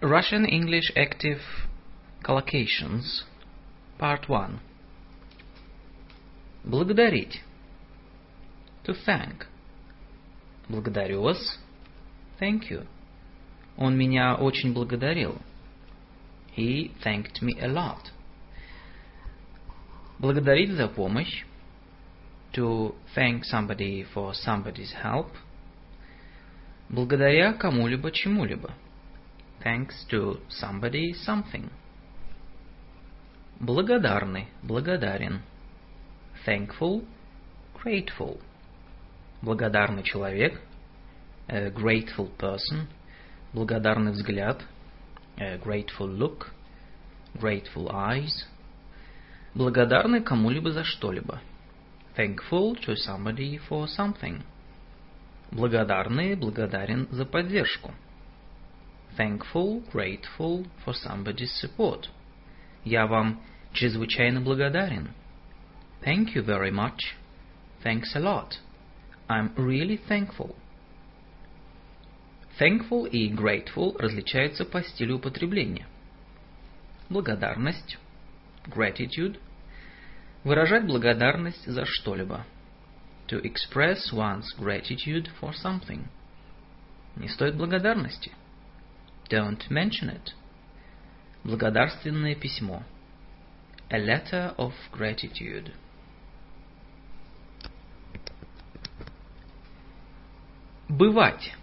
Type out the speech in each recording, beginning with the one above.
Russian English Active Collocations. Part 1. Благодарить. To thank. Благодарю вас. Thank you. Он меня очень благодарил. He thanked me a lot. Благодарить за помощь. To thank somebody for somebody's help. Благодаря кому-либо чему-либо. Thanks to somebody something. Благодарный, благодарен. Thankful, grateful. Благодарный человек. A grateful person. Благодарный взгляд. A grateful look. Grateful eyes. Благодарный кому-либо за что-либо. Thankful to somebody for something. Благодарный, благодарен за поддержку. Thankful, grateful for somebody's support. Я вам чрезвычайно благодарен. Thank you very much. Thanks a lot. I'm really thankful. Thankful и grateful различаются по стилю употребления. Благодарность, gratitude, выражать благодарность за что-либо. To express one's gratitude for something. Не стоит благодарности. Don't mention it. Благодарственное письмо. A letter of gratitude. Бывать.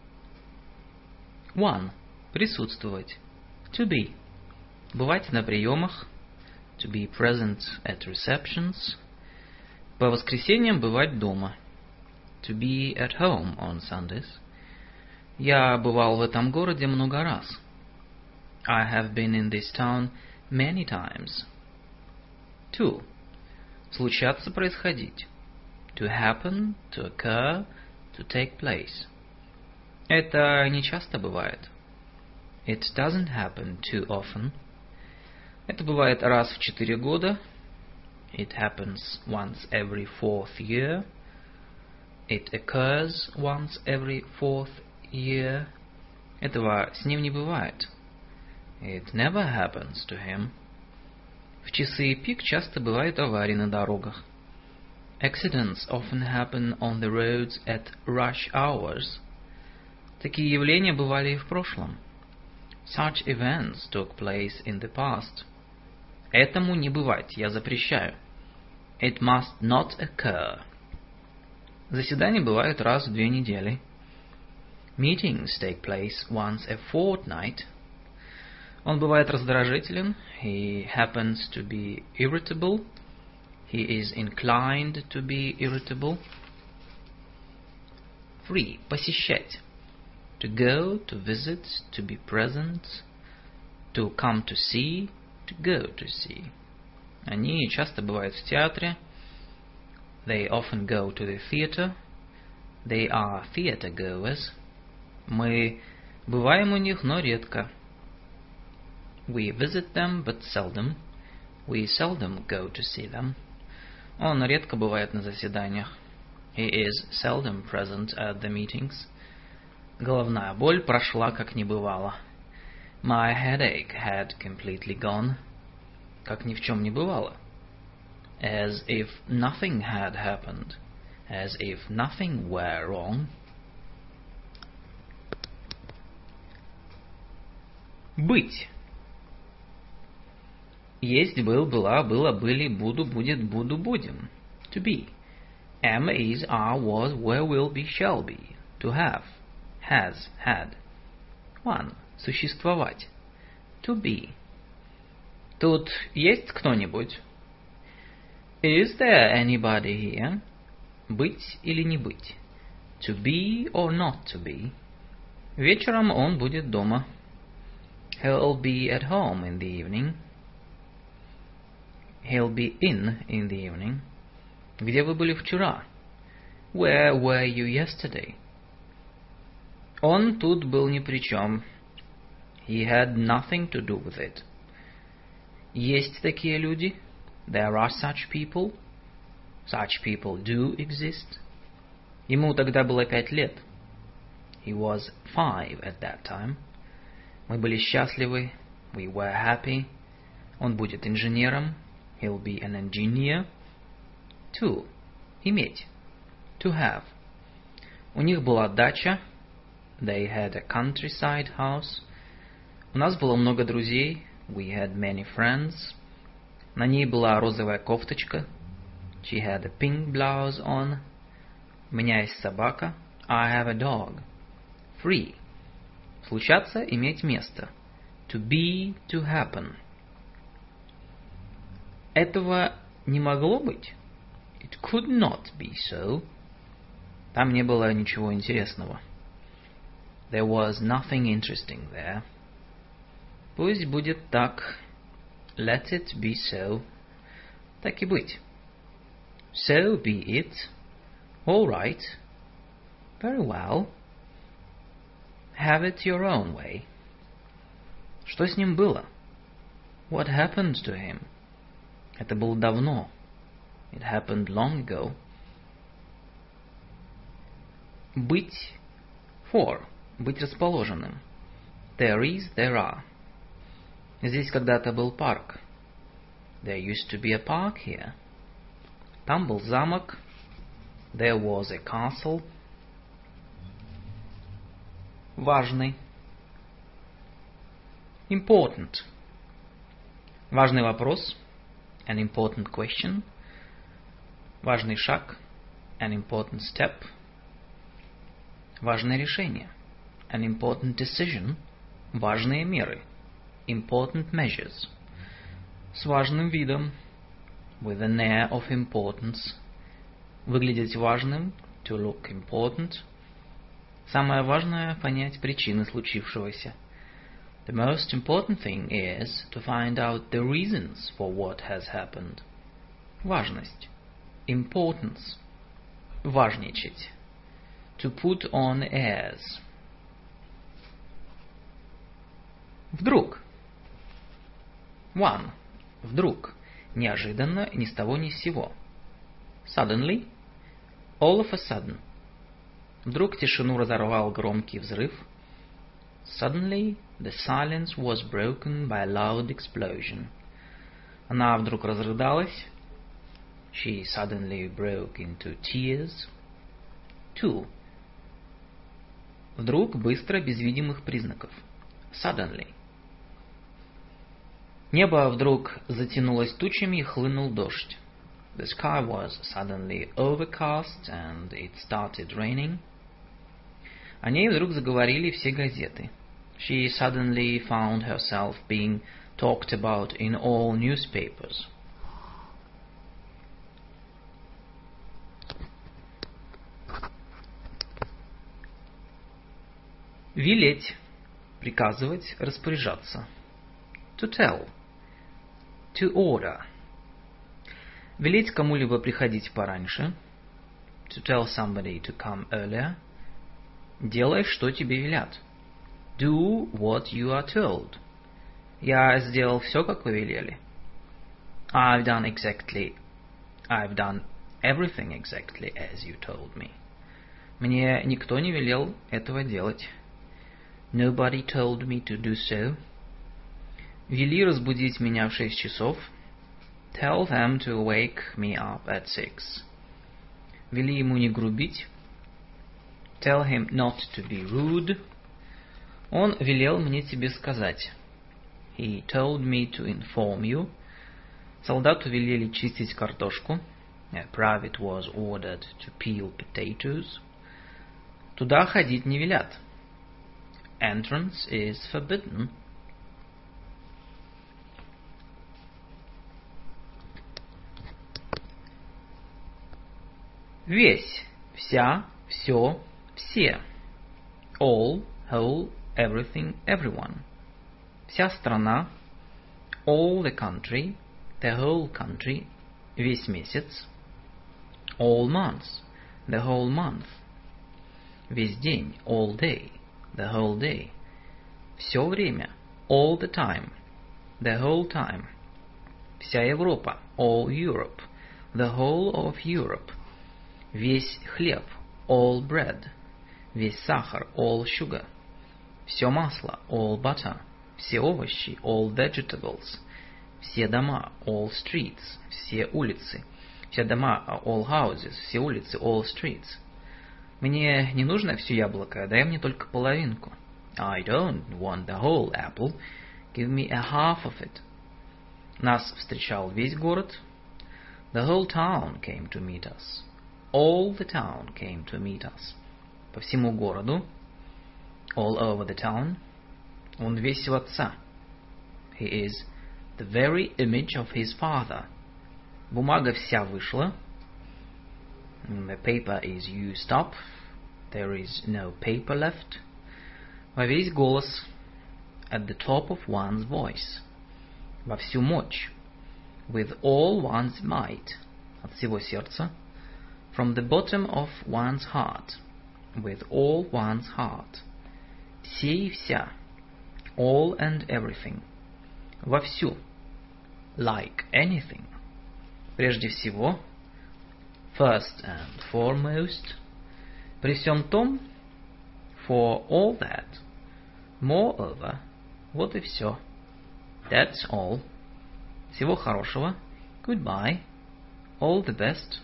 1. Присутствовать. To be. Бывать на приемах. To be present at receptions. По воскресеньям бывать дома. To be at home on Sundays. Я бывал в этом городе много раз. I have been in this town many times. 2. Случаться, происходить. To happen, to occur, to take place. Это не часто бывает. It doesn't happen too often. Это бывает раз в 4 года. It happens once every 4th year. It occurs once every 4th year. Этого с ним не бывает. It never happens to him. В часы пик часто бывают аварии на дорогах. Accidents often happen on the roads at rush hours. Такие явления бывали и в прошлом. Such events took place in the past. Этому не бывать, я запрещаю. It must not occur. Заседания бывают раз в 2 недели. Meetings take place once a fortnight. Он бывает раздражителен. He happens to be irritable. He is inclined to be irritable. 3. Посещать. To go, to visit, to be present, to come to see, to go to see. Они часто бывают в театре. They often go to the theater. They are theater goers. Мы бываем у них, но редко. We visit them, but seldom. We seldom go to see them. Он редко бывает на заседаниях. He is seldom present at the meetings. Головная боль прошла, как не бывало. My headache had completely gone. Как ни в чем не бывало. As if nothing had happened. As if nothing were wrong. Быть. Есть, был, была, было, были, буду, будет, буду, будем. To be. Am, is, are, was, were, will be, shall be. To have. Has, had. 1. Существовать. To be. Тут есть кто-нибудь? Is there anybody here? Быть или не быть? To be or not to be? Вечером он будет дома. He'll be at home in the evening. He'll be in the evening. Где вы были вчера? Where were you yesterday? Он тут был ни при чем. He had nothing to do with it. Есть такие люди. There are such people. Such people do exist. Ему тогда было 5 лет. He was 5 at that time. Мы были счастливы. We were happy. Он будет инженером. He'll be an engineer. To. Иметь. To have. У них была дача. They had a countryside house. У нас было много друзей. We had many friends. На ней была розовая кофточка. She had a pink blouse on. У меня есть собака. I have a dog. Free. Случаться, иметь место. To be, to happen. Этого не могло быть. It could not be so. Там не было ничего интересного. There was nothing interesting there. Пусть будет так. Let it be so. Так и быть. So be it. All right. Very well. Have it your own way. Что с ним было? What happened to him? Это было давно. It happened long ago. Быть for. Быть расположенным. There is, there are. Здесь когда-то был парк. There used to be a park here. Там был замок. There was a castle. Важный. Important. Важный вопрос. An important question. Важный шаг. An important step. Важное решение. An important decision. Важные меры. Important measures. С важным видом. With an air of importance. Выглядеть важным. To look important. Самое важное – понять причины случившегося. The most important thing is to find out the reasons for what has happened. Важность. Importance. Важничать. To put on airs. Вдруг. One. Вдруг. Неожиданно, ни с того ни с сего. Suddenly. All of a sudden. Вдруг тишину разорвал громкий взрыв. Suddenly, the silence was broken by a loud explosion. Она вдруг разрыдалась. She suddenly broke into tears. Two. Вдруг, быстро, без видимых признаков. Suddenly. Небо вдруг затянулось тучами и хлынул дождь. The sky was suddenly overcast and it started raining. О ней вдруг заговорили все газеты. She suddenly found herself being talked about in all newspapers. Велеть. Приказывать, распоряжаться. To tell. To order. Велеть кому-либо приходить пораньше. To tell somebody to come earlier. Делай, что тебе велят. Do what you are told. Я сделал все, как вы велели. I've done everything exactly as you told me. Мне никто не велел этого делать. Nobody told me to do so. Вели разбудить меня в 6 часов. Tell them to wake me up at 6. Вели ему не грубить. Tell him not to be rude. Он велел мне тебе сказать. He told me to inform you. Солдату велели чистить картошку. A private was ordered to peel potatoes. Туда ходить не велят. Entrance is forbidden. Весь, вся, все, все. All, whole, everything, everyone. Вся страна. All the country, the whole country. Весь месяц. All months, the whole month. Весь день, all day, the whole day. Все время, all the time, the whole time. Вся Европа, all Europe, the whole of Europe. Весь хлеб, all bread. Весь сахар, all sugar. все масло, all butter, все овощи, all vegetables, все дома, all streets, все улицы, все дома, all houses, все улицы, all streets. Мне не нужно все яблоко, дай мне только половинку. I don't want the whole apple, give me a half of it. Нас встречал весь город. The whole town came to meet us. All the town came to meet us. По всему городу. All over the town. Он весь в отца. He is the very image of his father. Бумага вся вышла. The paper is used up. There is no paper left. Во весь голос. At the top of one's voice. Во всю мощь. With all one's might. От всего сердца. From the bottom of one's heart. With all one's heart. Все и вся. All and everything. Во всю. Like anything. Прежде всего. First and foremost. При всем том. For all that. Moreover. Вот и все. That's all. Всего хорошего. Goodbye. All the best.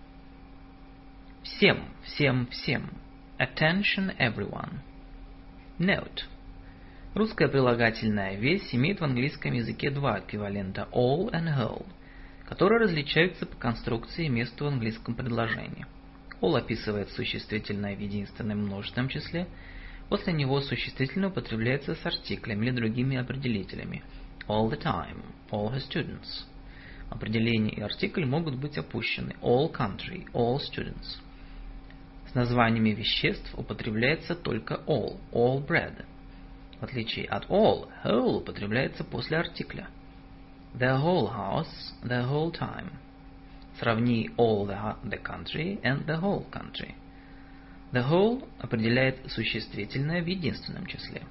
Всем, всем, всем. Attention everyone. Note. Русское прилагательное весь имеет в английском языке два эквивалента all and whole, которые различаются по конструкции и месту в английском предложении. All описывает существительное в единственном множественном числе, после него существительное употребляется с артиклями или другими определителями. All the time, all her students. Определение и артикль могут быть опущены. All country, all students. С названиями веществ употребляется только all bread. В отличие от all, whole употребляется после артикля. The whole house, the whole time. Сравни all the country and the whole country. The whole определяет существительное в единственном числе.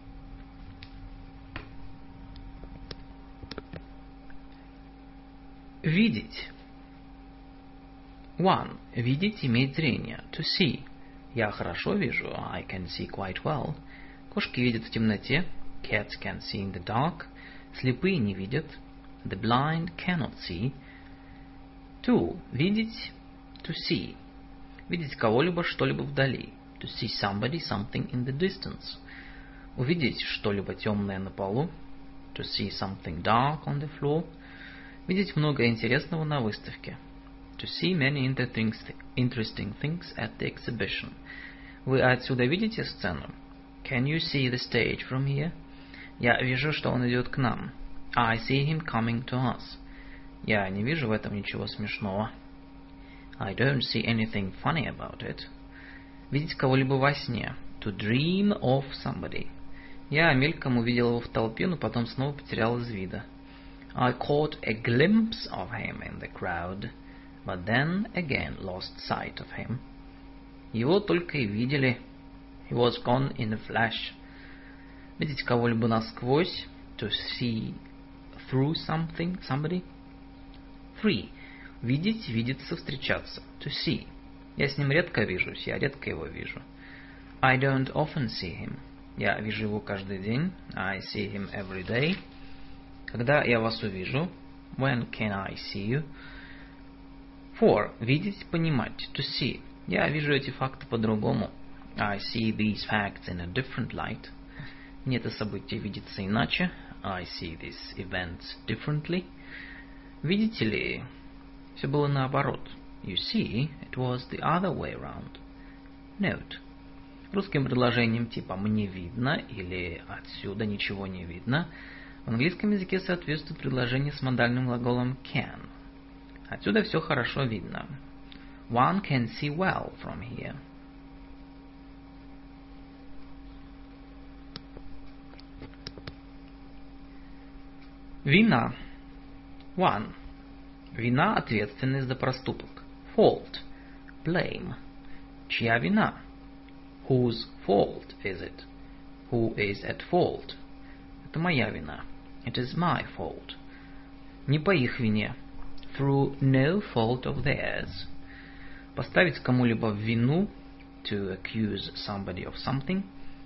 Видеть. 1. Видеть, иметь зрение. To see. Я хорошо вижу. I can see quite well. Кошки видят в темноте. Cats can see in the dark. Слепые не видят. The blind cannot see. 2. Видеть. To see. Видеть кого-либо, что-либо вдали. To see somebody, something in the distance. Увидеть что-либо темное на полу. To see something dark on the floor. Видеть много интересного на выставке. To see many interesting things at the exhibition. Вы отсюда видите сцену? Can you see the stage from here? Я вижу, что он идет к нам. I see him coming to us. Я не вижу в этом ничего смешного. I don't see anything funny about it. Видеть кого-либо во сне. To dream of somebody. Я мельком увидел его в толпе, но потом снова потерял из вида. I caught a glimpse of him in the crowd, but then again lost sight of him. Его только и видели. He was gone in a flash. Видеть кого-либо насквозь. To see through somebody. 3. Видеть, видеться, встречаться. To see. Я с ним редко вижусь, я редко его вижу. I don't often see him. Я вижу его каждый день. I see him every day. Когда я вас увижу? When can I see you? 4. Видеть, понимать. To see. Я вижу эти факты по-другому. I see these facts in a different light. Мне это событие видится иначе. I see these events differently. Видите ли, все было наоборот. You see, it was the other way around. Note. Русским предложением типа «мне видно» или «отсюда ничего не видно» в английском языке соответствует предложение с модальным глаголом can. Отсюда все хорошо видно. One can see well from here. Вина. 1. Вина – ответственность за проступок. Fault. Blame. Чья вина? Whose fault is it? Who is at fault? Это моя вина. It is my fault. Не по их вине. Through no fault of theirs. Поставить кому-либо в вину. To accuse somebody of something.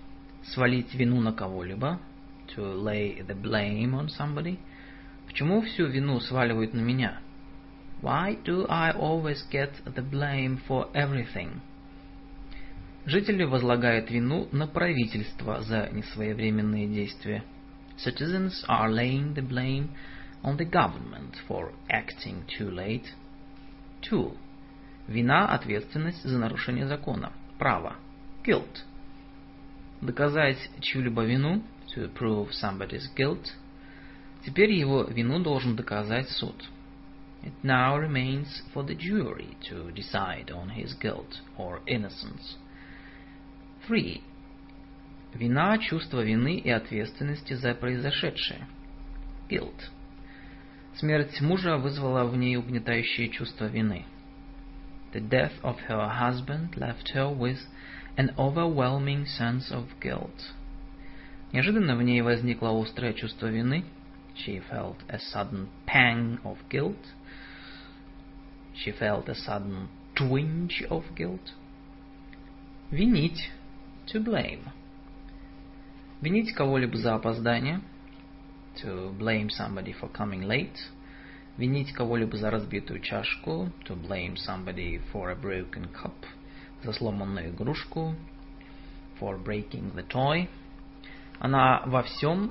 свалить вину на кого-либо, to lay the blame on somebody. Почему всю вину сваливают на меня? Why do I always get the blame for everything? Жители возлагают вину на правительство за несвоевременные действия. Citizens are laying the blame on the government for acting too late. 2. Вина, ответственность за нарушение закона. Право. Guilt. Доказать чью-либо вину, to prove somebody's guilt. Теперь его вину должен доказать суд. It now remains for the jury to decide on his guilt or innocence. 3. Вина, чувство вины и ответственности за произошедшее. Guilt. Смерть мужа вызвала в ней угнетающее чувство вины. The death of her husband left her with an overwhelming sense of guilt. Неожиданно в ней возникло острое чувство вины. She felt a sudden pang of guilt. She felt a sudden twinge of guilt. Винить. To blame. Винить кого-либо за опоздание. To blame somebody for coming late. Винить кого-либо за разбитую чашку. To blame somebody for a broken cup. За сломанную игрушку. For breaking the toy. Она во всем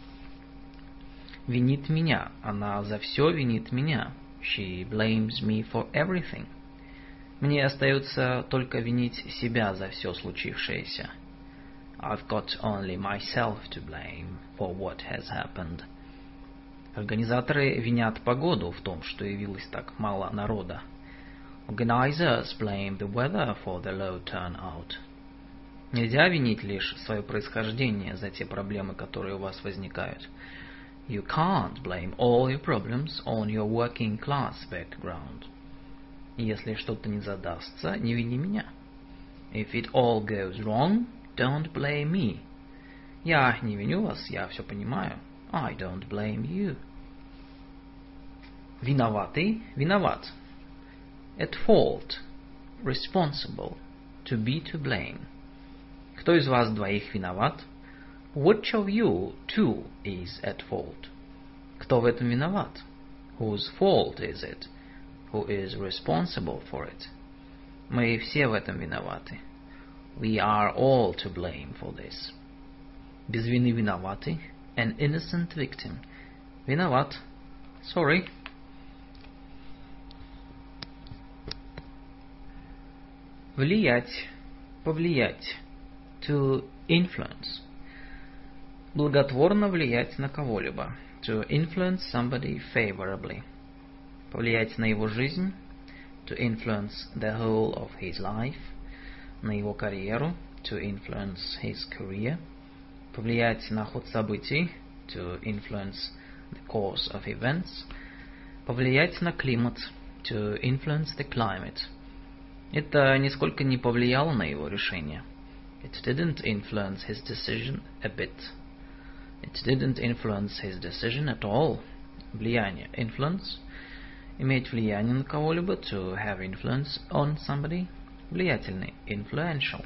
винит меня. Она за все винит меня. She blames me for everything. Мне остается только винить себя за все случившееся. I've got only myself to blame for what has happened. Организаторы винят погоду в том, что явилось так мало народа. Organizers blame the weather for the low turnout. Нельзя винить лишь свое происхождение за те проблемы, которые у вас возникают. You can't blame all your problems on your working class background. Если что-то не задастся, не вини меня. If it all goes wrong, don't blame me. Я не виню вас, я все понимаю. I don't blame you. Виноватый, виноват. At fault, responsible, to be to blame. Кто из вас двоих виноват? Which of you two is at fault? Кто в этом виноват? Whose fault is it? Who is responsible for it? Мы все в этом виноваты. We are all to blame for this. Без вины виноватый. An innocent victim. Виноват. Sorry. Влиять. Повлиять. To influence. Благотворно влиять на кого-либо. To influence somebody favorably. Повлиять на его жизнь. To influence the whole of his life. На его карьеру. To influence his career. Повлиять на ход событий. To influence the course of events. Повлиять на климат. To influence the climate. Это нисколько не повлияло на его решение. It didn't influence his decision a bit. It didn't influence his decision at all. Влияние. Influence. Иметь влияние на кого-либо. To have influence on somebody. Влиятельный. Influential.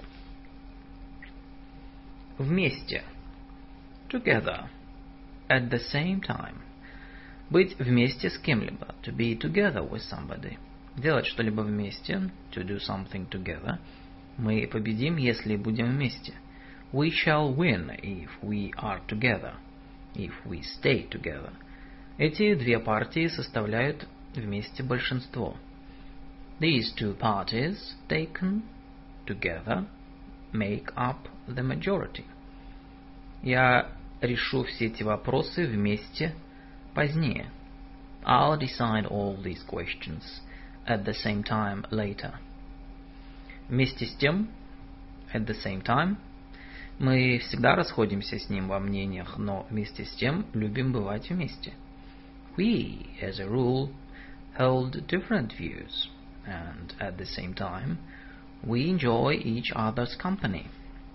Вместе. Together. At the same time. Быть вместе с кем-либо. To be together with somebody. Делать что-либо вместе. To do something together. Мы победим, если будем вместе. We shall win if we are together. If we stay together. Эти две партии составляют вместе большинство. These two parties, taken together, make up the majority. Я решу все эти вопросы вместе позднее. I'll decide all these questions at the same time later. Вместе с тем, at the same time, мы всегда расходимся с ним во мнениях, но вместе с тем любим бывать вместе. We, as a rule, hold different views, and at the same time, we enjoy each other's company.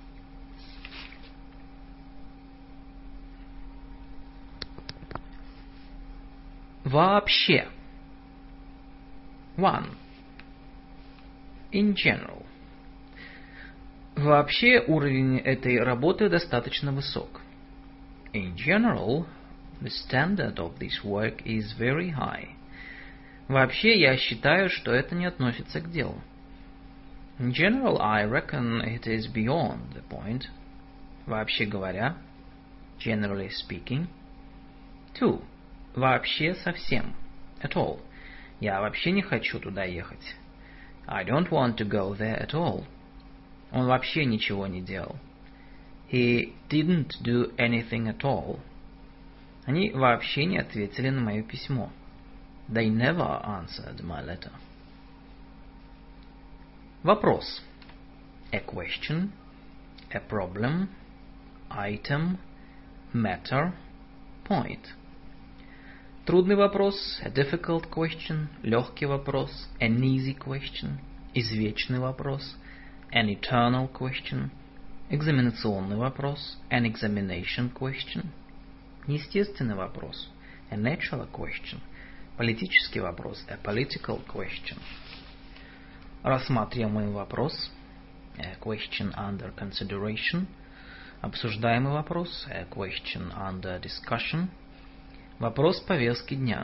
Вообще. 1. In general. Вообще уровень этой работы достаточно высок. In general, the standard of this work is very high. Вообще я считаю, что это не относится к делу. In general, I reckon it is beyond the point. Вообще говоря, generally speaking. 2. Вообще совсем. At all. Я вообще не хочу туда ехать. I don't want to go there at all. Он вообще ничего не делал. He didn't do anything at all. Они вообще не ответили на мое письмо. They never answered my letter. Вопрос. A question, a problem, item, matter, point. Трудный вопрос, a difficult question, легкий вопрос, an easy question, извечный вопрос, an eternal question, экзаменационный вопрос, an examination question, естественный вопрос, a natural question, политический вопрос, a political question, рассматриваемый вопрос, a question under consideration, обсуждаемый вопрос, a question under discussion, вопрос повестки дня,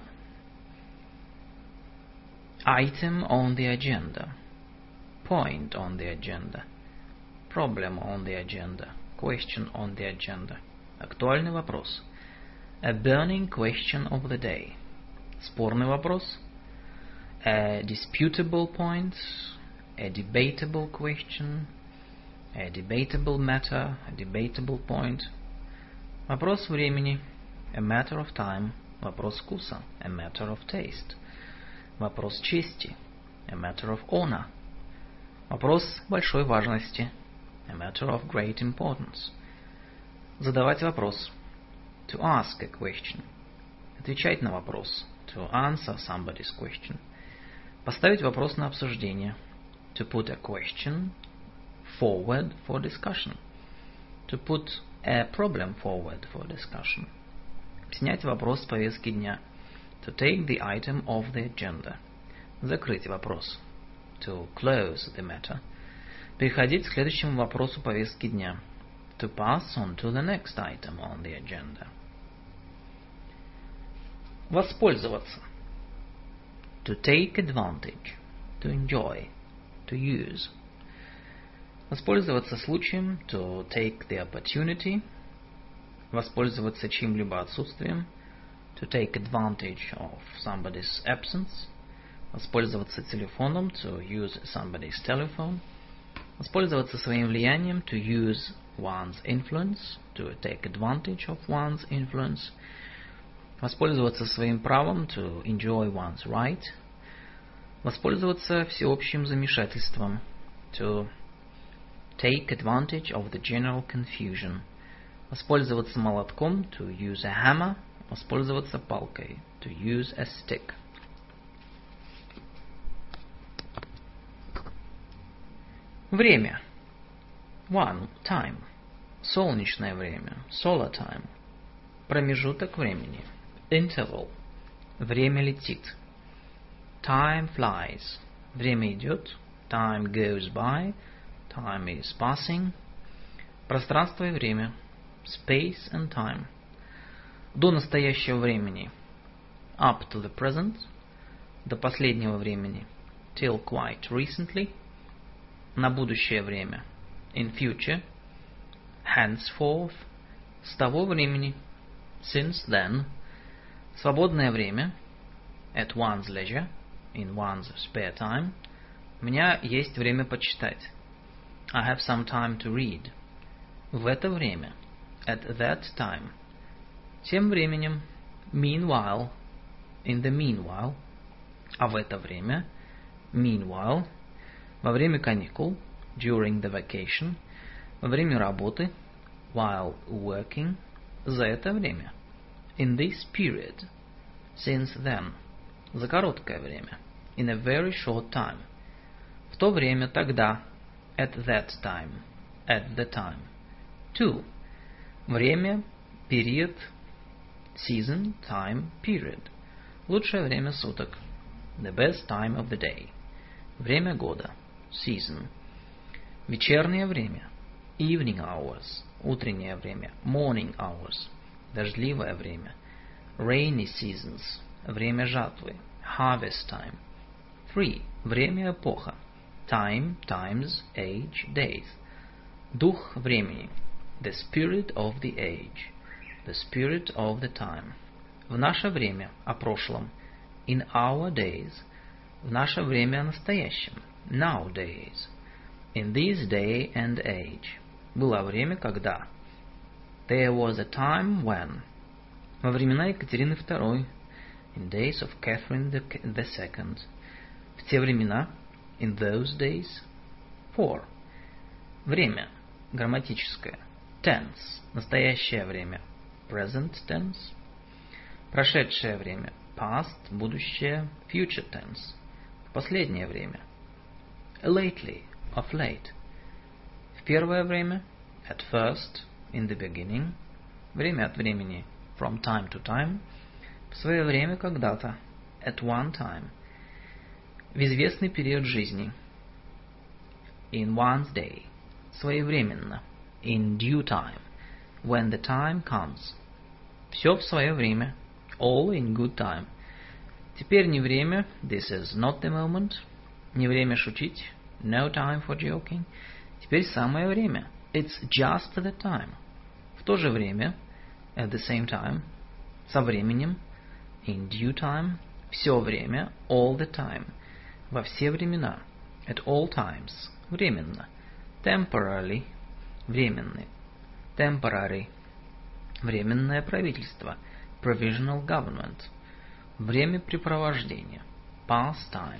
item on the agenda, point on the agenda, problem on the agenda, question on the agenda, актуальный вопрос, a burning question of the day, спорный вопрос, a disputable point, a debatable question, a debatable matter, a debatable point, вопрос времени, a matter of time, вопрос вкуса, a matter of taste, вопрос чести, a matter of honor, вопрос большой важности, a matter of great importance, задавать вопрос, to ask a question, отвечать на вопрос, to answer somebody's question, поставить вопрос на обсуждение, to put a question forward for discussion, to put a problem forward for discussion, снять вопрос с повестки дня, to take the item off the agenda, закрыть вопрос, to close the matter, переходить к следующему вопросу повестки дня, to pass on to the next item on the agenda. Воспользоваться. To take advantage, to enjoy, to use. Воспользоваться случаем, to take the opportunity. Воспользоваться чьим-либо отсутствием, to take advantage of somebody's absence. Воспользоваться телефоном, to use somebody's telephone. Воспользоваться своим влиянием, to use one's influence, to take advantage of one's influence. Воспользоваться своим правом, to enjoy one's right. Воспользоваться всеобщим замешательством, to take advantage of the general confusion. Воспользоваться молотком, to use a hammer. Воспользоваться палкой, to use a stick. Время. 1. Time. Солнечное время. Solar time. Промежуток времени. Interval. Время летит. Time flies. Время идет. Time goes by. Time is passing. Пространство и время. Space and time. До настоящего времени. Up to the present. До последнего времени. Till quite recently. На будущее время. In future. Henceforth. С того времени. Since then. Свободное время. At one's leisure. In one's spare time. У меня есть время почитать. I have some time to read. В это время. At that time. Тем временем. Meanwhile. In the meanwhile. А в это время. Meanwhile. Во время каникул. During the vacation. Во время работы. While working. За это время. In this period. Since then. За короткое время. In a very short time. В то время, тогда. At that time. At the time. 2. Время, период, season, time, period. Лучшее время суток. The best time of the day. Время года. Season. Вечернее время. Evening hours. Утреннее время. Morning hours. Дождливое время. Rainy seasons. Время жатвы. Harvest time. 3. Время эпоха. Time, times, age, days. Дух времени. The spirit of the age. The spirit of the time. В наше время о прошлом. In our days. В наше время о настоящем. Nowadays. In this day and age. Было время, когда. There was a time when. Во времена Екатерины II. In days of Catherine II. В те времена. In those days. 4. Время. Грамматическое. Tense. Настоящее время. Present tense. Прошедшее время. Past. Будущее. Future tense. Последнее время. Lately. Of late. В первое время. At first. In the beginning. Время от времени. From time to time. В свое время когда-то. At one time. В известный период жизни. In one's day. Своевременно. In due time. When the time comes. Все в свое время. All in good time. Теперь не время. This is not the moment. Не время шутить. No time for joking. Теперь самое время. It's just the time. В то же время. At the same time. Со временем. In due time. Все время. All the time. Во все времена. At all times. Временно. Temporarily. Временный. Temporary. Временное правительство. Provisional government. Времяпрепровождение. Pastime.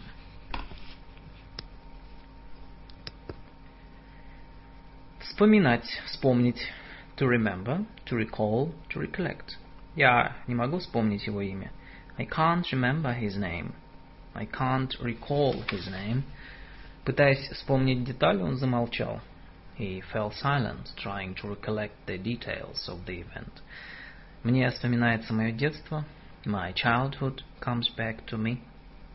Вспоминать, вспомнить. To remember, to recall, to recollect. Я не могу вспомнить его имя. I can't remember his name. I can't recall his name. Пытаясь вспомнить детали, он замолчал. He fell silent, trying to recollect the details of the event. Мне вспоминается мое детство. My childhood comes back to me.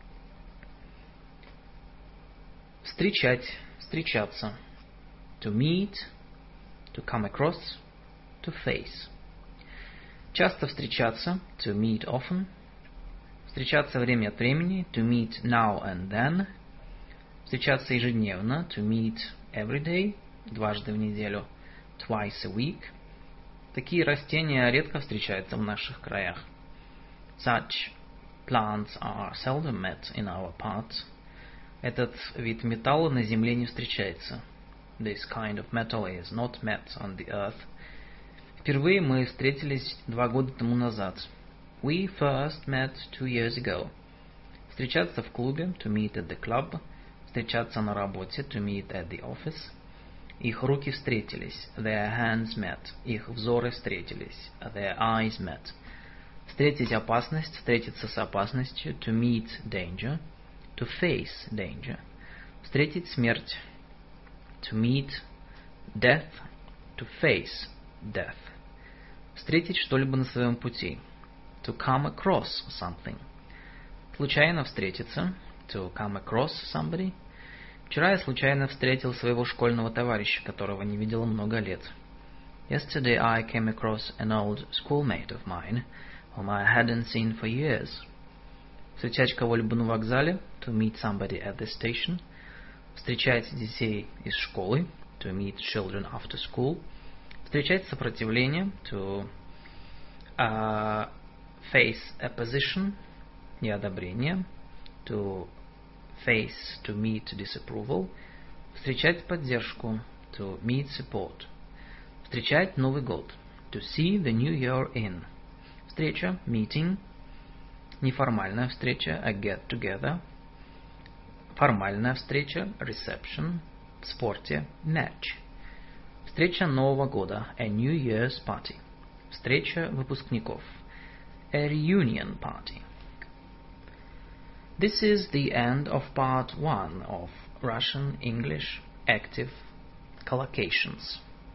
Встречать, встречаться. To meet, to come across, to face. Часто встречаться. To meet often. Встречаться время от времени. To meet now and then. Встречаться ежедневно. To meet every day. Дважды в неделю. Twice a week. Такие растения редко встречаются в наших краях. Such plants are seldom met in our parts. Этот вид металла на земле не встречается. This kind of metal is not met on the earth. Впервые мы встретились 2 года тому назад. We first met 2 years ago. Встречаться в клубе. To meet at the club. Встречаться на работе. To meet at the office. Их руки встретились. Their hands met. Их взоры встретились. Their eyes met. Встретить опасность. Встретиться с опасностью. To meet danger. To face danger. Встретить смерть. To meet death. To face death. Встретить что-либо на своем пути. To come across something. Случайно встретиться. To come across somebody. Вчера я случайно встретил своего школьного товарища, которого не видел много лет. Yesterday I came across an old schoolmate of mine, whom I hadn't seen for years. Встречать кого-либо на вокзале. To meet somebody at the station. Встречать детей из школы. To meet children after school. Встречать сопротивление. To face opposition. Неодобрение. To face, to meet disapproval. Встречать поддержку. To meet support. Встречать Новый год. To see the new year in. Встреча. Meeting. Неформальная встреча. A get together. Формальная встреча. Reception. В спорте. Match. Встреча Нового года. A New Year's party. Встреча выпускников. A reunion party. This is the end of part 1 of Russian English active collocations.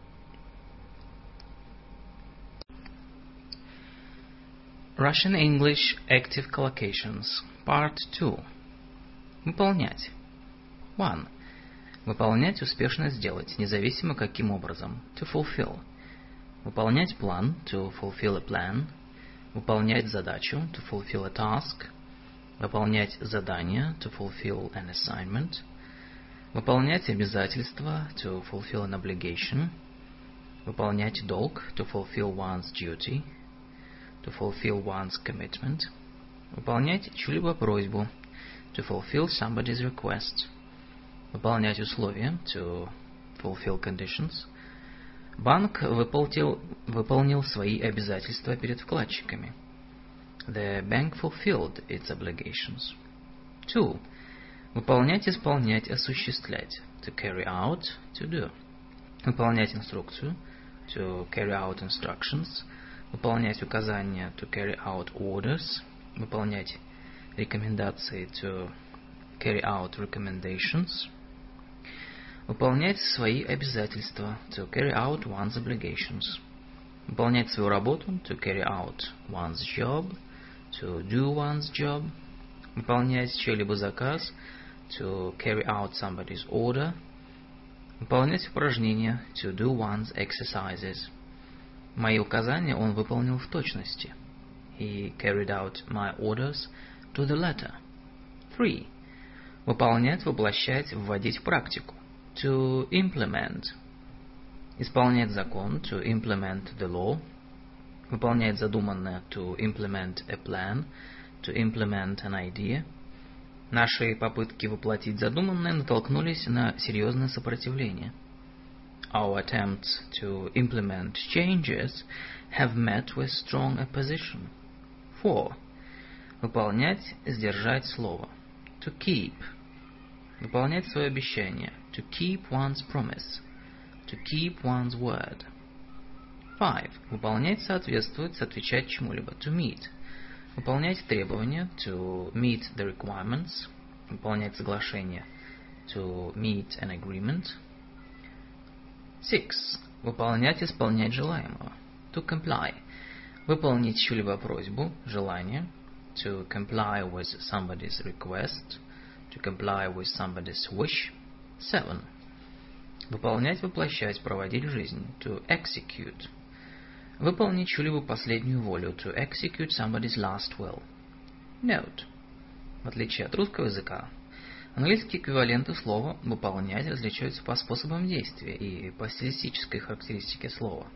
Russian English active collocations, part 2. Выполнять. 1. Выполнять, успешно сделать, независимо каким образом. To fulfill. Выполнять план. To fulfill a plan. Выполнять задачу. To fulfill a task. Выполнять задание. To fulfill an assignment. Выполнять обязательства. To fulfill an obligation. Выполнять долг. To fulfill one's duty. To fulfill one's commitment. Выполнять чью-либо просьбу. To fulfill somebody's request. Выполнять условия. To fulfill conditions. Банк выполнил свои обязательства перед вкладчиками. The bank fulfilled its obligations. 2. Выполнять, исполнять, осуществлять. To carry out, to do. Выполнять инструкцию. To carry out instructions. Выполнять указания. To carry out orders. Выполнять рекомендации. To carry out recommendations. Выполнять свои обязательства. To carry out one's obligations. Выполнять свою работу. To carry out one's job. To do one's job. Выполнять чей-либо заказ. To carry out somebody's order. Выполнять упражнения. To do one's exercises. Мои указания он выполнил в точности. He carried out my orders to the letter. 3. Выполнять, воплощать, вводить в практику. To implement. Исполнять закон. To implement the law. Выполнять задуманное. To implement a plan. To implement an idea. Наши попытки воплотить задуманное натолкнулись на серьезное сопротивление. Our attempts to implement changes have met with strong opposition. 4. Выполнять, сдержать слово. To keep. Выполнять свое обещание. To keep one's promise. To keep one's word. 5. Выполнять, соответствовать, отвечать чему-либо. To meet. Выполнять требования. To meet the requirements. Выполнять соглашение. To meet an agreement. 6. Выполнять, исполнять желаемого. To comply. Выполнить чью-либо просьбу, желание. To comply with somebody's request. To comply with somebody's wish. 7. Выполнять, воплощать, проводить в жизнь. To execute. Выполнить чью-либо последнюю волю. To execute somebody's last will. Note. В отличие от русского языка, английские эквиваленты слова «выполнять» различаются по способам действия и по стилистической характеристике слова.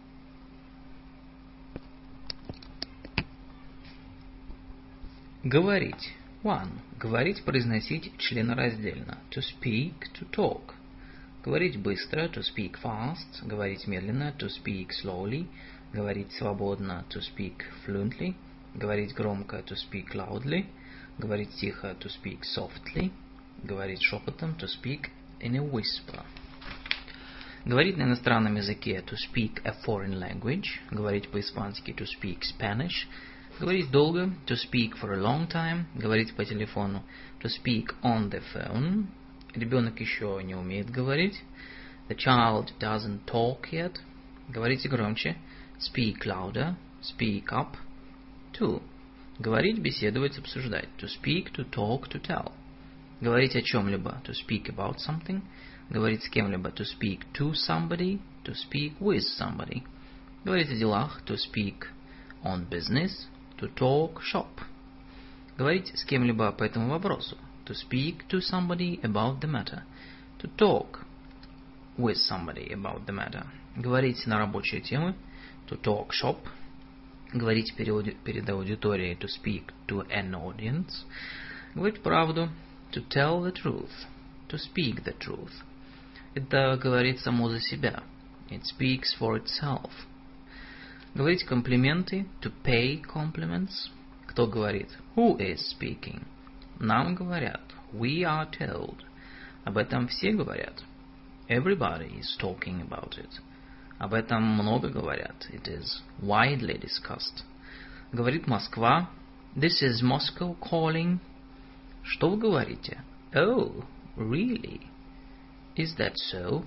Говорить. 1. Говорить, произносить членораздельно. To speak, to talk. Говорить быстро. To speak fast. Говорить медленно. To speak slowly. Говорить свободно. To speak fluently. Говорить громко. To speak loudly. Говорить тихо. To speak softly. Говорить шепотом. To speak in a whisper. Говорить на иностранном языке. To speak a foreign language. Говорить по-испански. To speak Spanish. Говорить долго. To speak for a long time. Говорить по телефону. To speak on the phone. Ребенок еще не умеет говорить. The child doesn't talk yet. Говорите громче. Speak louder. Speak up. 2. Говорить, беседовать, обсуждать. To speak, to talk, to tell. Говорить о чем-либо. To speak about something. Говорить с кем-либо. To speak to somebody. To speak with somebody. Говорить о делах. To speak on business. To talk shop. Говорить с кем-либо по этому вопросу. To speak to somebody about the matter. To talk with somebody about the matter. Говорить на рабочие темы. To talk shop. Говорить перед аудиторией. To speak to an audience. Говорить правду. To tell the truth. To speak the truth. Это говорит само за себя. It speaks for itself. Говорить комплименты. To pay compliments. Кто говорит? Who is speaking? Нам говорят. We are told. Об этом все говорят. Everybody is talking about it. Об этом много говорят. It is widely discussed. Говорит Москва. This is Moscow calling. Что вы говорите? Oh, really? Is that so?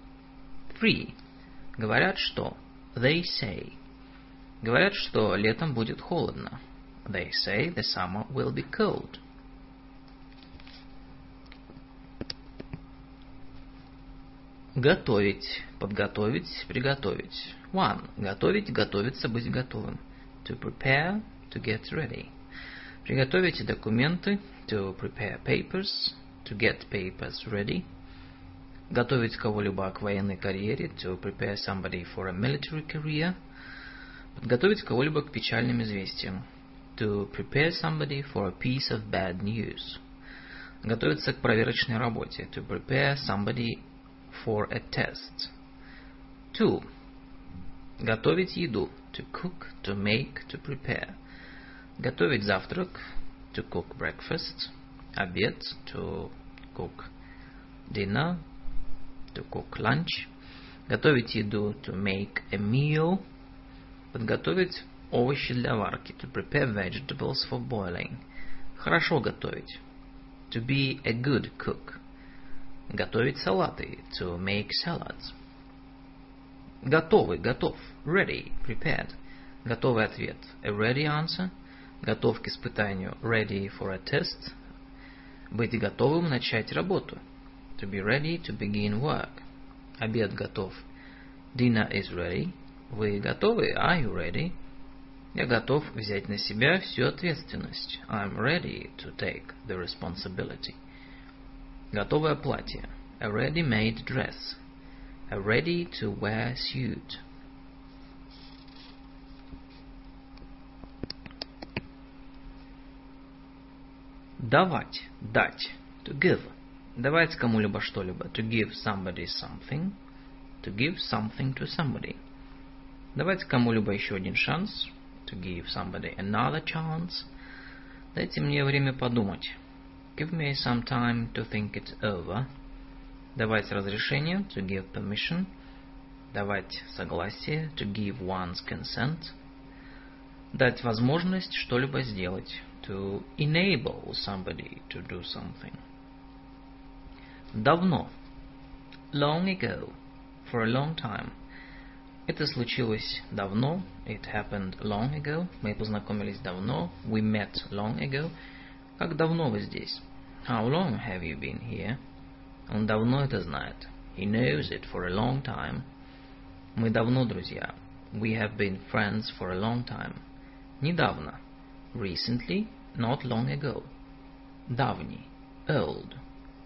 3. Говорят, что. They say. Говорят, что летом будет холодно. They say the summer will be cold. Готовить, подготовить, приготовить. 1. Готовить, готовиться, быть готовым. To prepare, to get ready. Приготовить документы. To prepare papers, to get papers ready. Готовить кого-либо к военной карьере. To prepare somebody for a military career. Подготовить кого-либо к печальным известиям. To prepare somebody for a piece of bad news. Готовиться к проверочной работе. To prepare somebody for a test. 2. Готовить еду. To cook, to make, to prepare. Готовить завтрак. To cook breakfast. Обед. To cook dinner. To cook lunch. Готовить еду. To make a meal. Подготовить овощи для варки. To prepare vegetables for boiling. Хорошо готовить. To be a good cook. Готовить салаты. To make salads. Готовый, готов. Ready, prepared. Готовый ответ. A ready answer. Готов к испытанию. Ready for a test. Быть готовым начать работу. To be ready to begin work. Обед готов. Dinner is ready. Вы готовы? Are you ready? Я готов взять на себя всю ответственность. I'm ready to take the responsibility. Готовое платье. A ready-made dress. A ready-to-wear suit. Давать, дать. To give. Давать кому-либо что-либо. To give somebody something. To give something to somebody. Давать кому-либо еще один шанс. To give somebody another chance. Дайте мне время подумать. Give me some time to think it over. Давать разрешение. To give permission. Давать согласие. To give one's consent. Дать возможность что-либо сделать. To enable somebody to do something. Давно. Long ago. For a long time. Это случилось давно. It happened long ago. Мы познакомились давно. We met long ago. Как давно вы здесь? How long have you been here? Он давно это знает. He knows it for a long time. Мы давно друзья. We have been friends for a long time. Недавно. Recently, not long ago. Давний. Old.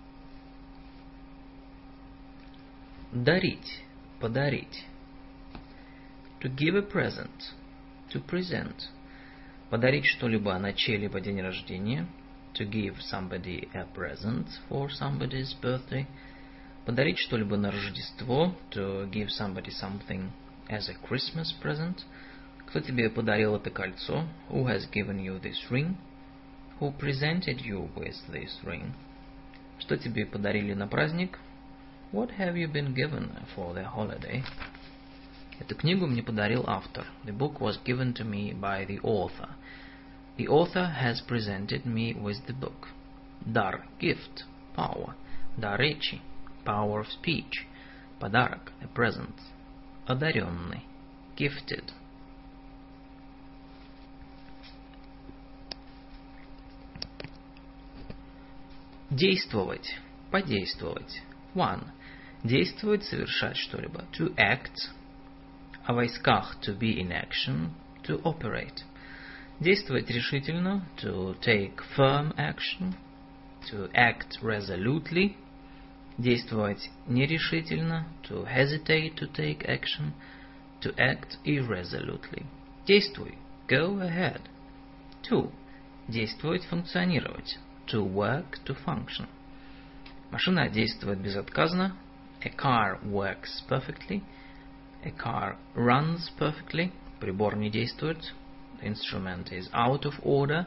Дарить. Подарить. To give a present. To present. Подарить что-либо на чей-либо день рождения. To give somebody a present for somebody's birthday. Подарить что-либо на Рождество. To give somebody something as a Christmas present. Кто тебе подарил это кольцо? Who has given you this ring? Who presented you with this ring? Что тебе подарили на праздник? What have you been given for the holiday? Эту книгу мне подарил автор. The book was given to me by the author. The author has presented me with the book. Дар, gift, power. Дар речи, power of speech. Подарок, a present. Одаренный, gifted. Действовать, подействовать. 1. Действовать, совершать что-либо. To act. О войсках. To be in action. To operate. Действовать решительно. To take firm action. To act resolutely. Действовать нерешительно. To hesitate to take action. To act irresolutely. Действуй. Go ahead. 2. Действовать, функционировать. To work, to function. Машина действует безотказно. A car works perfectly. A car runs perfectly. Прибор не действует. The instrument is out of order.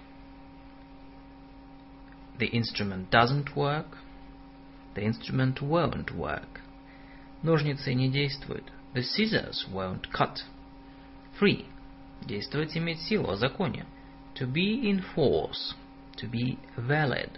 The instrument doesn't work. The instrument won't work. Ножницы не действуют. The scissors won't cut. 3. Действовать, иметь силу, о законе. To be in force. To be valid.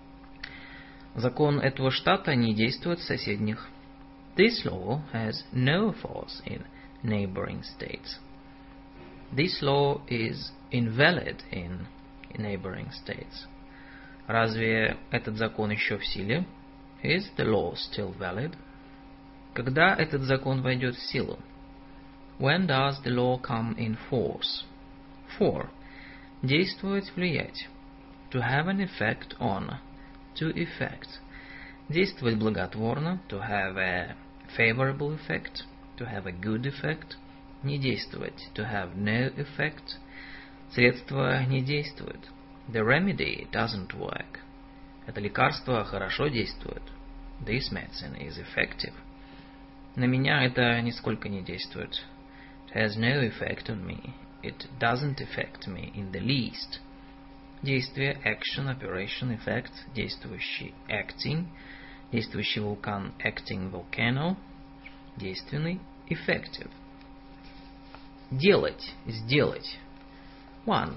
Закон этого штата не действует в соседних. This law has no force in neighboring states. This law is invalid in neighboring states. Разве этот закон еще в силе? Is the law still valid? Когда этот закон войдет в силу? When does the law come in force? 4. Действовать, влиять. To have an effect on. To effect. Действовать благотворно. To have a favorable effect. To have a good effect. Не действовать. To have no effect. Средство не действует. The remedy doesn't work. Это лекарство хорошо действует. This medicine is effective. На меня это нисколько не действует. It has no effect on me. It doesn't affect me in the least. Действие, action, operation, effect, действующий, acting, действующий вулкан, acting volcano, действенный, effective. Делать, сделать. 1.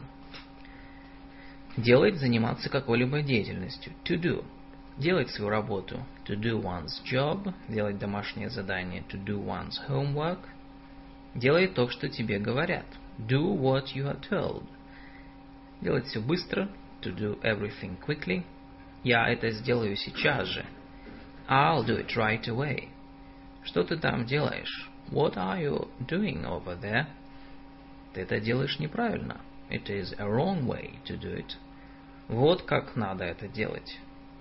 Делать, заниматься какой-либо деятельностью. To do. Делать свою работу. To do one's job. Делать домашнее задание. To do one's homework. Делай то, что тебе говорят. Do what you are told. Делать все быстро. To do everything quickly. Я это сделаю сейчас же. I'll do it right away. Что ты там делаешь? What are you doing over there? Ты это делаешь неправильно. It is a wrong way to do it. Вот как надо это делать.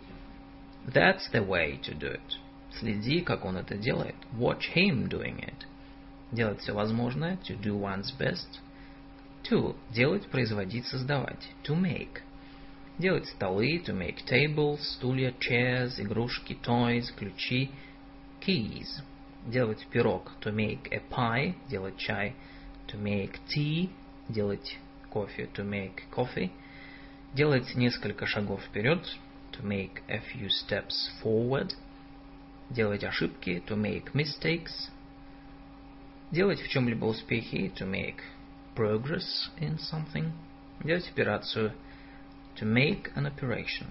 That's the way to do it. Следи, как он это делает. Watch him doing it. Делать все возможное. To do one's best. 2. Делать, производить, создавать. To make. Делать столы. To make tables, стулья, chairs, игрушки, toys, ключи, keys. Делать пирог. To make a pie. Делать чай. To make tea. Делать кофе. To make coffee. Делать несколько шагов вперед. To make a few steps forward. Делать ошибки. To make mistakes. Делать в чем-либо успехи. To make progress in something. Делать операцию. To make an operation.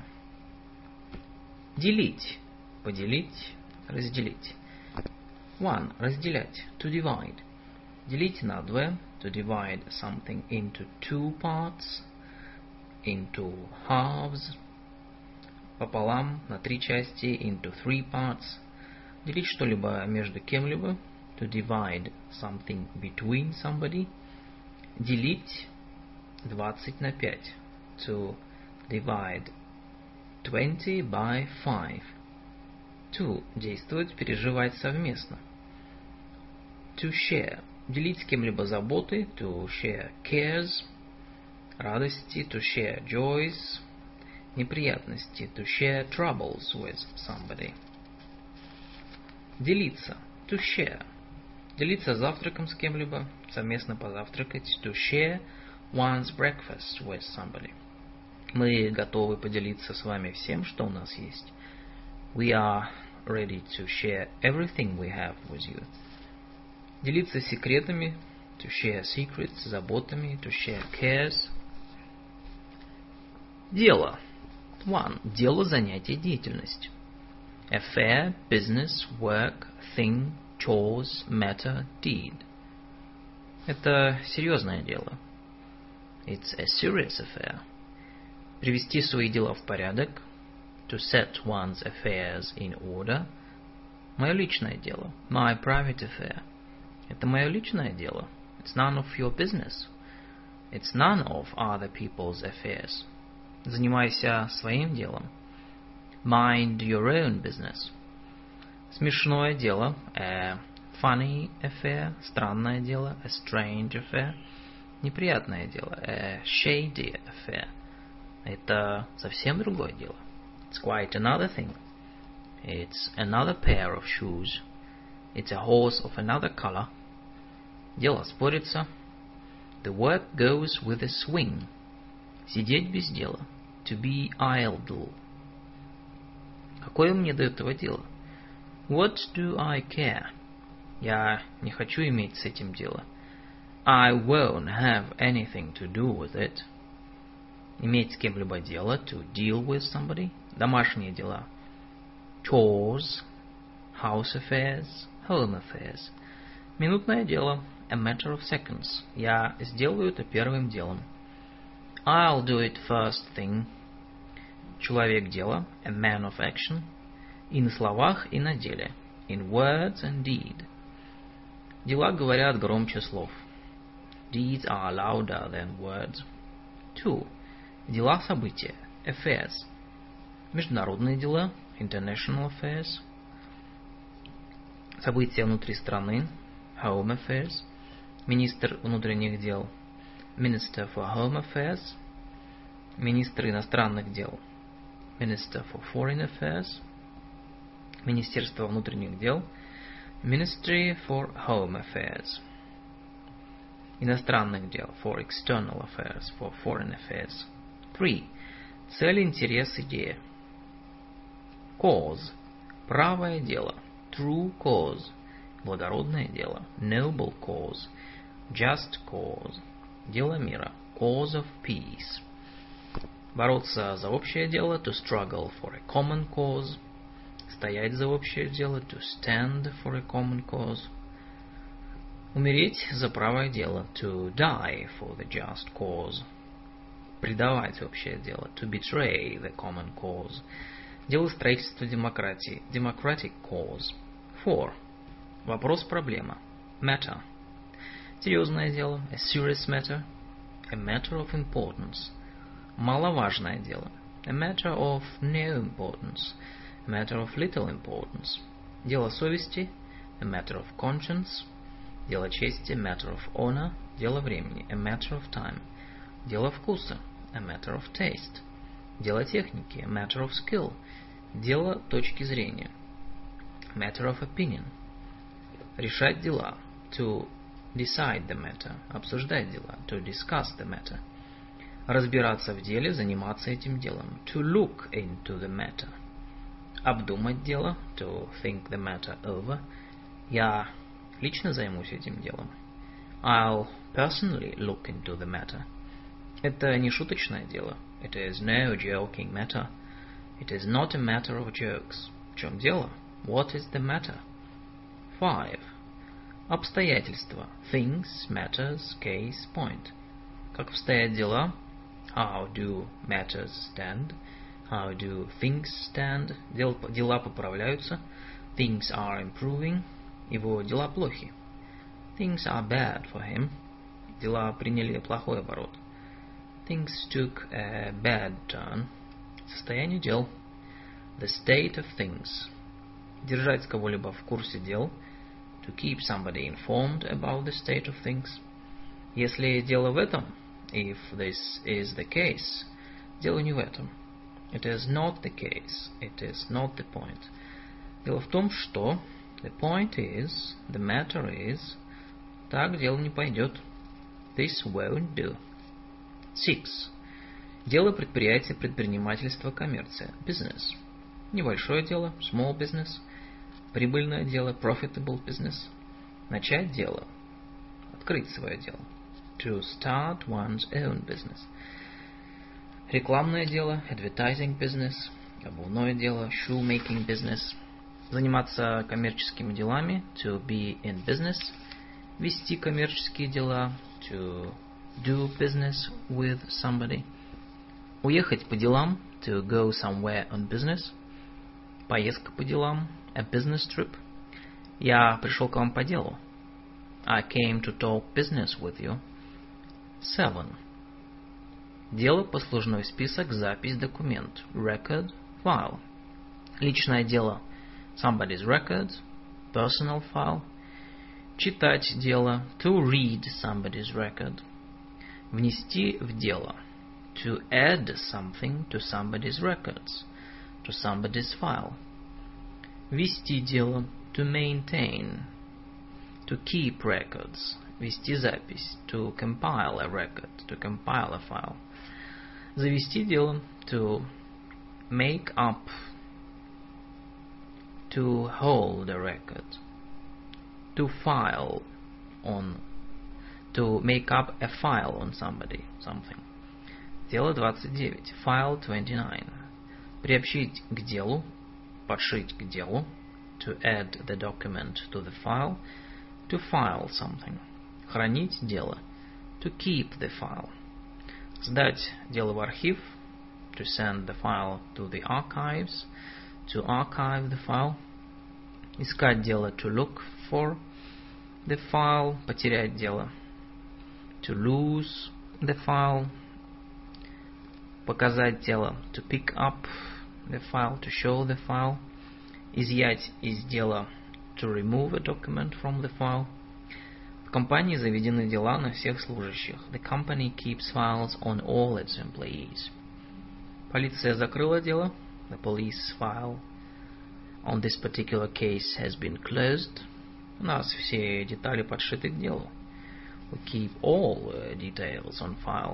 Делить. Поделить. Разделить. 1. Разделять. To divide. Делить на двое. To divide something into two parts. Into halves. Пополам, на три части. Into three parts. Делить что-либо между кем-либо. To divide something between somebody. Делить 20 на 5. To divide 20 by 5. To. Действовать, переживать совместно. To share. Делить с кем-либо заботы. To share cares. Радости. To share joys. Неприятности. To share troubles with somebody. Делиться. To share. Делиться завтраком с кем-либо. Совместно позавтракать. To share one's breakfast with somebody. Мы готовы поделиться с вами всем, что у нас есть. We are ready to share everything we have with you. Делиться секретами. To share secrets. Заботами. To share cares. Дело. 1. Дело, занятие, деятельность. Affair, business, work, thing, chores, matter, deed. Это серьезное дело. It's a serious affair. Привести свои дела в порядок. To set one's affairs in order. Мое личное дело. My private affair. Это мое личное дело. It's none of your business. It's none of other people's affairs. Занимайся своим делом. Mind your own business. Смешное дело. A funny affair. Странное дело. A strange affair. Неприятное дело. A shady affair. Это совсем другое дело. It's quite another thing. It's another pair of shoes. It's a horse of another color. Дело спорится. The work goes with a swing. Сидеть без дела. To be idle. Какое мне до этого дело? What do I care? Я не хочу иметь с этим дело. I won't have anything to do with it. Иметь с кем-либо дело. To deal with somebody. Домашние дела. Chores. House affairs. Home affairs. Минутное дело. A matter of seconds. Я сделаю это первым делом. I'll do it first thing. Человек дела. A man of action. И на словах, и на деле. in words and deed. Дела говорят громче слов. Deeds are louder than words. 2. Дела, события. Affairs. Международные дела. International affairs. События внутри страны. Home affairs. Министр внутренних дел. Minister for Home Affairs. Министр иностранных дел. Minister for Foreign Affairs. Министерство внутренних дел. Ministry for Home Affairs. Иностранных дел. For External Affairs. For Foreign Affairs. 3. Цель, интерес, идея. Cause. Правое дело. True cause. Благородное дело. Noble cause. Just cause. Дело мира. Cause of peace. Бороться за общее дело. To struggle for a common cause. Стоять за общее дело. To stand for a common cause. Умереть за правое дело. To die for the just cause. Предавать общее дело. To betray the common cause. Дело строительства демократии. Democratic cause. 4. Вопрос, проблема. Matter. Серьезное дело. A serious matter. A matter of importance. Маловажное дело. A matter of no importance. A matter of little importance. Дело совести. A matter of conscience. Дело чести. A matter of honor. Дело времени. A matter of time. Дело вкуса. A matter of taste. Дело техники. A matter of skill. Дело точки зрения. A matter of opinion. Решать дела. To decide the matter. Обсуждать дела. To discuss the matter. Разбираться в деле, заниматься этим делом. To look into the matter. Обдумать дело. To think the matter over. Я лично займусь этим делом. I'll personally look into the matter. Это не шуточное дело. It is no joking matter. It is not a matter of jokes. В чем дело? What is the matter? 5. Обстоятельства. Things, matters, case, point. Как обстоят дела? How do matters stand? How do things stand? Дела поправляются. Things are improving. Его дела плохи. Things are bad for him. Дела приняли плохой оборот. Things took a bad turn. Состояние дел. The state of things. Держать кого-либо в курсе дел. To keep somebody informed about the state of things. Если дело в этом, if this is the case, дело не в этом. It is not the case. It is not the point. Дело в том, что the point is, the matter is, так дело не пойдет. This won't do. 6. Дело, предприятие, предпринимательство, коммерция. Business. Небольшое дело. Small business. Прибыльное дело. Profitable business. Начать дело. Открыть свое дело. To start one's own business. Рекламное дело. Advertising business. Обувное дело. Shoemaking business. Заниматься коммерческими делами. To be in business. Вести коммерческие дела. To do business with somebody. Уехать по делам. To go somewhere on business. Поездка по делам. A business trip. Я пришел к вам по делу. I came to talk business with you. 7. Дело, послужной список, запись, документ. Record, file. Личное дело. Somebody's record. Personal file. Читать дело. To read somebody's record. Внести в дело. To add something to somebody's records. To somebody's file. Вести дело. To maintain. To keep records. Вести запись. To compile a record. To compile a file. Завести дело. To make up. To hold a record. To file on. To make up a file on somebody. Something. Дело 29. File 29. Приобщить к делу. Подшить к делу. To add the document to the file. To file something. Хранить дело. To keep the file. Сдать дело в архив. To send the file to the archives. To archive the file. Искать дело to look for the file. Потерять дело to lose the file. Показать дело to pick up the file, to show the file. Изъять из дела to remove a document from the file. В компании заведены дела на всех служащих. The company keeps files on all its employees. Полиция закрыла дело. The police file on this particular case has been closed. У нас все детали подшиты к делу. We keep all details on file.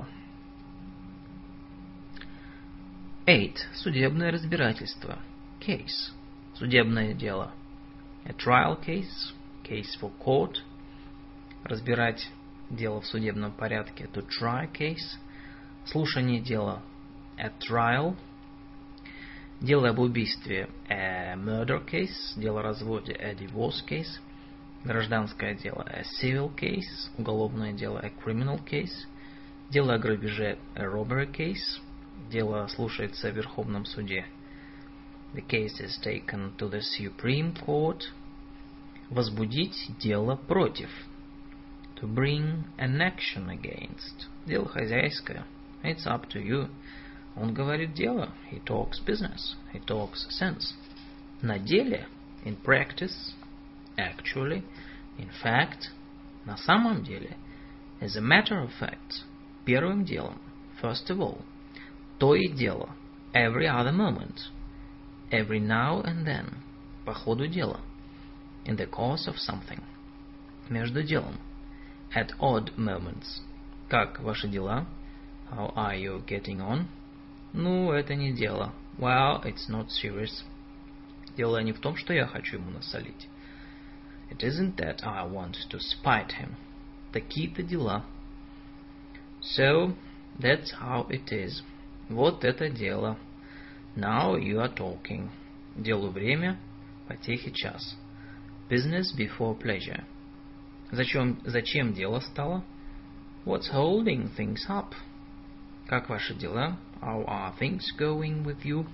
8. Судебное разбирательство. Case. Судебное дело. A trial case. Case for court. Разбирать дело в судебном порядке. To try case. Слушание дела. A trial. Дело об убийстве. A murder case. Дело о разводе. A divorce case. Гражданское дело. A civil case. Уголовное дело. A criminal case. Дело о грабеже. A robbery case. Дело слушается в Верховном суде. The case is taken to the Supreme Court. Возбудить дело против. To bring an action against. Дело хозяйское. It's up to you. Он говорит дело. He talks business. He talks sense. На деле. In practice. Actually. In fact. На самом деле. As a matter of fact. Первым делом. First of all. То и дело. Every other moment. Every now and then. По ходу дела. In the course of something. Между делом. At odd moments. Как ваши дела? How are you getting on? Ну, это не дело. Well, it's not serious. Дело не в том, что я хочу ему насолить. It isn't that I want to spite him. Такие-то дела. So, that's how it is. Вот это дело. Now you are talking. Делу время, потехе час. Business before pleasure. Зачем дело стало? What's holding things up? Как ваши дела? How are things going with you?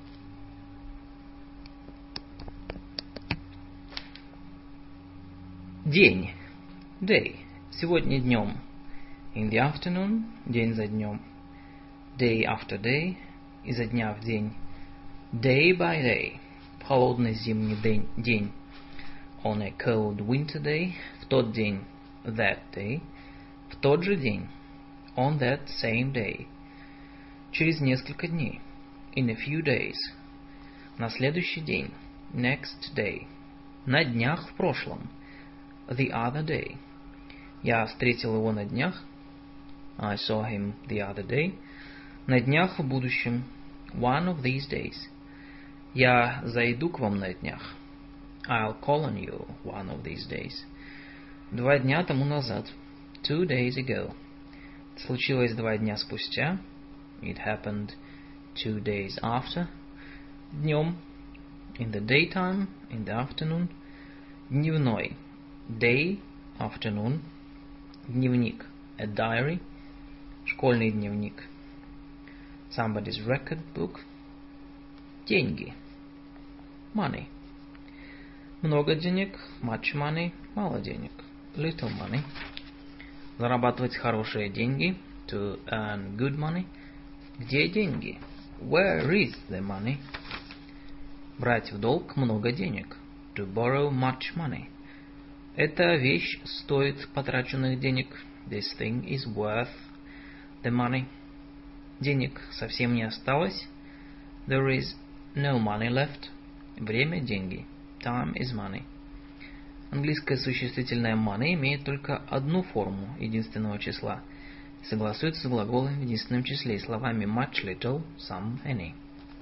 День. Day. Сегодня днем. In the afternoon. День за днем. Day after day. Изо дня в день. Day by day. Холодный зимний день. On a cold winter day. В тот день. That day. В тот же день. On that same day. Через несколько дней. In a few days. На следующий день. Next day. На днях в прошлом. The other day. Я встретил его на днях. I saw him the other day. На днях в будущем. One of these days. Я зайду к вам на днях. I'll call on you one of these days. 2 дня тому назад. 2 days ago. Случилось 2 дня спустя. It happened 2 days after. Днем. In the daytime. In the afternoon. Дневной. Day. Afternoon. Дневник. A diary. Школьный дневник. Somebody's record book. Деньги. Money. Много денег. Much money. Мало денег. Little money. Зарабатывать хорошие деньги. To earn good money. Где деньги? Where is the money? Брать в долг много денег. To borrow much money. Эта вещь стоит потраченных денег. This thing is worth the money. Денег совсем не осталось. There is no money left. Время – деньги. Time is money. Английское существительное money имеет только одну форму единственного числа. Согласуется с глаголом в единственном числе и словами much, little, some, any.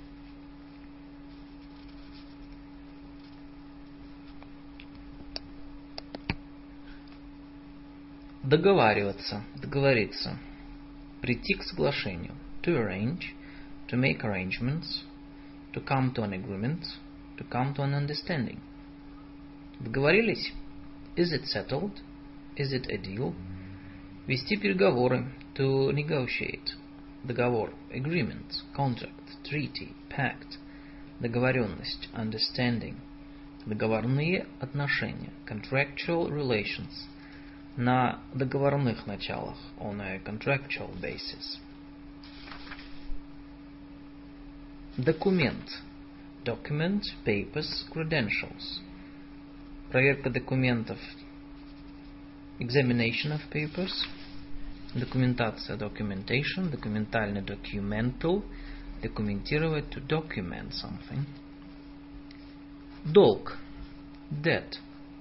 Договариваться, договориться. Прийти к соглашению. To arrange, to make arrangements, to come to an agreement, to come to an understanding. Договорились? Is it settled? Is it a deal? Вести переговоры. To negotiate. Договор. Agreement, contract, treaty, pact. Договоренность. Understanding. договорные отношения, contractual relations, на договорных началах, on a contractual basis. Документ, document, papers, credentials. Проверка документов, examination of papers. Документация, documentation, документальный, documental, документировать, to document something. Долг, debt.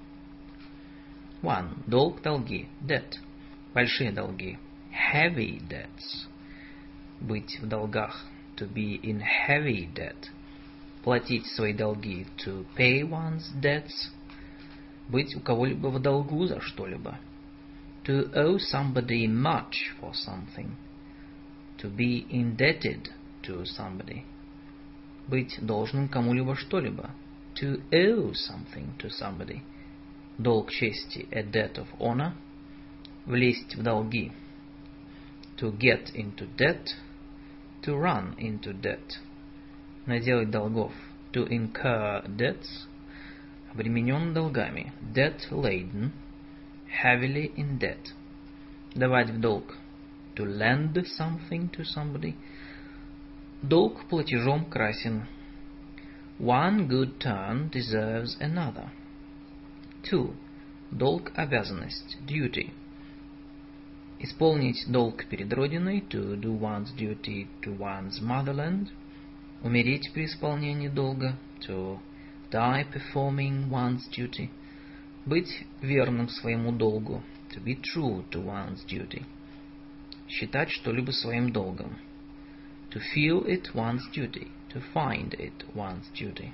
One, долг, долги, debt. Большие долги, heavy debts. Быть в долгах, to be in heavy debt. Платить свои долги, to pay one's debts. Быть у кого-либо в долгу за что-либо, to owe somebody much for something. To be indebted to somebody. Быть должным кому-либо что-либо, to owe something to somebody. Долг чести, a debt of honor. Влезть в долги, to get into debt, to run into debt. Наделать долгов, to incur debts. Обременен долгами, debt laden, heavily in debt. Давать в долг, to lend something to somebody. Долг платежом красен. One good turn deserves another. Two, долг обязанность, duty. Исполнить долг перед Родиной, to do one's duty to one's motherland. Умереть при исполнении долга, to die performing one's duty. Быть верным своему долгу, to be true to one's duty. Считать что-либо своим долгом, to feel it one's duty, to find it one's duty.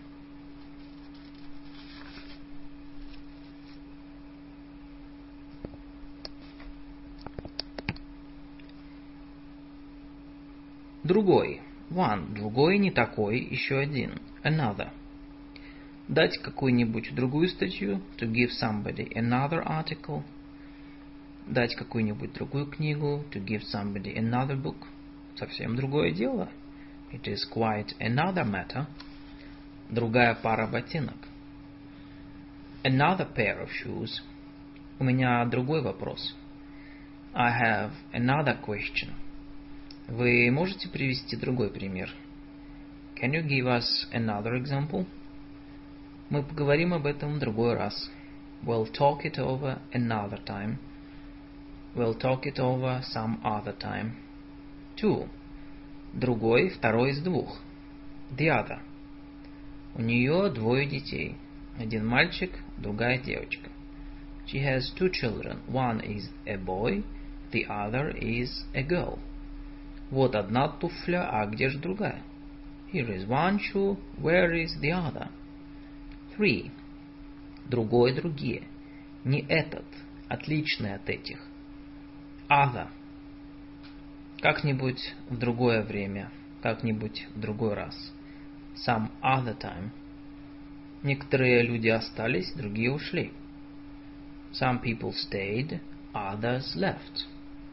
Другой, one, другой, не такой, еще один, another. Дать какую-нибудь другую статью, to give somebody another article. Дать какую-нибудь другую книгу, to give somebody another book. Совсем другое дело. It is quite another matter. Другая пара ботинок. Another pair of shoes. У меня другой вопрос. I have another question. Вы можете привести другой пример? Can you give us another example? Мы поговорим об этом в другой раз. We'll talk it over another time. We'll talk it over some other time. Two. Другой, второй из двух. The other. У нее двое детей. Один мальчик, другая девочка. She has two children. One is a boy, the other is a girl. Вот одна туфля, а где же другая? Here is one shoe, where is the other? Three. Другой, другие. Не этот, отличный от этих. Other. Как-нибудь в другое время, как-нибудь в другой раз. Some other time. Некоторые люди остались, другие ушли. Some people stayed, others left.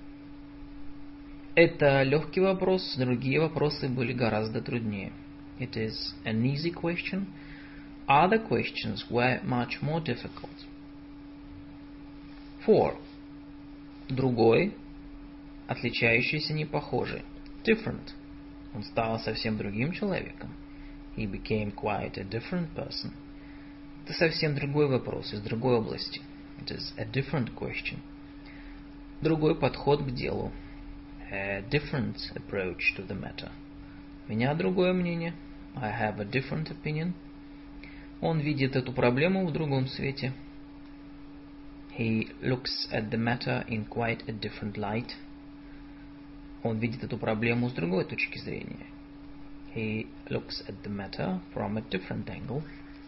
Это легкий вопрос, другие вопросы были гораздо труднее. It is an easy question. Other questions were much more difficult. Four. Другой, отличающийся, не похожий. Different. Он стал совсем другим человеком. He became quite a different person. Это совсем другой вопрос, из другой области. It is a different question. Другой подход к делу. A different approach to the matter. У меня другое мнение. I have a different opinion. Он видит эту проблему в другом свете. He looks at the matter in quite a different light. Он видит эту проблему с другой точки зрения. He looks at the matter from a different angle.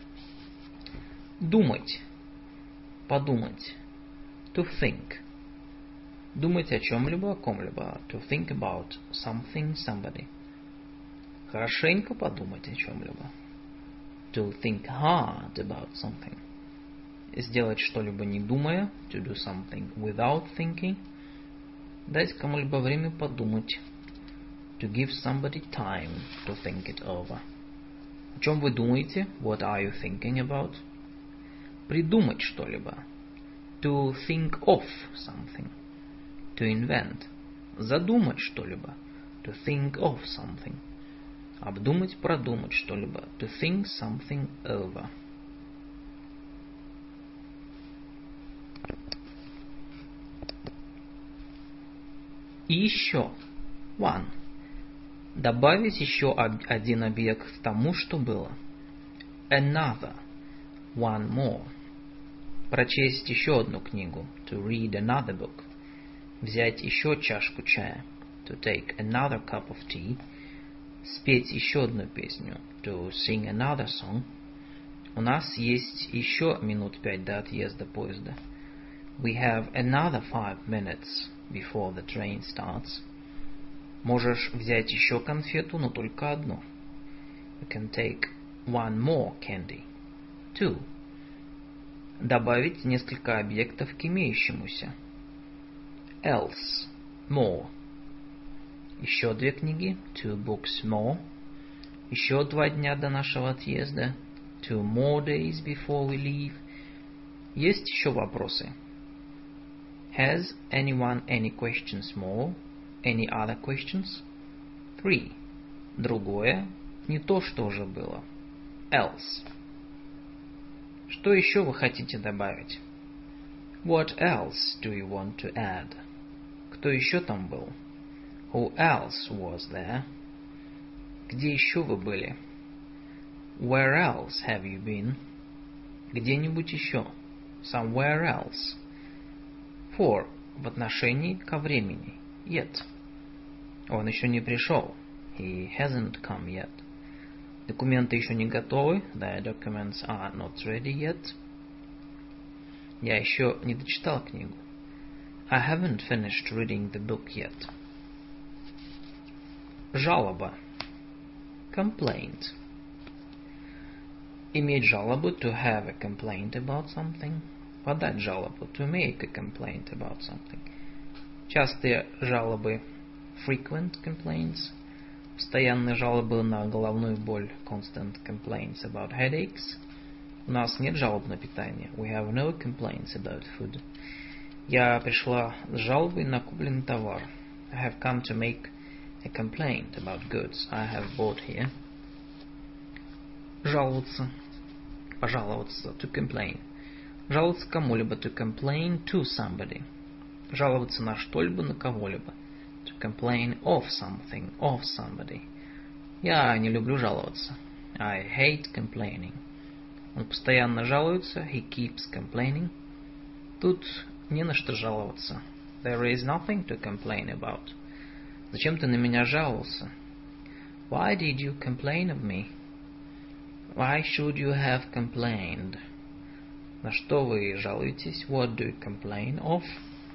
Думать. Подумать. To think. Думать о чем-либо, о ком-либо. To think about something, somebody. Хорошенько подумать о чем-либо. To think hard about something. Сделать что-либо не думая. To do something without thinking. Дать кому-либо время подумать. To give somebody time to think it over. О чем вы думаете? What are you thinking about? Придумать что-либо. To think of something. To invent. Задумать что-либо. To think of something. Обдумать, продумать что-либо. To think something over. И еще. One. Добавить еще один объект к тому, что было. Another. One more. Прочесть еще одну книгу. To read another book. Взять еще чашку чая. To take another cup of tea. Спеть еще одну песню. To sing another song. У нас есть еще минут 5 до отъезда поезда. We have another 5 minutes before the train starts. Можешь взять еще конфету, но только одну. You can take one more candy. Two. Добавить несколько объектов к имеющемуся. Else. More. Еще 2 книги. 2 books more. Еще 2 дня до нашего отъезда. 2 more days before we leave. Есть еще вопросы? Has anyone any questions more? Any other questions? 3. Другое. Не то, что уже было. Else. Что еще вы хотите добавить? What else do you want to add? Кто еще там был? Who else was there? Где еще вы были? Where else have you been? Где-нибудь еще. Somewhere else. 4. В отношении ко времени. Yet. Он еще не пришел. He hasn't come yet. Документы еще не готовы. The documents are not ready yet. Я еще не дочитал книгу. I haven't finished reading the book yet. Жалоба. Complaint. Иметь жалобу. To have a complaint about something. Подать жалобу. To make a complaint about something. Частые жалобы. Frequent complaints. Постоянные жалобы на головную боль. Constant complaints about headaches. У нас нет жалоб на питание. We have no complaints about food. Я пришла с жалобой на купленный товар. I have come to make a complaint about goods I have bought here. Жаловаться. Пожаловаться. To complain. Жаловаться кому-либо. To complain to somebody. Жаловаться на что-либо, на кого-либо. To complain of something, of somebody. Я не люблю жаловаться. I hate complaining. Он постоянно жалуется. He keeps complaining. Тут не на что жаловаться. There is nothing to complain about. Зачем ты на меня жаловался? Why did you complain of me? Why should you have complained? На что вы жалуетесь? What do you complain of?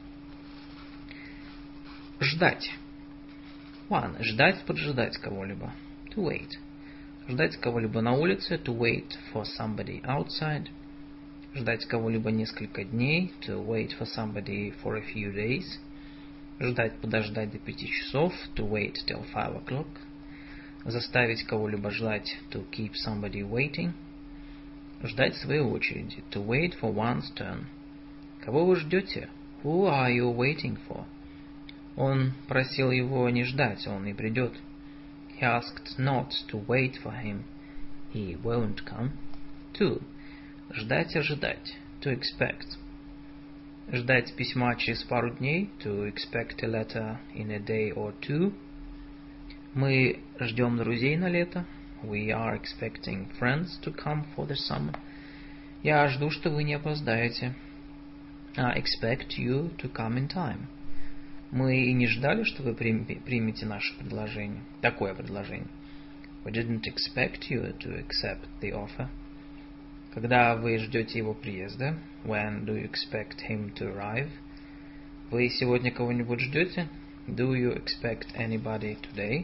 Ждать. One. Ждать, поджидать кого-либо. To wait. Ждать кого-либо на улице. To wait for somebody outside. Ждать кого-либо несколько дней. To wait for somebody for a few days. Ждать, подождать до 5 часов. To wait till 5 o'clock. Заставить кого-либо ждать. To keep somebody waiting. Ждать своей очереди. To wait for one's turn. Кого вы ждете? Who are you waiting for? Он просил его не ждать, он не придет. He asked not to wait for him. He won't come. 2. Ждать, ожидать. To expect. Ждать письма через пару дней. To expect a letter in a day or 2. Мы ждем друзей на лето. We are expecting friends to come for the summer. Я жду, что вы не опоздаете. I expect you to come in time. Мы и не ждали, что вы примете наше предложение. Такое предложение. We didn't expect you to accept the offer. Когда вы ждете его приезда? When do you expect him to arrive? Вы сегодня кого-нибудь ждете? Do you expect anybody today?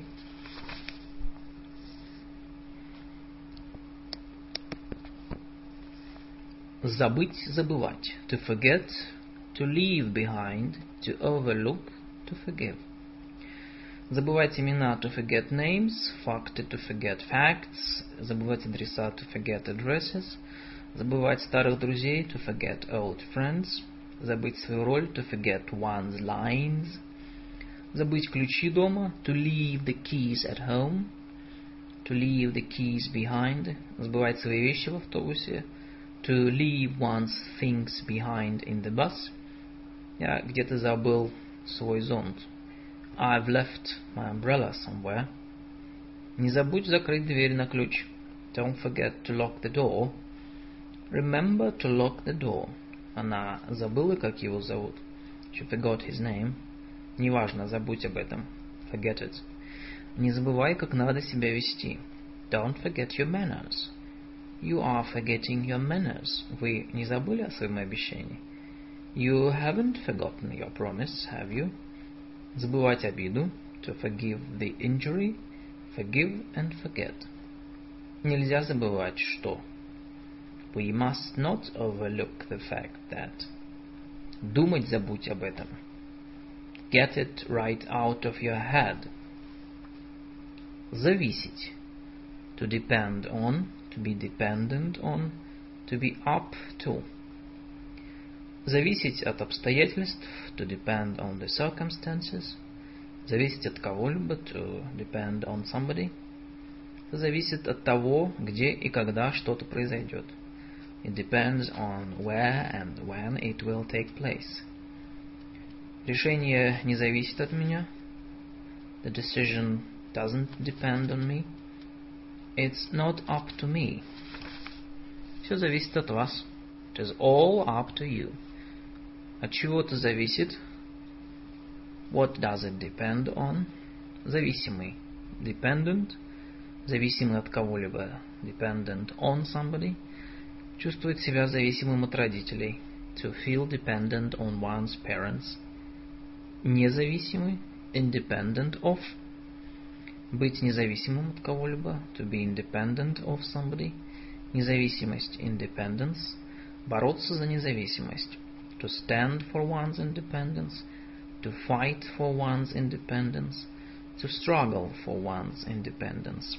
Забыть, забывать. To forget, to leave behind, to overlook, to forgive. Забывать имена. To forget names. Факты. To forget facts. Забывать адреса. To forget addresses. Забывать старых друзей, to forget old friends. Забыть свою роль, to forget one's lines. Забыть ключи дома, to leave the keys at home. To leave the keys behind. Забывать свои вещи в автобусе, to leave one's things behind in the bus. Я где-то забыл свой зонт. I've left my umbrella somewhere. Не забудь закрыть дверь на ключ. Don't forget to lock the door. Remember to lock the door. Она забыла, как его зовут. She forgot his name. Неважно, забудь об этом. Forget it. Не забывай, как надо себя вести. Don't forget your manners. You are forgetting your manners. Вы не забыли о своем обещании? You haven't forgotten your promise, have you? Забывать обиду. To forgive the injury. Forgive and forget. Нельзя забывать, что. We must not overlook the fact that. Думать забудь об этом. Get it right out of your head. Зависеть. To depend on. To be dependent on. To be up to. Зависеть от обстоятельств. To depend on the circumstances. Зависеть от кого-либо. To depend on somebody. Зависит от того, где и когда что-то произойдет. It depends on where and when it will take place. Решение не зависит от меня. The decision doesn't depend on me. It's not up to me. Все зависит от вас. It is all up to you. От чего-то зависит. What does it depend on? Зависимый. Dependent. Зависимый от кого-либо. Dependent on somebody. Чувствовать себя зависимым от родителей. To feel dependent on one's parents. Независимый. Independent of. Быть независимым от кого-либо. To be independent of somebody. Независимость. Independence. Бороться за независимость. To stand for one's independence. To fight for one's independence. To struggle for one's independence.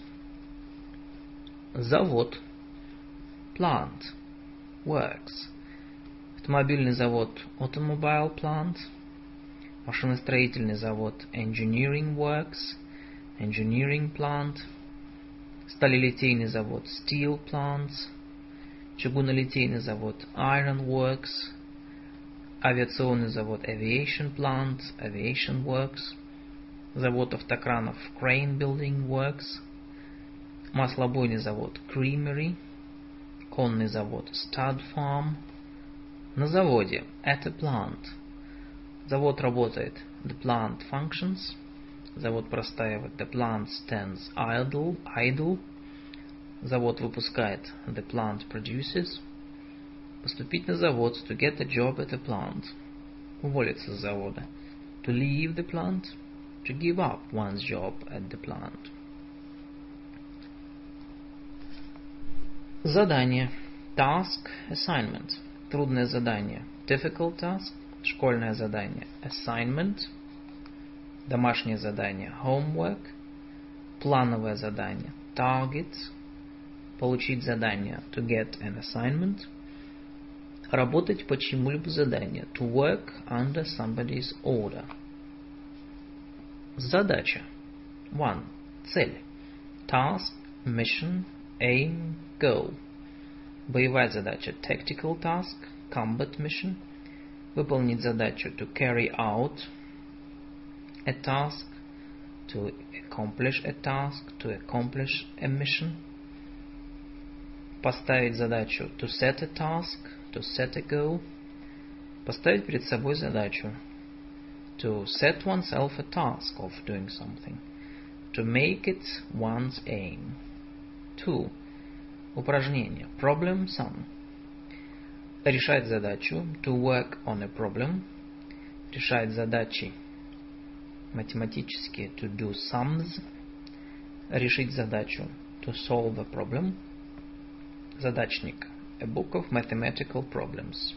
Завод. Plant. Works. Автомобильный завод. Automobile plant. Машиностроительный завод. Engineering works. Engineering plant. Сталелитейный завод. Steel plants. Чугунолитейный завод. Iron works. Авиационный завод. Aviation plant. Aviation works. Завод автокранов. Crane building works. Маслобойный завод. Creamery. Конный завод. Stud farm. На заводе. At a plant. Завод работает. The plant functions. Завод простаивает. The plant stands idle. Завод выпускает. The plant produces. Поступить на завод. To get a job at a plant. Уволиться с завода. To leave the plant. To give up one's job at the plant. Задание. Task, assignment. Трудное задание. Difficult task. Школьное задание. Assignment. Домашнее задание. Homework. Плановое задание. Target. Получить задание. To get an assignment. Работать по чему-либо заданию. To work under somebody's order. Задача. 1. Цель. Task, mission, aim, goal. Боевая задача. Tactical task, combat mission. Выполнить задачу. To carry out a task. To accomplish a task. To accomplish a mission. Поставить задачу. To set a task. To set a goal. Поставить перед собой задачу. To set oneself a task of doing something. To make it one's aim. 2. Упражнение. Problem sum. Решать задачу. To work on a problem. Решать задачи. Математические. To do sums. Решить задачу. To solve a problem. Задачник. A book of mathematical problems.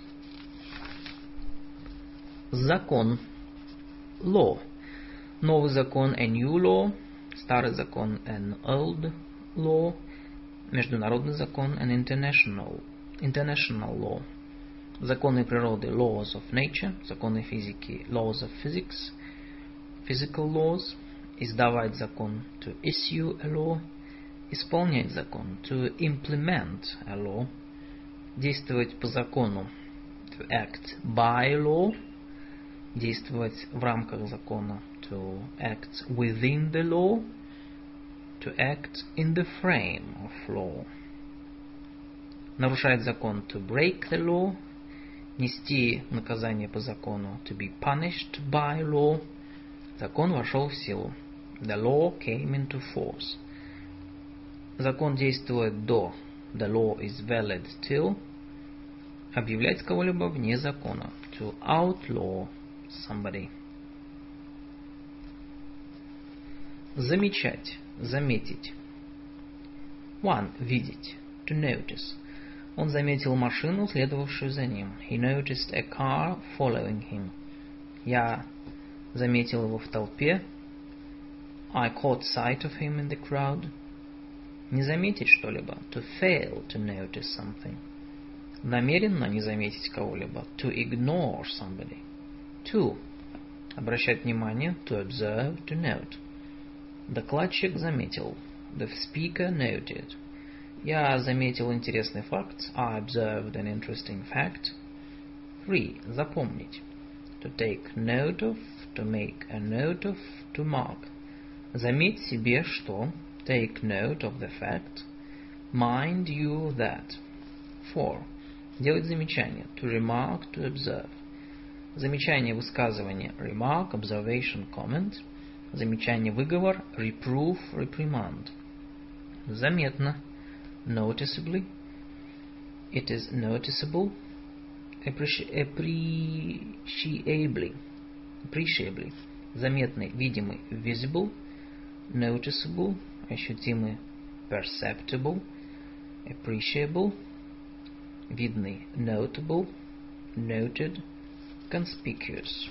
Закон. Law. Новый закон. A new law. Старый закон. An old law. Международный закон. An international International law. Законы природы, laws of nature. Законы физики, laws of physics. Physical laws. Издавать закон, to issue a law. Исполнять закон, to implement a law. Действовать по закону, to act by law. Действовать в рамках закона, to act within the law. To act in the frame of law. Нарушать закон, to break the law. Нести наказание по закону, to be punished by law. Закон вошел в силу. The law came into force. Закон действует до. The law is valid till. Объявлять кого-либо вне закона, to outlaw somebody. Замечать, заметить. 1. Видеть, to notice. Он заметил машину, следовавшую за ним. He noticed a car following him. Я заметил его в толпе. I caught sight of him in the crowd. Не заметить что-либо, to fail to notice something. Намеренно не заметить кого-либо, to ignore somebody. 2. Обращать внимание, to observe, to note. Докладчик заметил. The speaker noted. Я заметил интересный факт. I observed an interesting fact. 3. Запомнить. To take note of, to make a note of, to mark. Заметь себе, что. Take note of the fact. Mind you that. 4. Делать замечание. To remark, to observe. Замечание, высказывание. Remark, observation, comment. Замечание, выговор. Reproof, reprimand. Заметно. Noticeably. It is noticeable. Appreciably. Заметный, видимый. Visible. Noticeable. Ощутимый. Perceptible. Appreciable. Видный. Notable. Noted. Conspicuous.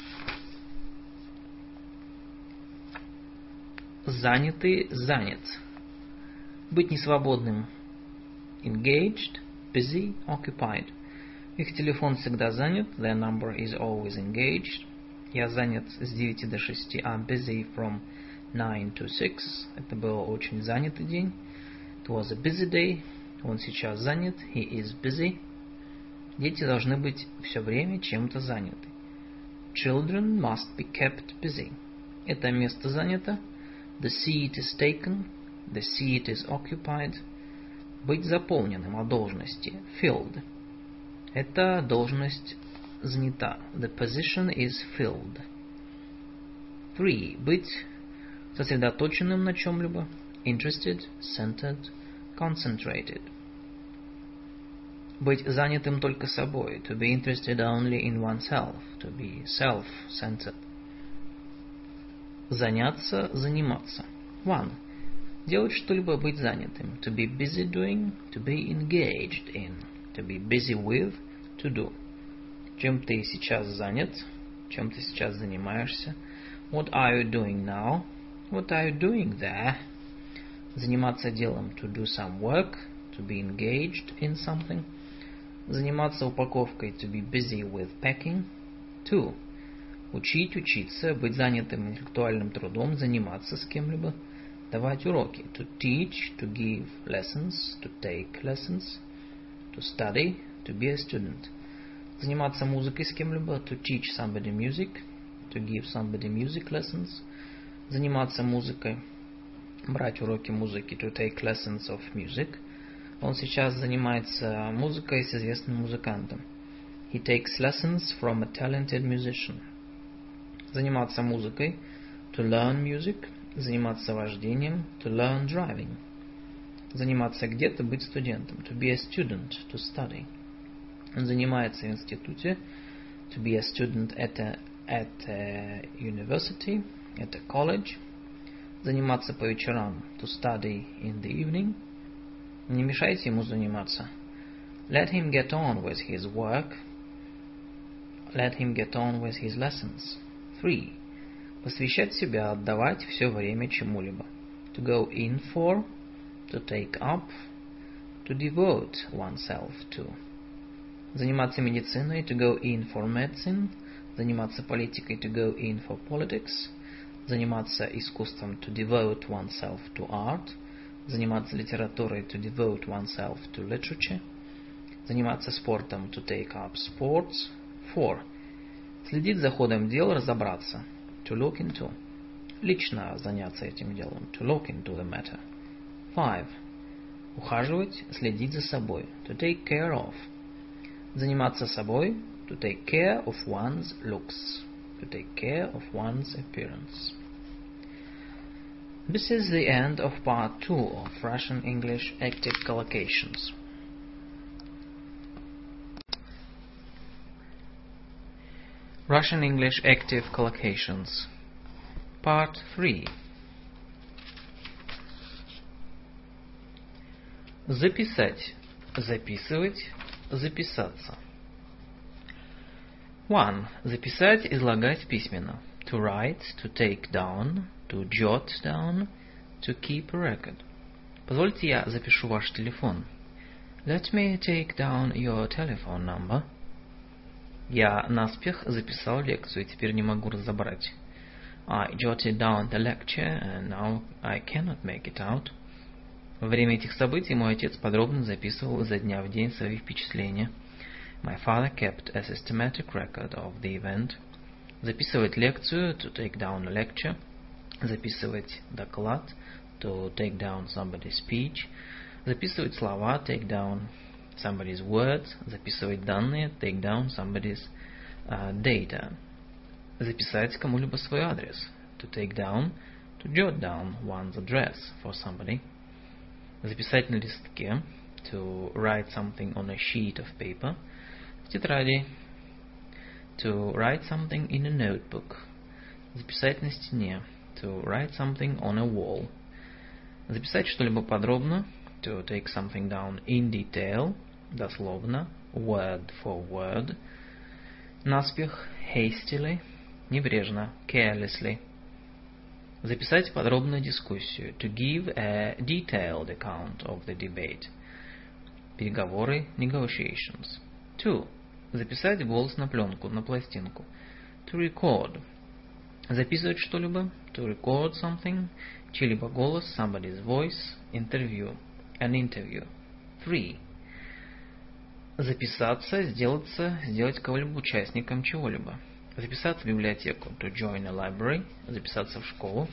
Занятый, занят. Быть несвободным. Engaged, busy, occupied. Их телефон всегда занят. Their number is always engaged. Я занят с 9 до 6. I'm busy from 9 to 6. Это был очень занятый день. It was a busy day. Он сейчас занят. He is busy. Дети должны быть все время чем-то заняты. Children must be kept busy. Это место занято. The seat is taken. The seat is occupied. Быть заполненным о должности. Filled. Эта должность занята. The position is filled. 3. Быть сосредоточенным на чем-либо. Interested, centered, concentrated. Быть занятым только собой. To be interested only in oneself. To be self-centered. Заняться, заниматься. 1. Делать что-либо, быть занятым. To be busy doing, to be engaged in. To be busy with, to do. Чем ты сейчас занят? Чем ты сейчас занимаешься? What are you doing now? What are you doing there? Заниматься делом. To do some work. To be engaged in something. Заниматься упаковкой. To be busy with packing. 2. Учить, учиться, быть занятым интеллектуальным трудом, заниматься с кем-либо. Давать уроки. To teach, to give lessons, to take lessons. To study, to be a student. Заниматься музыкой с кем-либо. To teach somebody music. To give somebody music lessons. Заниматься музыкой. Брать уроки музыки. To take lessons of music. Он сейчас занимается музыкой с известным музыкантом. He takes lessons from a talented musician. Заниматься музыкой. To learn music. Заниматься вождением. To learn driving. Заниматься где-то, быть студентом. To be a student. To study. Он занимается в институте. To be a student at a university. At a college. Заниматься по вечерам. To study in the evening. Не мешайте ему заниматься. Let him get on with his work. Let him get on with his lessons. 3. Посвящать себя, отдавать все время чему-либо. To go in for. To take up. To devote oneself to. Заниматься медициной, to go in for medicine. Заниматься политикой, to go in for politics. Заниматься искусством, to devote oneself to art. Заниматься литературой, to devote oneself to literature. Заниматься спортом, to take up sports. 4. Следить за ходом дел, разобраться, to look into. Лично заняться этим делом, to look into the matter. 5. Ухаживать, следить за собой, to take care of. Заниматься собой, to take care of one's looks, to take care of one's appearance. This is the end of part 2 of Russian English active collocations. Russian English active collocations. Part 3. Записать, записывать, записаться. 1. Записать, излагать письменно. To write, to take down, to jot down, to keep a record. Позвольте я запишу ваш телефон. Let me take down your telephone number. Я наспех записал лекцию, и теперь не могу разобрать. I jotted down the lecture, and now I cannot make it out. Во время этих событий мой отец подробно записывал изо дня в день свои впечатления. My father kept a systematic record of the event. Записывать лекцию, to take down a lecture. Записывать доклад, to take down somebody's speech. Записывать слова, take down somebody's words. Записывать данные, take down somebody's data. Записать кому-либо свой адрес, to take down, to jot down one's address for somebody. Записать на листке, to write something on a sheet of paper. В тетради, to write something in a notebook. Записать на стене, to write something on a wall. Записать что-либо подробно, to take something down in detail, дословно, word for word. Наспех, hastily, небрежно, carelessly. Записать подробную дискуссию, to give a detailed account of the debate. Переговоры, negotiations. 2. Записать голос на пленку, на пластинку, to record. Записывать что-либо, to record something, чей-либо голос, somebody's voice, interview, an interview. 3. Записаться, сделать кого-либо участником чего-либо. Записаться в библиотеку, to join a library. Записаться в школу,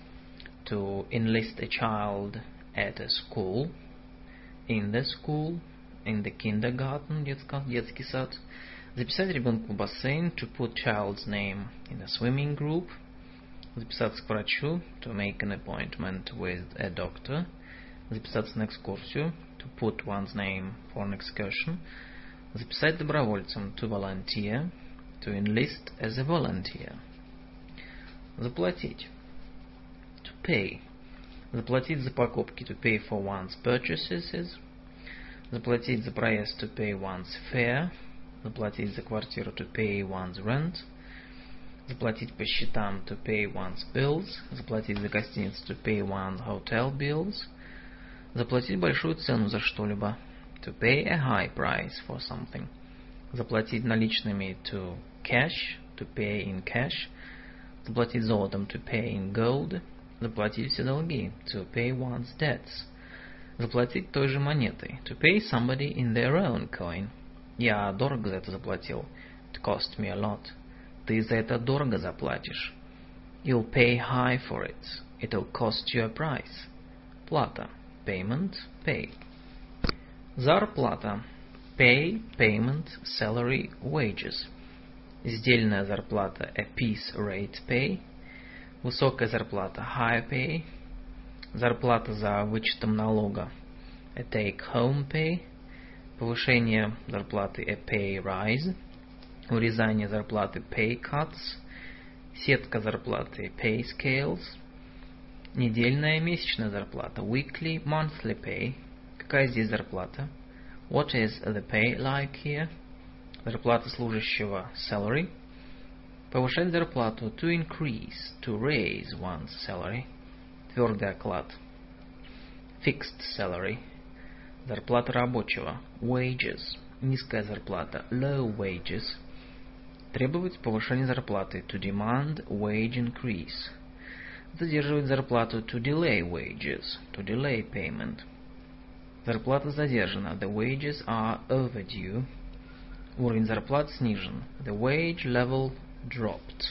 to enlist a child at a school. In the school, in the kindergarten, детский сад. Записать ребенка в бассейн, to put child's name in a swimming group. Записаться к врачу, to make an appointment with a doctor. Записаться на экскурсию, to put one's name for an excursion. Записать добровольцем, to volunteer. To enlist as a volunteer. Заплатить, to pay. Заплатить за покупки, to pay for one's purchases. Заплатить за проезд, to pay one's fare. Заплатить за квартиру, to pay one's rent. Заплатить по счетам, to pay one's bills. Заплатить за гостиницу, to pay one's hotel bills. Заплатить большую цену за что-либо, to pay a high price for something. Заплатить наличными, to cash, to pay in cash. Заплатить золотом, to pay in gold. Заплатить все долги, to pay one's debts. Заплатить той же монетой, to pay somebody in their own coin. Я дорого за это заплатил. It cost me a lot. Ты за это дорого заплатишь. You'll pay high for it. It'll cost you a price. Плата, payment, pay. Зарплата. Pay, payment, salary, wages. Сдельная зарплата, a piece rate pay. Высокая зарплата, high pay. Зарплата за вычетом налога, a take-home pay. Повышение зарплаты, a pay rise. Урезание зарплаты, pay cuts. Сетка зарплаты, pay scales. Недельная, месячная зарплата, weekly, monthly pay. Какая здесь зарплата? What is the pay like here? Зарплата служащего, salary. Повышать зарплату, to increase, to raise one's salary. Твердый оклад, fixed salary. Зарплата рабочего, wages. Низкая зарплата. Low wages. Требовать повышения зарплаты. To demand wage increase. Задерживать зарплату. To delay wages. To delay payment. Зарплата задержана. The wages are overdue. Уровень зарплат снижен. The wage level dropped.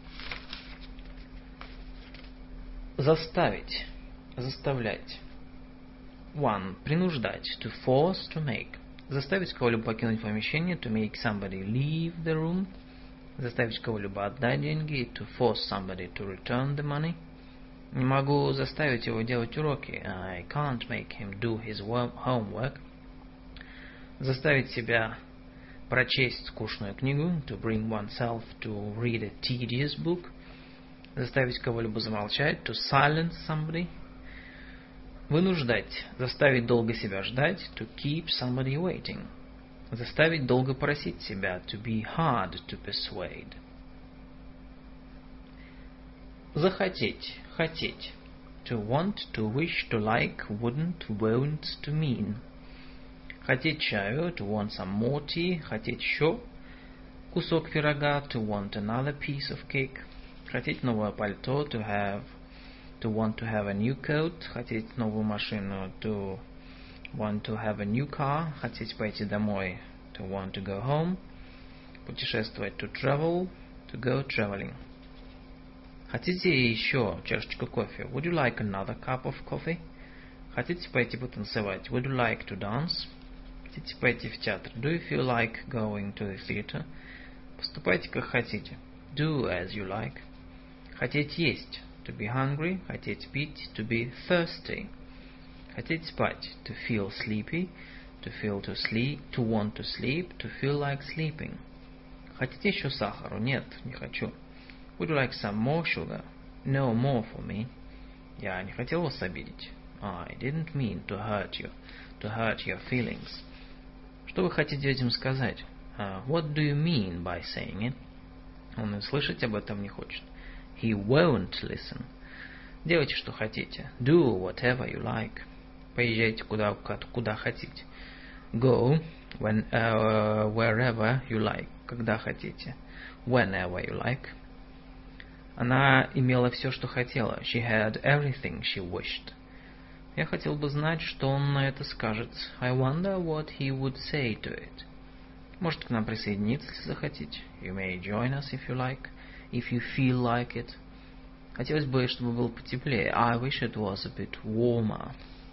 Заставить. Заставлять. 1. Принуждать. To force to make. Заставить кого-либо покинуть помещение. To make somebody leave the room. Заставить кого-либо отдать деньги. To force somebody to return the money. Не могу заставить его делать уроки. I can't make him do his homework. Заставить себя прочесть скучную книгу. To bring oneself to read a tedious book. Заставить кого-либо замолчать. To silence somebody. Вынуждать. Заставить долго себя ждать. To keep somebody waiting. Заставить долго просить себя. To be hard to persuade. Захотеть. Хотеть. To want, to wish, to like, wouldn't, won't, to mean. Хотеть чаю. To want some more tea. Хотеть еще кусок пирога. To want another piece of cake. Хотеть новое пальто. To want to have a new coat. Хотеть новую машину. To want to have a new car. Хотеть пойти домой. To want to go home. Путешествовать. To travel. To go traveling. Хотите еще чашечку кофе? Would you like another cup of coffee? Хотите пойти потанцевать? Would you like to dance? Хотите пойти в театр? Do you feel like going to the theater? Поступайте как хотите. Do as you like. Хотеть есть. To be hungry. Хотеть пить. To be thirsty. Хотеть спать. To feel sleepy. To feel to sleep. To want to sleep. To feel like sleeping. Хотите еще сахару? Нет, не хочу. Would you like some more sugar? No more for me. Я не хотел вас обидеть. I didn't mean to hurt you. To hurt your feelings. Что вы хотите этим сказать? What do you mean by saying it? Он и слышать об этом не хочет. He won't listen. Делайте, что хотите. Do whatever you like. Поезжайте куда хотите. Go wherever you like. Когда хотите. Whenever you like. Она имела все, что хотела. She had everything she wished. Я хотел бы знать, что он на это скажет. I wonder what he would say to it. Можете к нам присоединиться, если захотите. You may join us if you like. If you feel like it. Хотелось бы, чтобы было потеплее. I wish it was a bit warmer.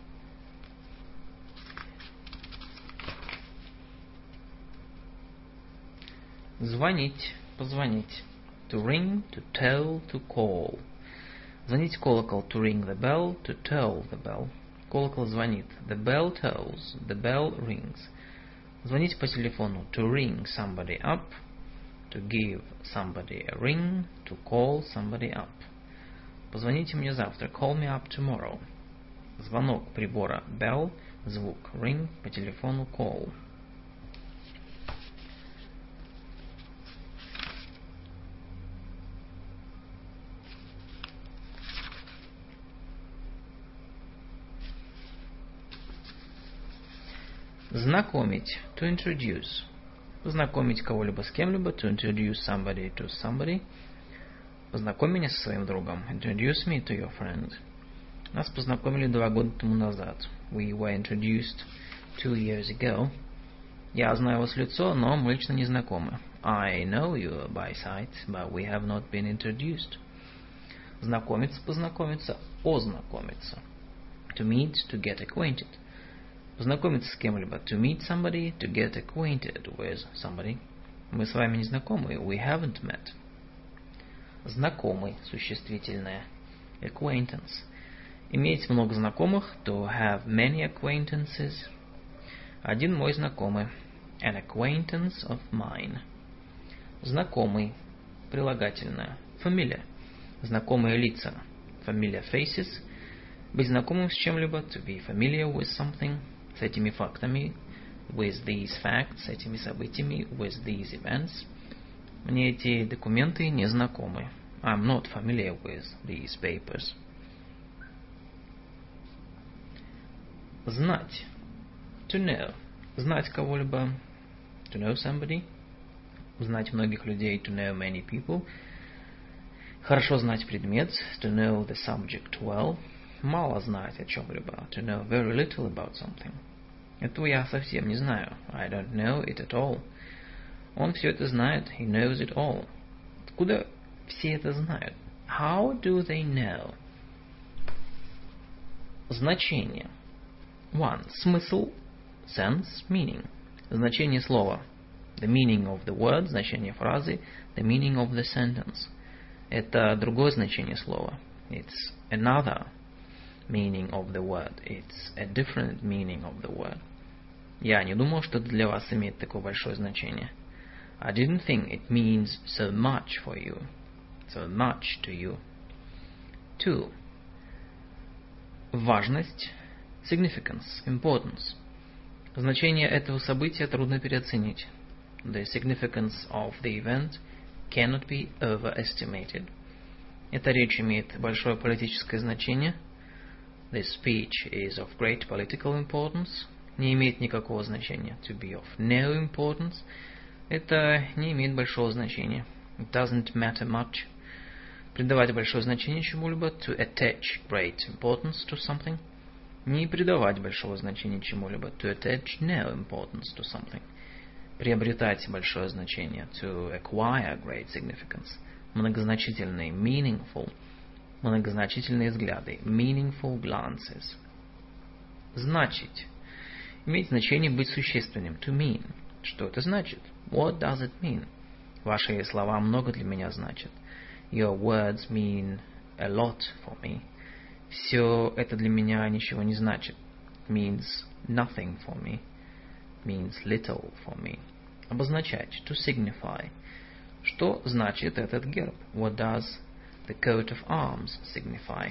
Звонить, позвонить. To ring, to tell, to call. Звонить в колокол. To ring the bell, to toll the bell. Колокол звонит. The bell tolls, the bell rings. Звонить по телефону. To ring somebody up. To give somebody a ring. To call somebody up. Позвоните мне завтра. Call me up tomorrow. Звонок прибора. Bell. Звук. Ring. По телефону. Call. Знакомить. To introduce. Познакомить кого-либо с кем-либо. To introduce somebody to somebody. Познакомь меня со своим другом. Introduce me to your friend. Нас познакомили 2 года тому назад. We were introduced 2 years ago. Я знаю вас в лицо, но мы лично не знакомы. I know you by sight, but we have not been introduced. Знакомиться, познакомиться, ознакомиться. To meet, to get acquainted. Познакомиться с кем-либо. To meet somebody, to get acquainted with somebody. Мы с вами не знакомы. We haven't met. Знакомый, существительное. Acquaintance. Иметь много знакомых. To have many acquaintances. Один мой знакомый. An acquaintance of mine. Знакомый. Прилагательное. Familiar. Знакомые лица. Familiar faces. Быть знакомым с чем-либо. To be familiar with something. С этими фактами. With these facts. С этими событиями. With these events. Мне эти документы не знакомы. I'm not familiar with these papers. Знать. To know. Знать кого-либо. to know somebody. Знать многих людей, to know many people. Хорошо знать предмет, to know the subject well. Мало знать о чем-либо, to know very little about something. Этого я совсем не знаю. I don't know it at all. Он все это знает. He knows it all. Откуда все это знают? How do they know? Значение. 1. Смысл, sense, meaning. Значение слова. The meaning of the word, значение фразы. The meaning of the sentence. Это другое значение слова. It's another meaning of the word. It's a different meaning of the word. Я не думал, что это для вас имеет такое большое значение. I didn't think it means so much for you. So much to you. 2. Важность, significance, importance. Значение этого события трудно переоценить. The significance of the event cannot be overestimated. Эта речь имеет большое политическое значение. This speech is of great political importance. Не имеет никакого значения. To be of no importance. Это не имеет большого значения. It doesn't matter much. Придавать большое значение чему-либо. To attach great importance to something. Не придавать большого значения чему-либо. To attach no importance to something. Приобретать большое значение. To acquire great significance. Многозначительные. Meaningful. Многозначительные взгляды. Meaningful glances. Значить. Имеет значение быть существенным. To mean. Что это значит? What does it mean? Ваши слова много для меня значат. Your words mean a lot for me. Все это для меня ничего не значит. Means nothing for me. Means little for me. Обозначать. To signify. Что значит этот герб? What does the coat of arms signify?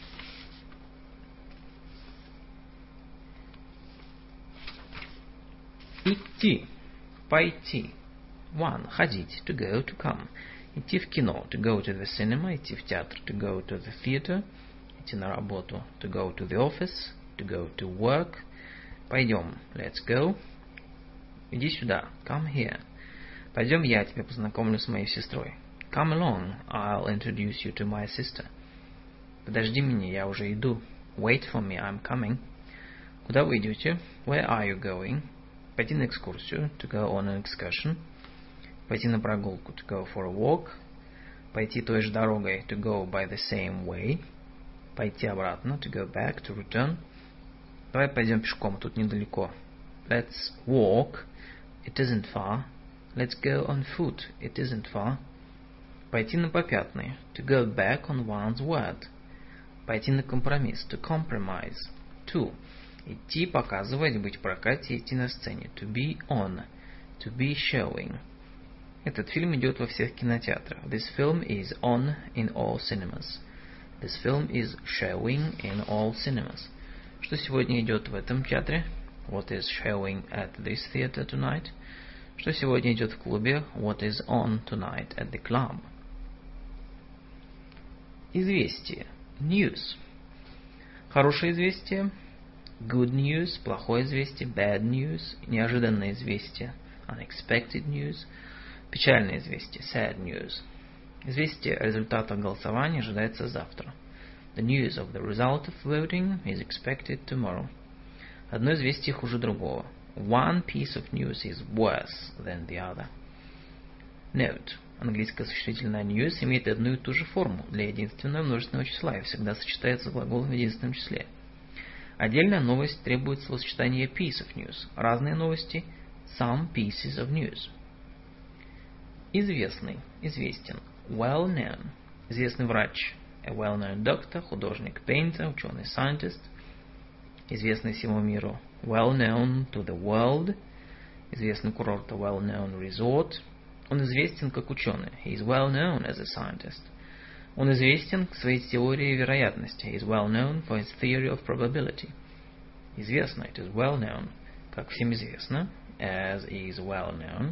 Идти. Пойти. 1. Ходить. To go, to come. Идти в кино. To go to the cinema. Идти в театр. To go to the theater. Идти на работу. To go to the office. To go to work. Пойдем. Let's go. Иди сюда. Come here. Пойдем, я тебя познакомлю с моей сестрой. Come along. I'll introduce you to my sister. Подожди меня, я уже иду. Wait for me, I'm coming. Куда вы идете? Where are you going? Пойти на экскурсию. To go on an excursion. Пойти на прогулку. To go for a walk. Пойти той же дорогой. To go by the same way. Пойти обратно. To go back, to return. Давай пойдем пешком, тут недалеко. Let's walk. It isn't far. Let's go on foot. It isn't far. Пойти на попятный. To go back on one's word. Пойти на компромисс. To compromise. 2. Идти, показывать, быть в прокате, идти на сцене. To be on. To be showing. Этот фильм идет во всех кинотеатрах. This film is on in all cinemas. This film is showing in all cinemas. Что сегодня идет в этом театре? What is showing at this theater tonight? Что сегодня идет в клубе? What is on tonight at the club? Известие. News. Хорошее известие. Good news. Плохое известие. Bad news. Неожиданное известие. Unexpected news. Печальное известие. Sad news. Известие о результатах голосования ожидается завтра. The news of the result of voting is expected tomorrow. Одно известие хуже другого. One piece of news is worse than the other. Note. Английское существительное news имеет одну и ту же форму для единственного множественного числа и всегда сочетается с глаголом в единственном числе. Отдельная новость требует словосочетания piece of news. Разные новости – some pieces of news. Известный, известен. Well known. Известный врач. A well-known doctor, художник, painter, ученый, scientist. Известный всему миру. Well-known to the world. Известный курорт. A well-known resort. Он известен как ученый. He is well-known as a scientist. Он известен к своей теории вероятности. He is well-known for his theory of probability. Известно. It is well-known. Как всем известно. As is well-known.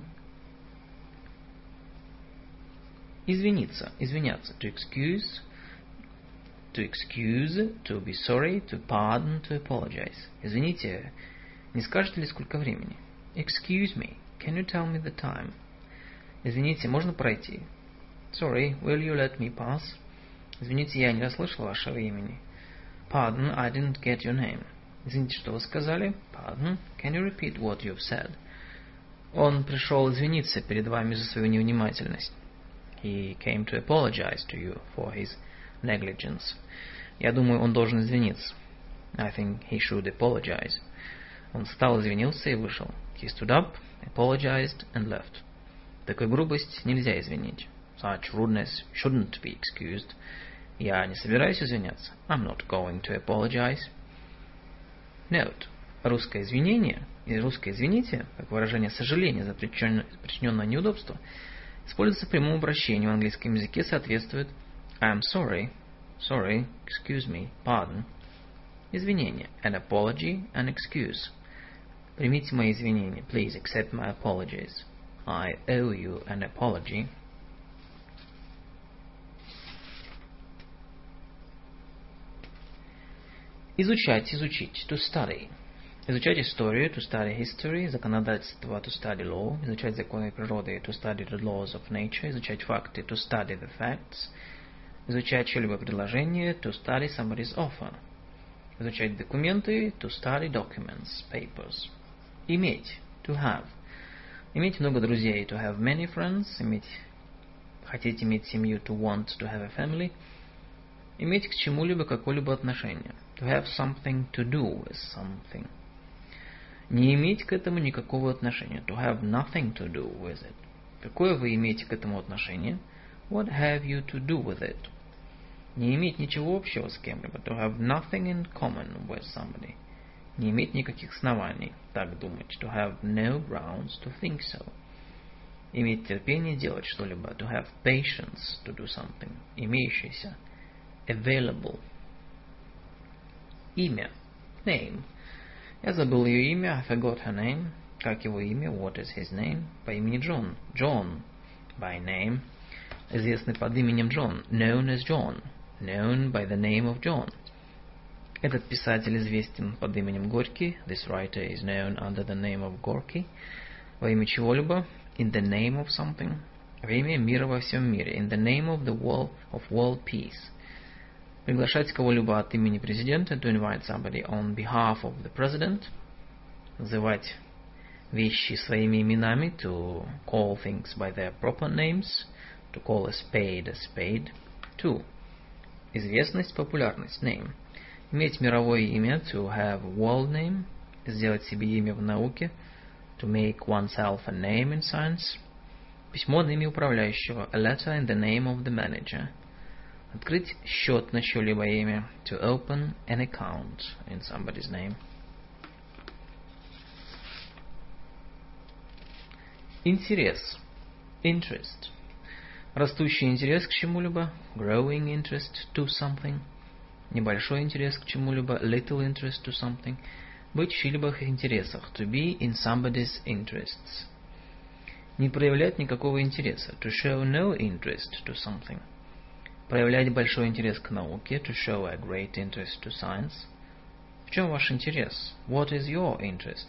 Извиниться. Извиняться. To excuse. To excuse, to be sorry, to pardon, to apologize. Извините, не скажете ли, сколько времени? Excuse me, can you tell me the time? Извините, можно пройти? Sorry, will you let me pass? Извините, я не расслышал вашего имени. Pardon, I didn't get your name. Извините, что вы сказали? Pardon, can you repeat what you've said? Он пришел извиниться перед вами за свою невнимательность. He came to apologize to you for his negligence. Я думаю, он должен извиниться. I think he should apologize. Он встал, извинился и вышел. He stood up, apologized and left. Такую грубость нельзя извинить. Such rudeness shouldn't be excused. Я не собираюсь извиняться. I'm not going to apologize. Note. Русское извинение и русское извините, как выражение сожаления за причиненное неудобство, используется в прямом обращении в английском языке, соответствует I'm sorry, sorry, excuse me, pardon. Извинение, an apology, an excuse. Примите мои извинения, please accept my apologies. I owe you an apology. Изучать, изучить, to study. Изучать историю, to study history, законодательство, to study law, изучать законы природы, to study the laws of nature, изучать факты, to study the facts, изучать чье-либо предложение, to study somebody's offer, изучать документы, to study documents, papers. Иметь, to have. Иметь много друзей, to have many friends, хотеть иметь семью, to want to have a family, иметь к чему-либо какое-либо отношение, to have something to do with something. Не иметь к этому никакого отношения, to have nothing to do with it. Какое вы имеете к этому отношение? What have you to do with it? Не иметь ничего общего с кем-либо, to have nothing in common with somebody. Не иметь никаких оснований так думать, to have no grounds to think so. Иметь терпение делать что-либо, to have patience to do something. Имеющееся, available. Имя, name. Я забыл ее имя, I forgot her name. Как его имя, what is his name? По имени Джон, John, by name. Известный под именем Джон, known as John, known by the name of John. Этот писатель известен под именем Горький, this writer is known under the name of Gorky. Во имя чего-либо, in the name of something. Во имя мира во всем мире, in the name of the world peace. Приглашать кого-либо от имени президента, to invite somebody on behalf of the president. Называть вещи своими именами, to call things by their proper names, to call a spade. 2. Известность, популярность, name. Иметь мировое имя, to have a world name. Сделать себе имя в науке, to make oneself a name in science. Письмо на имя управляющего, a letter in the name of the manager. Открыть счет на чье-либо имя, to open an account in somebody's name. Интерес, interest. Растущий интерес к чему-либо, growing interest to something. Небольшой интерес к чему-либо, little interest to something. Быть в чьих-либо интересах, to be in somebody's interests. Не проявлять никакого интереса, to show no interest to something. Проявлять большой интерес к науке, to show a great interest to science. В чем ваш интерес? What is your interest?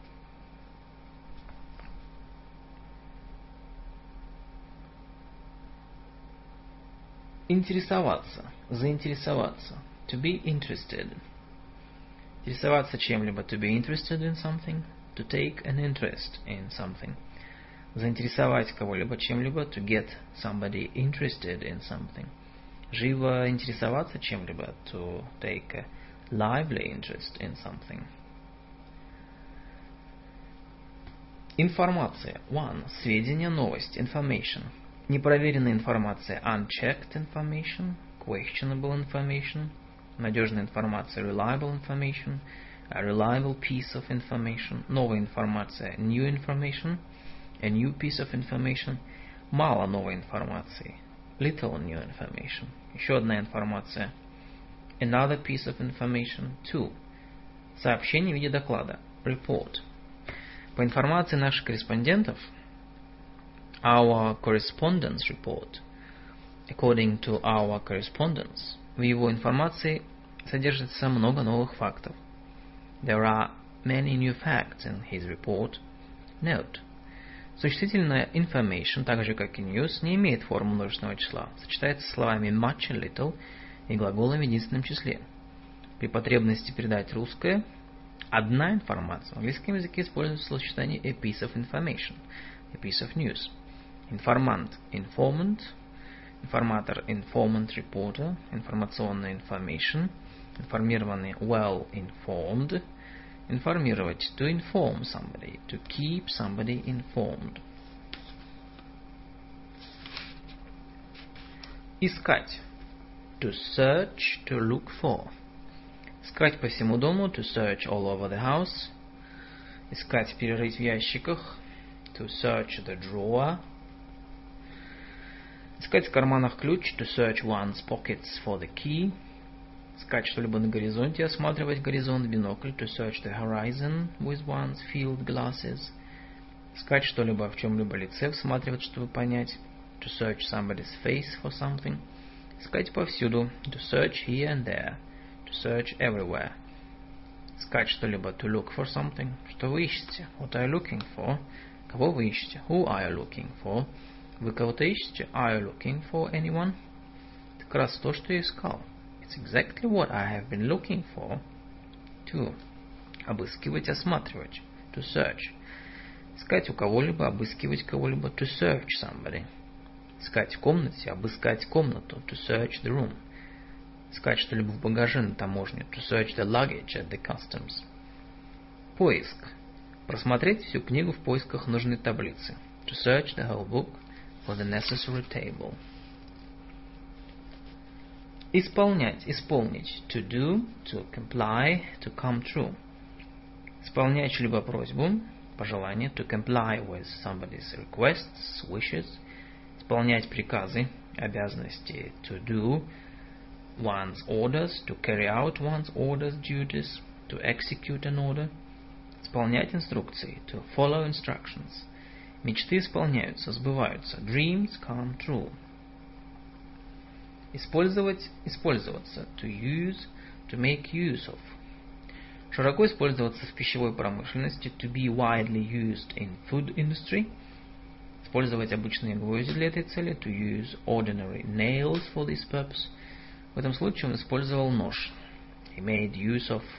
Интересоваться, заинтересоваться, to be interested. Интересоваться чем-либо, to be interested in something, to take an interest in something. Заинтересовать кого-либо чем-либо, to get somebody interested in something. Живо интересоваться чем-либо, to take a lively interest in something. Информация. 1. Сведения, новость, information. Непроверенная информация, unchecked information, questionable information. Надежная информация, reliable information, a reliable piece of information. Новая информация, new information, a new piece of information. Мало новой информации, little new information. Еще одна информация, another piece of information, 2. Сообщение в виде доклада, report. По информации наших корреспондентов, our correspondence report, according to our correspondence, в его информации содержится много новых фактов. There are many new facts in his report. Note. Существительное information, так же как и news, не имеет формы множественного числа. Сочетается с словами much и little и глаголом в единственном числе. При потребности передать русское одна информация. В английском языке используется словосочетание a piece of information, a piece of news. Информант – informant, информатор – informant reporter, информационная information, информированный – well informed, информировать – to inform somebody, to keep somebody informed. Искать – to search, to look for. Искать по всему дому – to search all over the house. Искать – перерыть в ящиках – to search the drawer. Искать в карманах ключ – to search one's pockets for the key. Искать что-либо на горизонте – осматривать горизонт в бинокль – to search the horizon with one's field glasses. Искать что-либо в чем-либо лице – всматривать, чтобы понять – to search somebody's face for something. Искать повсюду – to search here and there, to search everywhere. Искать что-либо – to look for something. Что вы ищете? What are you looking for? Кого вы ищете? Who are you looking for? Вы кого-то ищете? Are you looking for anyone? Это как раз то, что я искал. It's exactly what I have been looking for. To. Обыскивать, осматривать. To search. Искать у кого-либо, обыскивать кого-либо. To search somebody. Искать в комнате, обыскать комнату. To search the room. Искать что-либо в багаже на таможне. To search the luggage at the customs. Поиск. Просмотреть всю книгу в поисках нужной таблицы. To search the whole book for the necessary table. Исполнять, исполнить. To do, to comply, to come true. Исполнять чью-либо просьбу, пожелание. To comply with somebody's requests, wishes. Исполнять приказы, обязанности. To do one's orders, to carry out one's orders, duties. To execute an order. Исполнять инструкции. To follow instructions. Мечты исполняются, сбываются. Dreams come true. Использовать, использоваться. To use, to make use of. Широко использоваться в пищевой промышленности. To be widely used in food industry. Использовать обычные гвозди для этой цели. To use ordinary nails for this purpose. В этом случае он использовал нож. He made use of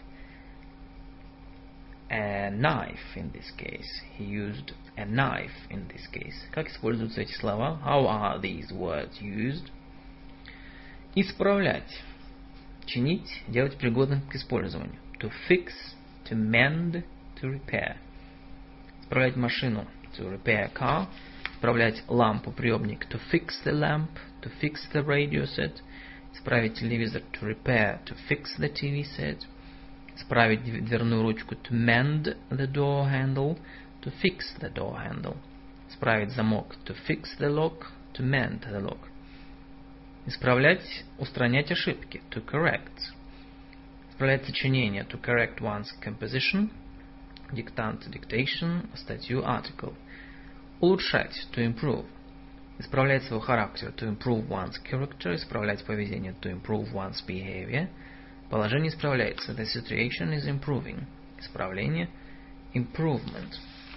a knife in this case. He used a knife in this case. Как используются эти слова? How are these words used? Исправлять. Чинить, делать пригодным к использованию. To fix, to mend, to repair. Исправлять машину. To repair a car. Исправлять лампу, приемник. To fix the lamp, to fix the radio set. Исправить телевизор. To repair, to fix the TV set. Исправить дверную ручку. To mend the door handle, to fix the door handle. Исправить замок. To fix the lock, to mend the lock. Исправлять, устранять ошибки. To correct. Исправлять сочинение. To correct one's composition. Диктант, dictation, статью, article. Улучшать. To improve. Исправлять свой характер. To improve one's character. Исправлять поведение. To improve one's behavior. Положение исправляется. The situation is improving. Исправление. Improvement.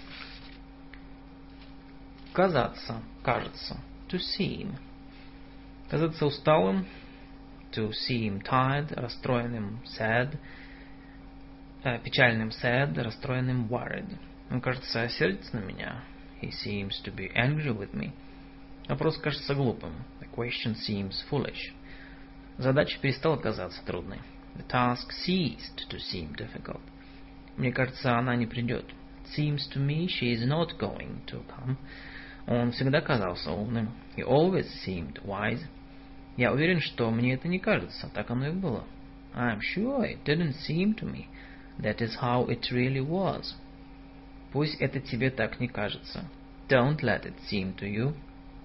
Казаться. Кажется. To seem. Казаться усталым. To seem tired. Расстроенным. Sad. Печальным. Sad. Расстроенным. Worried. Он, кажется, сердится на меня. He seems to be angry with me. Вопрос кажется глупым. The question seems foolish. Задача перестала казаться трудной. The task ceased to seem difficult. Мне кажется, она не придет. It seems to me she is not going to come. Он всегда казался умным. He always seemed wise. Я уверен, что мне это не кажется. Так оно и было. I'm sure it didn't seem to me. That is how it really was. Пусть это тебе так не кажется. Don't let it seem to you.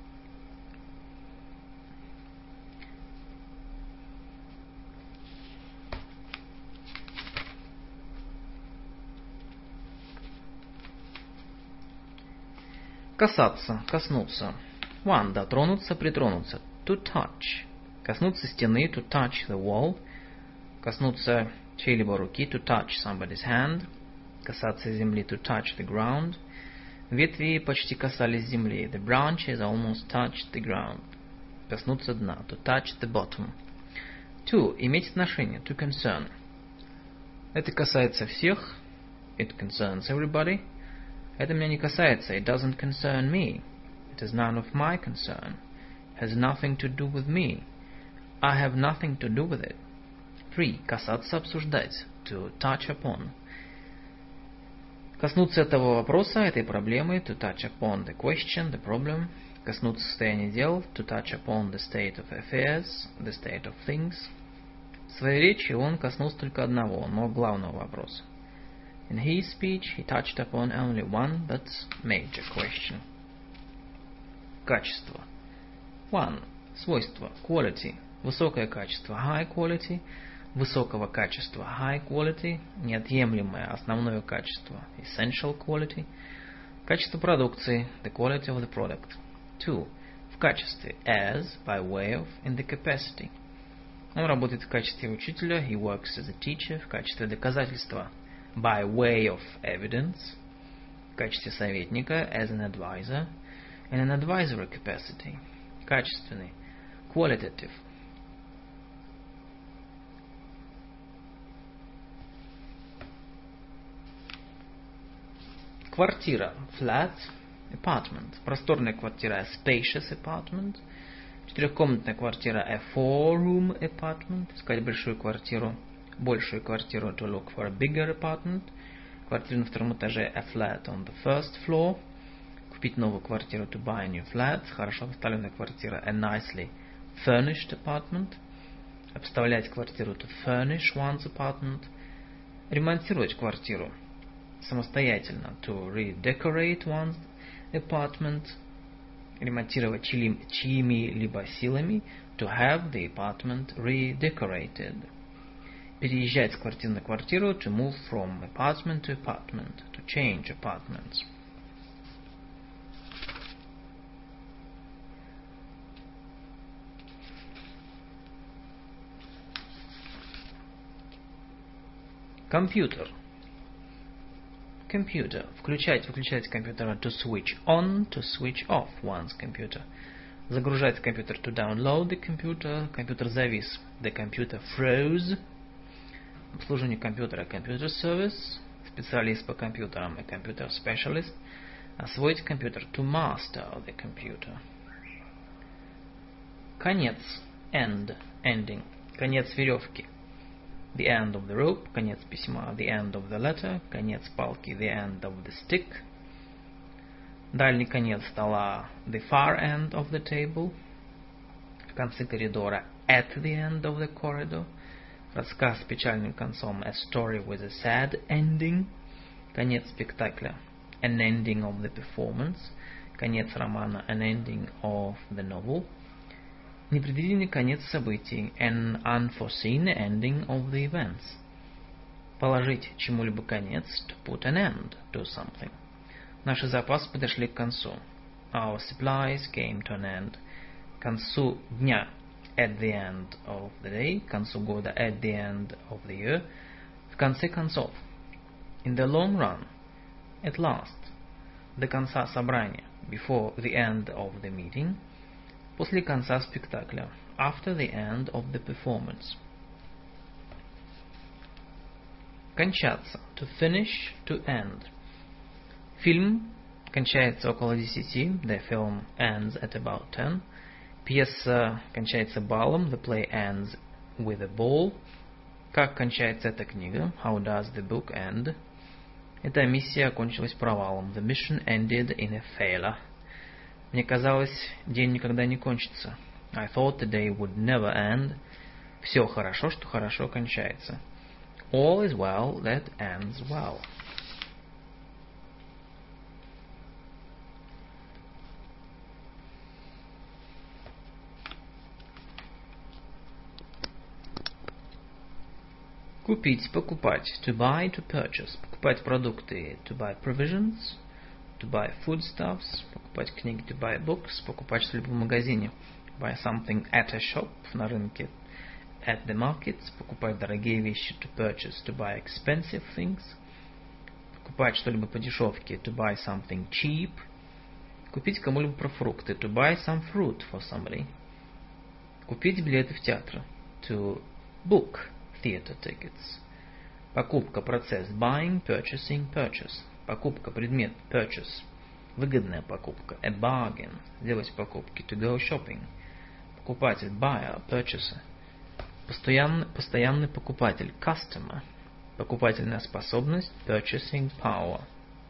Касаться, коснуться. One, дотронуться, притронуться. To touch. Коснуться стены, to touch the wall. Коснуться чьей-либо руки, to touch somebody's hand. Касаться земли, to touch the ground. Ветви почти касались земли. The branches almost touched the ground. Коснуться дна. To touch the bottom. To. Иметь отношение. To concern. Это касается всех. It concerns everybody. Это меня не касается. It doesn't concern me. It is none of my concern. It has nothing to do with me. I have nothing to do with it. 3. Касаться, обсуждать. To touch upon. Коснуться этого вопроса, этой проблемы. To touch upon the question, the problem. Коснуться состояния дел. To touch upon the state of affairs, the state of things. В своей речи он коснулся только одного, но главного вопроса. In his speech, he touched upon only one, but major question. Качество. 1. Свойство. Quality. Высокое качество. High quality. Высокого качества. High quality. Неотъемлемое, основное качество. Essential quality. Качество продукции. The quality of the product. 2. В качестве. As, by way of, in the capacity. Он работает в качестве учителя. He works as a teacher. В качестве доказательства. By way of evidence. В качестве советника. As an advisor. In an advisory capacity. Качественный. Qualitative. Квартира. Flat. Apartment. Просторная квартира. A spacious apartment. Четырехкомнатная квартира. A four-room apartment. Искать большую квартиру. Большую квартиру. To look for a bigger apartment. Квартира на втором этаже. A flat on the first floor. Купить новую квартиру. To buy a new flat. Хорошо обставленная квартира. A nicely furnished apartment. Обставлять квартиру. To furnish one's apartment. Ремонтировать квартиру. Самостоятельно. To redecorate one's apartment. Ремонтировать чьими-либо силами. To have the apartment redecorated. Переезжать с квартиры на квартиру. To move from apartment to apartment. To change apartments. Компьютер. Computer. Включать компьютер. To switch on, to switch off one's computer. Загружать компьютер. To download the computer. Компьютер завис. The computer froze. Обслуживание компьютера. Computer service. Специалист по компьютерам. A computer specialist. Освоить компьютер. To master the computer. Конец. End. Ending. Конец веревки. The end of the rope, конец письма, the end of the letter, конец палки, the end of the stick, дальний конец стола, the far end of the table, в конце коридора, at the end of the corridor, рассказ с печальным концом, a story with a sad ending, конец спектакля, an ending of the performance, конец романа, an ending of the novel, непредвиденный конец событий, an unforeseen ending of the events. Положить чему-либо конец, to put an end to something. Наши запасы подошли к концу. Our supplies came to an end. К концу дня, at the end of the day. К концу года, at the end of the year. В конце концов. In the long run. At last. До конца собрания. Before the end of the meeting. После конца спектакля. After the end of the performance. Кончаться. To finish, to end. Фильм кончается около 10. The film ends at about 10. Пьеса кончается балом. The play ends with a ball. Как кончается эта книга? How does the book end? Эта миссия окончилась провалом. The mission ended in a failure. Мне казалось, день никогда не кончится. I thought the day would never end. Все хорошо, что хорошо кончается. All is well that ends well. Купить, покупать. To buy, to purchase. Покупать продукты. To buy provisions. To buy foodstuffs. Покупать книги. To buy books. Покупать что-либо в магазине. Buy something at a shop. На рынке. At the markets. Покупать дорогие вещи. To purchase. To buy expensive things. покупать что-либо по дешевке, to buy something cheap. Купить кому-либо про фрукты, to buy some fruit for somebody. Купить билеты в театр, to book theater tickets. Покупка, процесс, buying, purchasing, purchase. Покупка, предмет, purchase. Выгодная покупка, a bargain. Сделать покупки, to go shopping. Покупатель, buyer, purchaser. Постоянный покупатель, customer. Покупательная способность, purchasing power.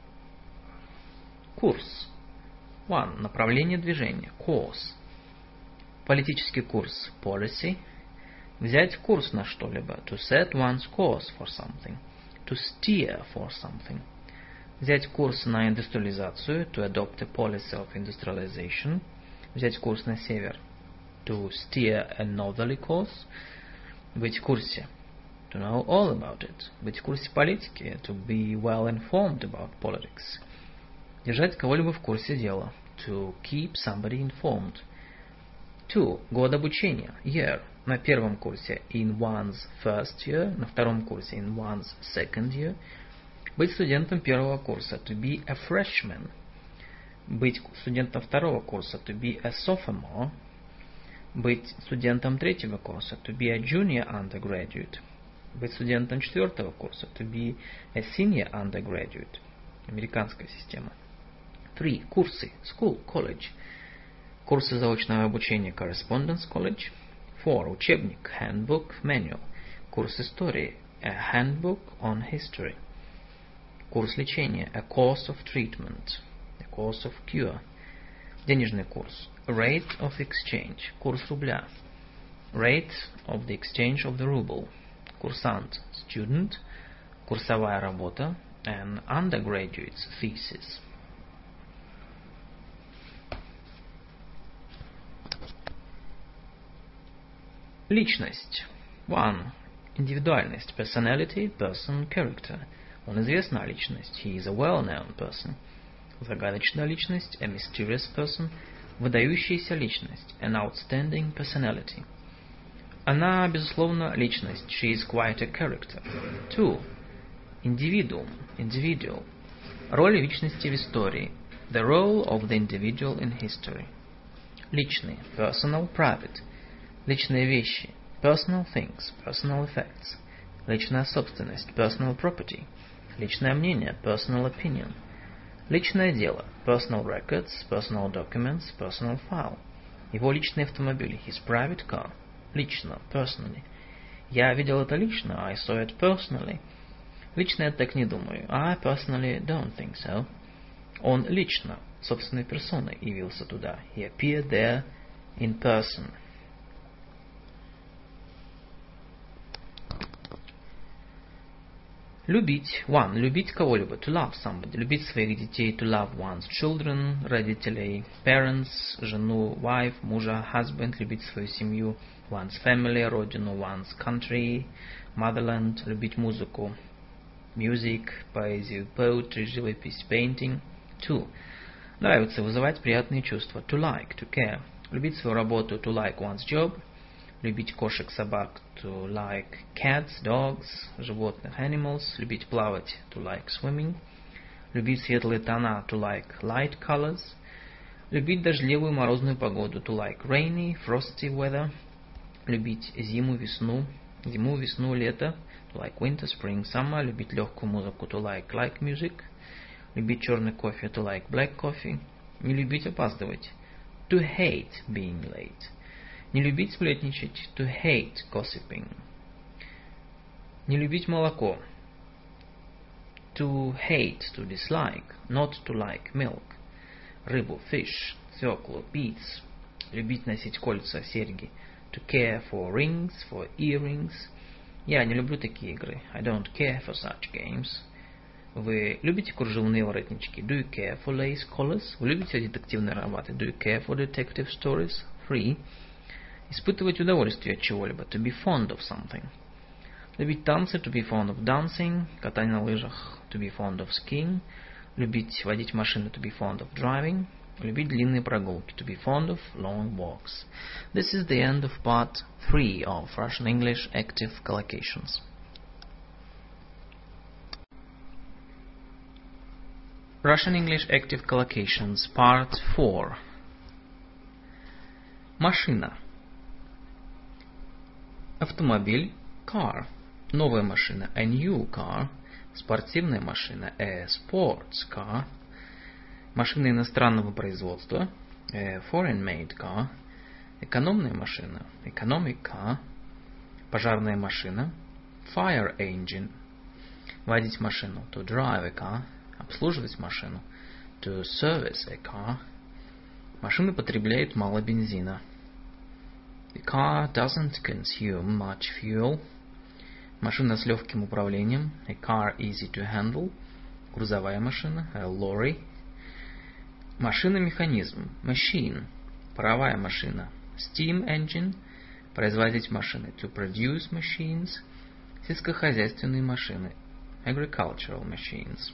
Курс. One. Направление движения, course. Политический курс, policy. Взять курс на что-либо, to set one's course for something. To steer for something. Взять курс на индустриализацию, to adopt a policy of industrialization. Взять курс на север, to steer a northerly course. Быть в курсе, to know all about it. Быть в курсе политики, to be well informed about politics. Держать кого-либо в курсе дела, to keep somebody informed. 2. Год обучения, year. На первом курсе, in one's first year. На втором курсе, in one's second year. Быть студентом первого курса, to be a freshman. Быть студентом второго курса, to be a sophomore. Быть студентом третьего курса, to be a junior undergraduate. Быть студентом четвертого курса, to be a senior undergraduate. Американская система. 3. Курсы, school, college. Курсы заочного обучения, correspondence college. 4. Учебник, handbook, manual. Курс истории, a handbook on history. Курс лечения, a course of treatment, a course of cure. Денежный курс, rate of exchange, курс рубля, rate of the exchange of the ruble. Курсант, student, курсовая работа, an undergraduate's thesis. Личность. 1. Индивидуальность, personality, person, character. Он известная личность, he is a well-known person. Загадочная личность, a mysterious person. Выдающаяся личность, an outstanding personality. Она, безусловно, личность, she is quite a character. 2. Индивидуум, individual. Роль личности в истории, the role of the individual in history. Личный, personal, private. Личные вещи, personal things, personal effects. Личная собственность, personal property. Личное мнение, personal opinion. Личное дело, personal records, personal documents, personal file. Его личный автомобиль, his private car. Лично, personally. Я видел это лично, I saw it personally. Лично я так не думаю, I personally don't think so. Он лично, собственной персоной, явился туда. He appeared there in person. Любить. 1. Любить кого-либо. To love somebody. Любить своих детей. To love one's children. Родителей. Parents. Жену. Wife. Мужа. Husband. Любить свою семью. One's family. Родину. One's country. Motherland. Любить музыку. Music. Поэзию. Poetry. Живопись. Painting. 2. Нравится. Вызывать приятные чувства. To like. To care. Любить свою работу. To like one's job. Любить кошек, собак, to like cats, dogs, животных, animals. Любить плавать, to like swimming. Любить светлые тона, to like light colors. Любить дождливую морозную погоду, to like rainy, frosty weather. Любить зиму, весну, лето, to like winter, spring, summer. Любить легкую музыку, to like light music. Любить черный кофе, to like black coffee. Не любить опаздывать, to hate being late. Не любить сплетничать, to hate gossiping. Не любить молоко, to hate, to dislike, not to like milk. Рыбу, fish, свеклу, beets. Любить носить кольца, серьги, to care for rings, for earrings. Я не люблю такие игры, I don't care for such games. Вы любите кружевные воротнички, do you care for lace collars? Вы любите детективные романы, do you care for detective stories? 3. Испытывать удовольствие от чего-либо, to be fond of something. Любить танцы, to be fond of dancing. Катание на лыжах, to be fond of skiing. Любить водить машину, to be fond of driving. Любить длинные прогулки, to be fond of long walks. This is the end of part 3 of Russian English active collocations. Russian English Active Collocations, Part 4. Машина. Автомобиль, car. Новая машина, a new car. Спортивная машина, a sports car. Машина иностранного производства, a foreign-made car. Экономная машина, economic car. Пожарная машина, fire engine. Водить машину, to drive a car. Обслуживать машину, to service a car. Машина потребляет мало бензина. The car doesn't consume much fuel. Машина с легким управлением, a car easy to handle. Грузовая машина, a lorry. Машина-механизм, machine. Паровая машина, steam engine. Производить машины, to produce machines. Сельскохозяйственные машины, agricultural machines.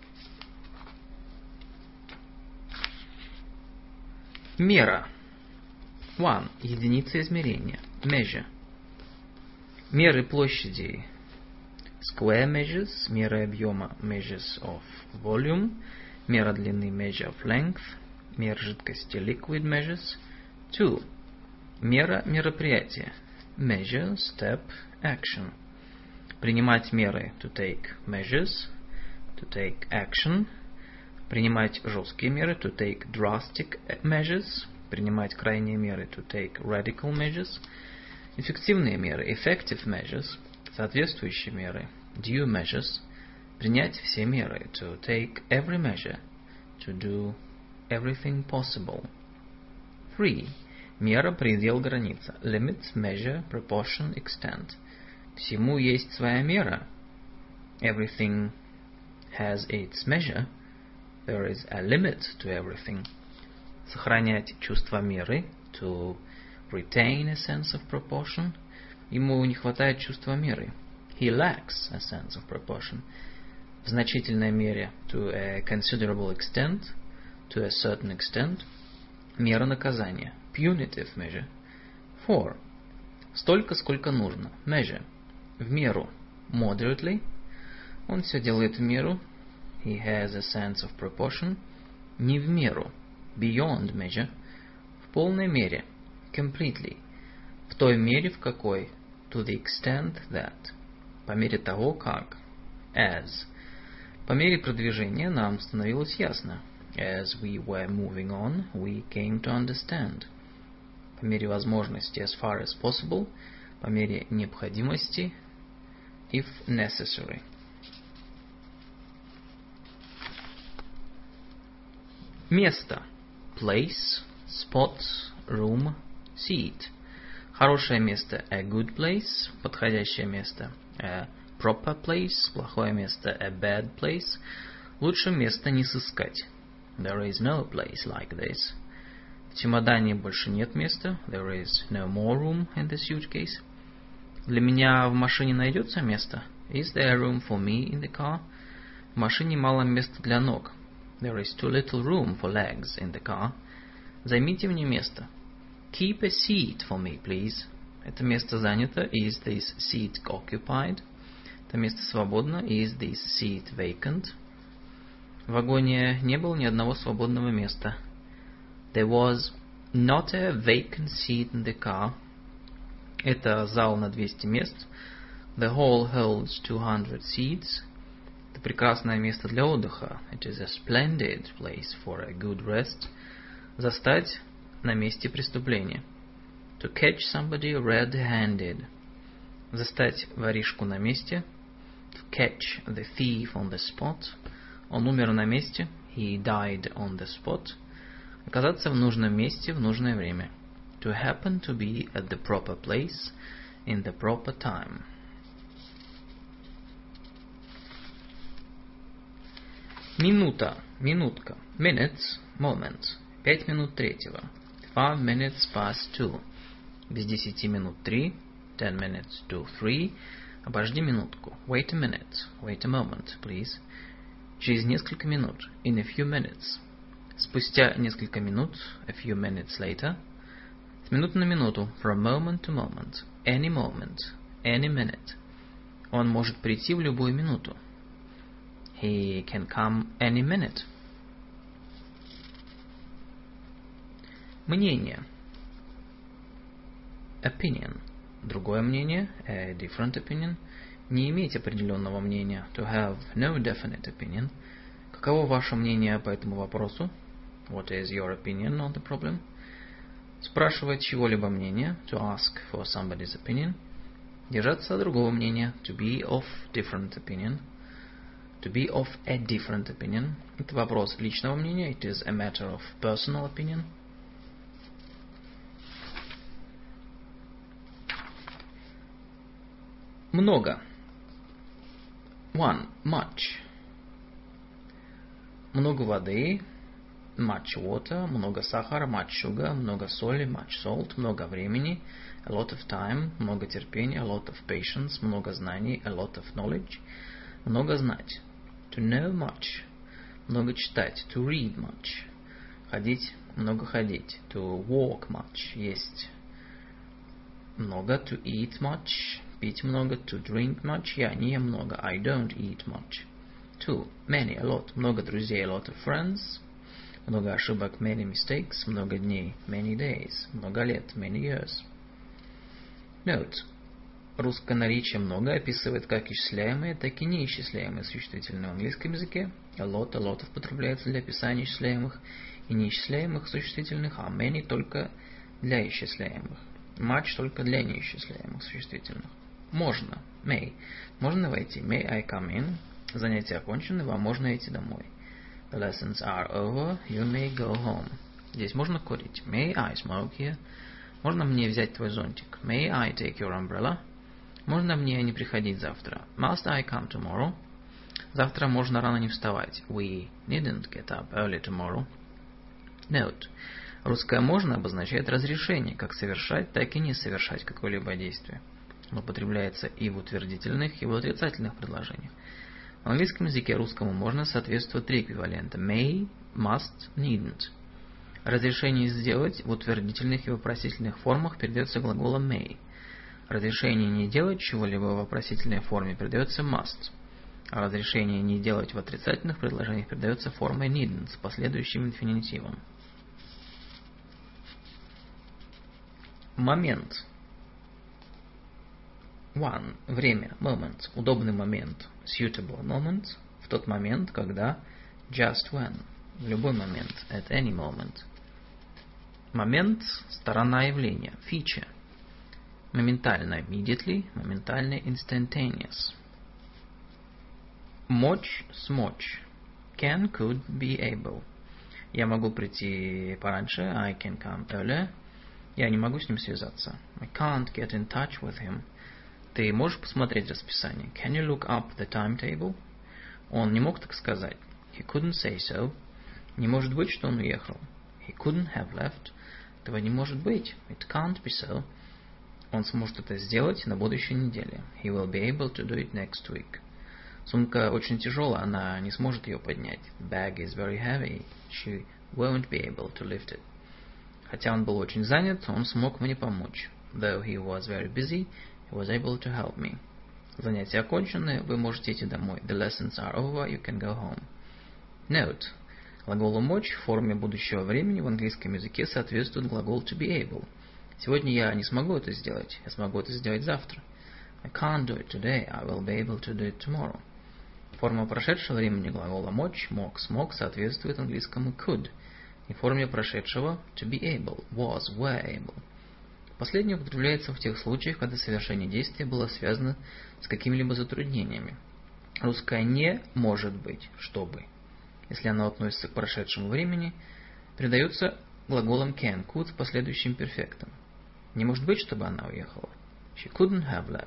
Мера. 1. Единица измерения. Measure. Меры площади. Square measures. Меры объема. Measures of volume. Мера длины. Measure of length. Мера жидкости. Liquid measures. 2. Мера мероприятия. Measure, step, action. Принимать меры. To take measures. To take action. Принимать жесткие меры, to take drastic measures. Принимать крайние меры, to take radical measures. Эффективные меры, effective measures. Соответствующие меры, due measures. Принять все меры, to take every measure. To do everything possible. 3. Мера, предел, граница. Limit, measure, proportion, extent. Всему есть своя мера. Everything has its measure. There is a limit to everything. Сохранять чувство меры, to retain a sense of proportion. Ему не хватает чувства меры. He lacks a sense of proportion. В значительной мере, to a considerable extent, to a certain extent. Мера наказания, punitive measure. 4. Столько, сколько нужно, measure. В меру, moderately. Он все делает в меру. He has a sense of proportion. Не в меру. Beyond measure. В полной мере. Completely. В той мере, в какой. To the extent that. По мере того, как. As. По мере продвижения нам становилось ясно. As we were moving on, we came to understand. По мере возможности, as far as possible. По мере необходимости, if necessary. Место. Place, spot, room, seat. Хорошее место. A good place. Подходящее место. A proper place. Плохое место. A bad place. Лучше места не сыскать. There is no place like this. В чемодане больше нет места. There is no more room in the suitcase. Для меня в машине найдется место. Is there room for me in the car? В машине мало места для ног. There is too little room for legs in the car. Займите мне место. Keep a seat for me, please. Это место занято. Is this seat occupied? Это место свободно. Is this seat vacant? В вагоне не было ни одного свободного места. There was not a vacant seat in the car. Это зал на 200 мест. The hall holds 200 seats. Это прекрасное место для отдыха. It is a splendid place for a good rest. Застать на месте преступления. To catch somebody red-handed. Застать воришку на месте. To catch the thief on the spot. Он умер на месте. He died on the spot. Оказаться в нужном месте в нужное время. To happen to be at the proper place in the proper time. Минута, минутка. Minutes, moment. 5 минут третьего. 5 minutes past 2. Без 10 минут 3. 10 minutes to 3. Обожди минутку. Wait a minute. Wait a moment, please. Через несколько минут. In a few minutes. Спустя несколько минут. A few minutes later. С минуты на минуту. From moment to moment. Any moment. Any minute. Он может прийти в любую минуту. He can come any minute. Мнение. Opinion. Другое мнение. A different opinion. Не иметь определенного мнения. To have no definite opinion. Каково ваше мнение по этому вопросу? What is your opinion on the problem? Спрашивать чего-либо мнение. To ask for somebody's opinion. Держаться другого мнения. To be of different opinion. To be of a different opinion. Это вопрос личного мнения. It is a matter of personal opinion. Много. One. Much. Много воды. Much water. Много сахара. Much sugar. Много соли. Much salt. Много времени. A lot of time. Много терпения. A lot of patience. Много знаний. A lot of knowledge. Много знать. To know much. Много читать. To read much. Ходить. Много ходить. To walk much. Есть много. To eat much. Пить много. To drink much. Я не ем много. I don't eat much. Two. Many. A lot. Много друзей. A lot of friends. Много ошибок. Many mistakes. Много дней. Many days. Много лет. Many years. Note. Русское наречие много описывает как исчисляемые, так и неисчисляемые существительные в английском языке. A lot употребляется для описания исчисляемых и неисчисляемых существительных, а many только для исчисляемых. Much только для неисчисляемых существительных. Можно. May. Можно войти. May I come in? Занятия окончены, вам можно идти домой. The lessons are over. You may go home. Здесь можно курить. May I smoke here? Можно мне взять твой зонтик? May I take your umbrella? Можно мне не приходить завтра? Must I come tomorrow? Завтра можно рано не вставать. We needn't get up early tomorrow. Note. Русское «можно» обозначает разрешение, как совершать, так и не совершать какое-либо действие. Оно употребляется и в утвердительных, и в отрицательных предложениях. В английском языке русскому «можно» соответствует три эквивалента: may, must, needn't. Разрешение сделать в утвердительных и вопросительных формах передается глаголом may. Разрешение не делать чего-либо в вопросительной форме передается must, а разрешение не делать в отрицательных предложениях передается формой needn't с последующим инфинитивом. Момент. One. Время. Moment. Удобный момент. Suitable moment. В тот момент, когда. Just when. В любой момент. At any moment. Момент. Сторона явления. Feature. Моментально immediately, моментально instantaneous. Мочь, смочь. Can, could, be able. Я могу прийти пораньше. I can come earlier. Я не могу с ним связаться. I can't get in touch with him. Ты можешь посмотреть расписание? Can you look up the timetable? Он не мог так сказать. He couldn't say so. Не может быть, что он уехал. He couldn't have left. Этого не может быть. It can't be so. Он сможет это сделать на будущей неделе. He will be able to do it next week. Сумка очень тяжелая, она не сможет ее поднять. The bag is very heavy. She won't be able to lift it. Хотя он был очень занят, он смог мне помочь. Though he was very busy, he was able to help me. Занятия окончены, вы можете идти домой. The lessons are over, you can go home. Note. Глаголу мочь в форме будущего времени в английском языке соответствует глагол to be able. Сегодня я не смогу это сделать. Я смогу это сделать завтра. I can't do it today. I will be able to do it tomorrow. Форма прошедшего времени глагола мочь, мог, смог соответствует английскому could. И форме прошедшего to be able, was, were able. Последнее употребляется в тех случаях, когда совершение действия было связано с какими-либо затруднениями. Русское «не может быть», чтобы. Если оно относится к прошедшему времени, передается глаголом can, could с последующим перфектом. Не может быть, чтобы она уехала. She couldn't have left.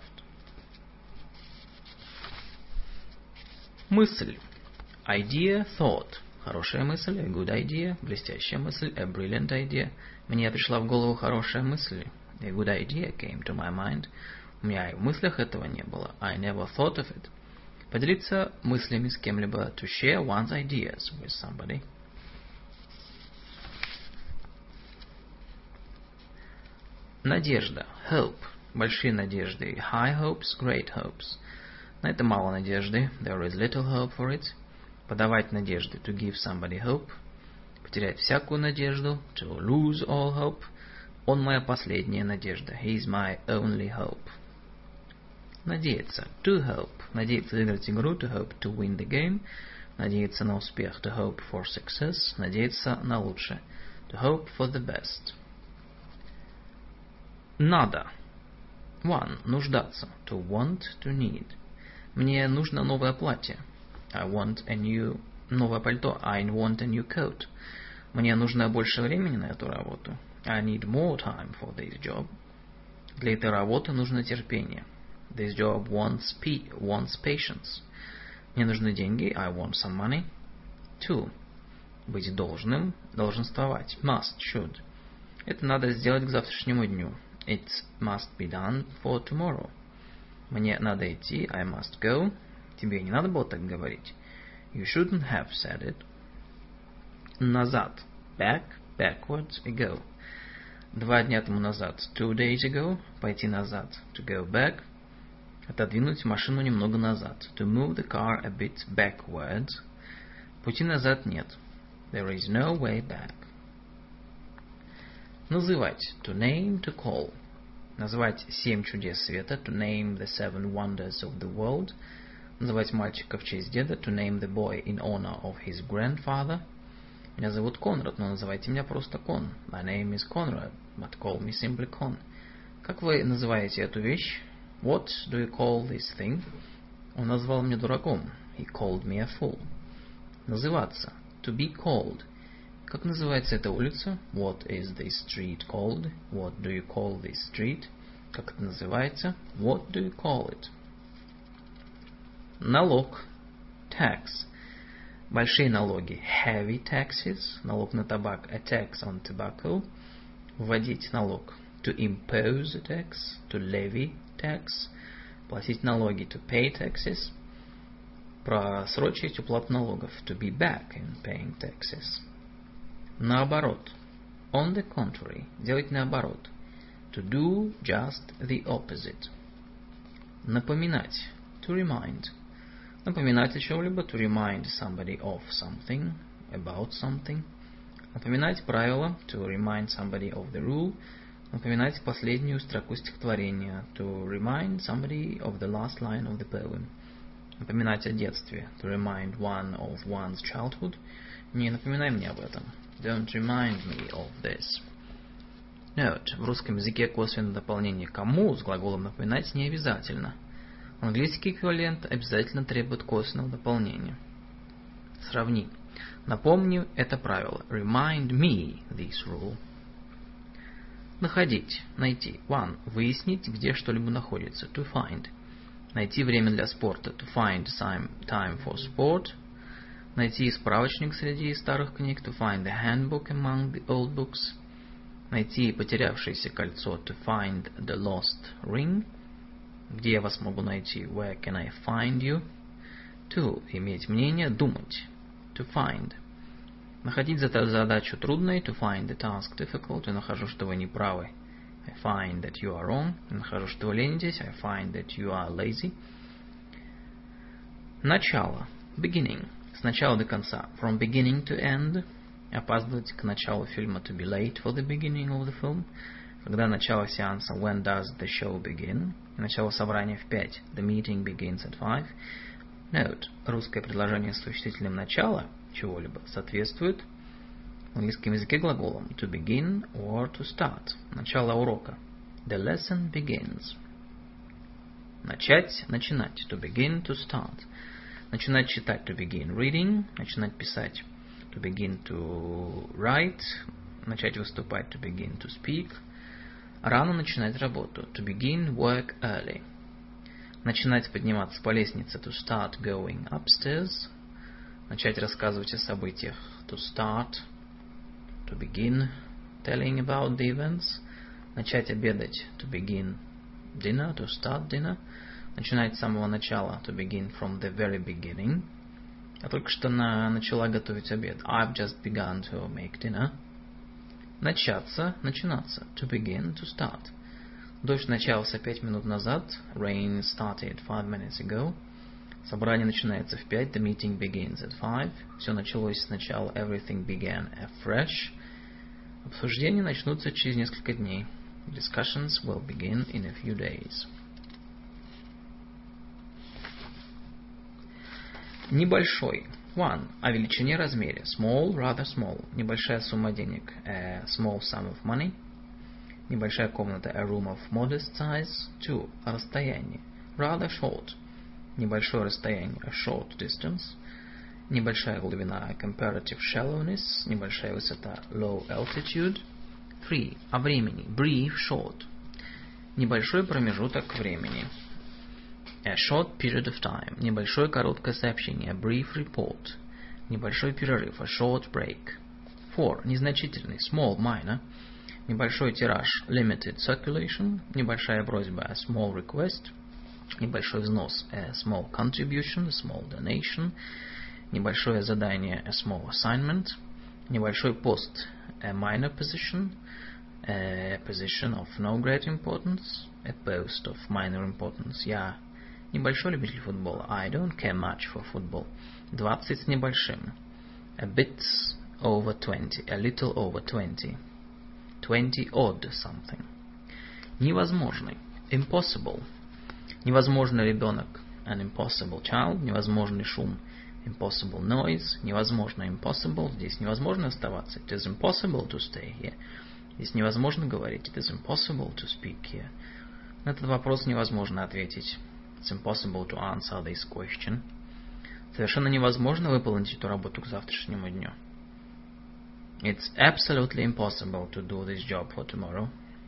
Мысль. Idea, thought. Хорошая мысль, a good idea. Блестящая мысль, a brilliant idea. Мне пришла в голову хорошая мысль. A good idea came to my mind. У меня и в мыслях этого не было. I never thought of it. Поделиться мыслями с кем-либо. To share one's ideas with somebody. Надежда. Hope. Большие надежды. High hopes, great hopes. На это мало надежды. There is little hope for it. Подавать надежды. To give somebody hope. Потерять всякую надежду. To lose all hope. Он моя последняя надежда. He is my only hope. Надеяться. To hope. Надеяться выиграть игру. To hope to win the game. Надеяться на успех. To hope for success. Надеяться на лучшее. To hope for the best. Надо. One. Нуждаться. To want, to need. Мне нужно новое платье. I want a new... Новое пальто. I want a new coat. Мне нужно больше времени на эту работу. I need more time for this job. Для этой работы нужно терпение. This job wants patience. Мне нужны деньги. I want some money. To. Быть должным. Долженствовать. Must, should. Это надо сделать к завтрашнему дню. It must be done for tomorrow. Мне надо идти. I must go. Тебе не надо было так говорить. You shouldn't have said it. Назад. Back, backwards, ago. 2 дня тому назад. 2 days ago. Пойти назад. To go back. Отодвинуть машину немного назад. To move the car a bit backwards. Пути назад нет. There is no way back. Называть. To name, to call. Назвать 7 чудес света. To name the 7 wonders of the world. Называть мальчика в честь деда. To name the boy in honor of his grandfather. Меня зовут Конрад, но называйте меня просто Кон. My name is Conrad, but call me simply Con. Как вы называете эту вещь? What do you call this thing? Он назвал меня дураком. He called me a fool. Называться. To be called. Как называется эта улица? What is this street called? What do you call this street? Как это называется? What do you call it? Налог. Tax. Большие налоги. Heavy taxes. Налог на табак. A tax on tobacco. Вводить налог. To impose a tax. To levy tax. Платить налоги. To pay taxes. Просрочить уплату налогов. To be back in paying taxes. Наоборот. On the contrary. Делать наоборот. To do just the opposite. Напоминать. To remind. Напоминать о чем-либо. To remind somebody of something. About something. Напоминать правила. To remind somebody of the rule. Напоминать последнюю строку стихотворения. To remind somebody of the last line of the poem. Напоминать о детстве. To remind one of one's childhood. Не напоминай мне об этом. Don't remind me of this. Note. В русском языке косвенное дополнение кому с глаголом напоминать не обязательно. Английский эквивалент обязательно требует косвенного дополнения. Сравни. Напомню это правило. Remind me this rule. Находить. Найти. One. Выяснить, где что-либо находится. To find. Найти время для спорта. To find time for sport. Найти справочник среди старых книг. To find the handbook among the old books. Найти потерявшееся кольцо. To find the lost ring. Где я вас могу найти? Where can I find you? To. Иметь мнение. Думать. To find. Находить задачу трудной. To find the task difficult. Я нахожу, что вы не правы. I find that you are wrong. Я нахожу, что вы ленитесь. I find that you are lazy. Начало. Beginning. С начала до конца. From beginning to end. Опаздывать к началу фильма. To be late for the beginning of the film. Когда начало сеанса. When does the show begin? Начало собрания в 5. The meeting begins at 5. Note. Русское предложение с существительным начала чего-либо соответствует в английском языке глаголам to begin or to start. Начало урока. The lesson begins. Начать, начинать. To begin, to start. Начинать читать. To begin reading. Начинать писать. To begin to write. Начать выступать. To begin to speak. Рано начинать работу. To begin work early. Начинать подниматься по лестнице. To start going upstairs. Начать рассказывать о событиях. To start. To begin telling about the events. Начать обедать. To begin dinner. To start dinner. Начинать с самого начала. To begin from the very beginning. Я только что начала готовить обед. I've just begun to make dinner. Начаться, начинаться. To begin, to start. Дождь начался 5 минут назад. Rain started 5 minutes ago. Собрание начинается в 5. The meeting begins at 5. Все началось сначала. Everything began afresh. Обсуждения начнутся через несколько дней. Discussions will begin in a few days. Небольшой. One. О величине, размере. Small, rather small. Небольшая сумма денег. A small sum of money. Небольшая комната. A room of modest size. Two. О расстоянии. Rather short. Небольшое расстояние. A short distance. Небольшая глубина. A comparative shallowness. Небольшая высота. Low altitude. Three. О времени. Brief, short. Небольшой промежуток времени. A short period of time. Небольшое короткое сообщение. A brief report. Небольшой перерыв. A short break. Four. Незначительный. Small, minor. Небольшой тираж. Limited circulation. Небольшая просьба. A small request. Небольшой взнос. A small contribution. A small donation. Небольшое задание. A small assignment. Небольшой пост. A minor position. A position of no great importance. A post of minor importance. Я небольшой любитель футбола. I don't care much for football. 20 с небольшим. A bit over 20. A little over 20. 20 odd something. Невозможный. Impossible. Невозможный ребенок. An impossible child. Невозможный шум. Impossible noise. Невозможно impossible. Здесь невозможно оставаться. It is impossible to stay here. Здесь невозможно говорить. It is impossible to speak here. На этот вопрос невозможно ответить. It's impossible to answer this question. Совершенно невозможно выполнить эту работу к завтрашнему дню. It's absolutely impossible to do this job for tomorrow.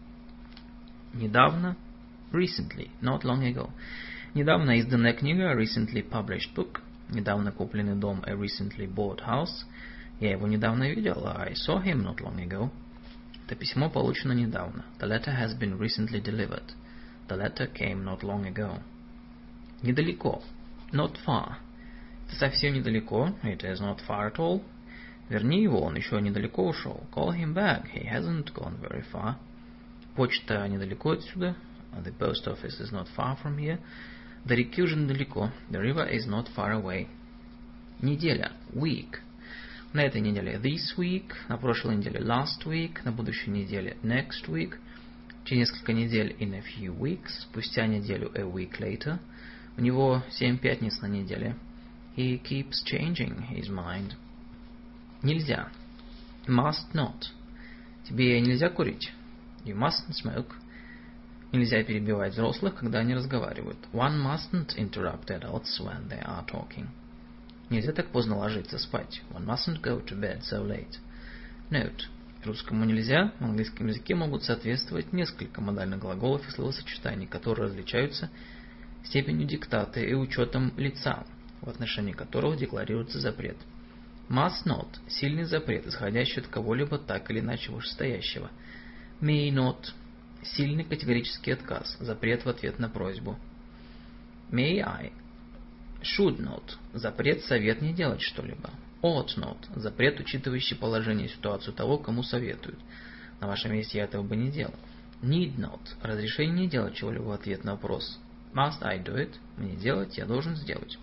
Недавно. Recently. Not long ago. Недавно изданная книга. A recently published book. Недавно купленный дом. A recently bought house. Я его недавно видел. I saw him not long ago. Это письмо получено недавно. The letter has been recently delivered. The letter came not long ago. Недалеко. Not far. Это совсем недалеко. It is not far at all. Верни его, он еще недалеко ушел. Call him back. He hasn't gone very far. Почта недалеко отсюда. The post office is not far from here. До реки уже недалеко. The river is not far away. Неделя. Week. На этой неделе this week. На прошлой неделе last week. На будущей неделе next week. Через несколько недель in a few weeks. Спустя неделю a week later. У него 7 пятниц на неделе. He keeps changing his mind. Нельзя. Must not. Тебе нельзя курить. You mustn't smoke. Нельзя перебивать взрослых, когда они разговаривают. One mustn't interrupt adults when they are talking. Нельзя так поздно ложиться спать. One mustn't go to bed so late. Note. Русскому нельзя, в английском языке могут соответствовать несколько модальных глаголов и словосочетаний, которые различаются степенью диктата и учетом лица, в отношении которого декларируется запрет. Must not – сильный запрет, исходящий от кого-либо так или иначе вышестоящего. May not – сильный категорический отказ, запрет в ответ на просьбу. May I – should not – запрет, совет не делать что-либо. Ought not – запрет, учитывающий положение и ситуацию того, кому советуют. На вашем месте я этого бы не делал. Need not – разрешение не делать чего-либо в ответ на вопрос. Must I do it? Мне делать, я должен сделать.